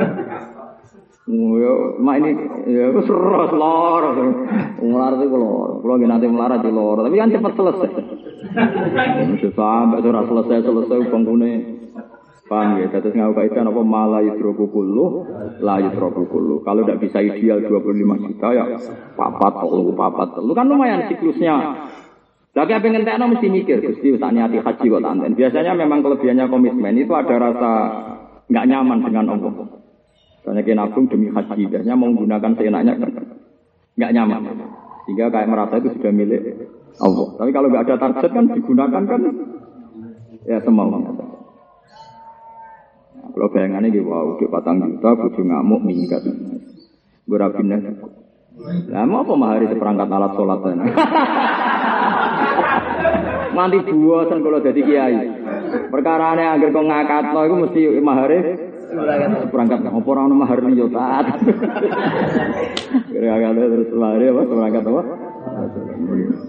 Ya, mak ini ya aku seru lor. Melarat itu lor. Kalau nanti melarat di lor, tapi kan cepat selesai. Sampai sudah selesai bangkune. Paham ya? Terus ngau kaitan apa malah yudroku kullu, la yudroku kullu. Kalau tidak bisa ideal 25 juta ya papat telu kan lumayan siklusnya. Lagi apa yang ngentekno mesti mikir, Gusti tak niati haji kok tanten. Biasanya memang kelebihannya komitmen itu ada rasa enggak nyaman dengan Allah. Karena kita nabung demi haji, biasanya mau menggunakan seenaknya enggak nyaman. Sehingga kayak merasa itu sudah milik Allah. Tapi kalau enggak ada target kan digunakan kan ya semaunya. Kalau bayangannya gitu, wow, udah 4 juta, bojo ngamuk minggat. Berapindah. Lah mau apa mahari seperangkat alat sholat sana? Nanti buasan kalau jadi kiai. Perkara ini agar kau ngakat, lo itu mesti mahari seperangkat. Apa orang mahar liyo taat? Kira-kira terus mahari apa seperangkat apa?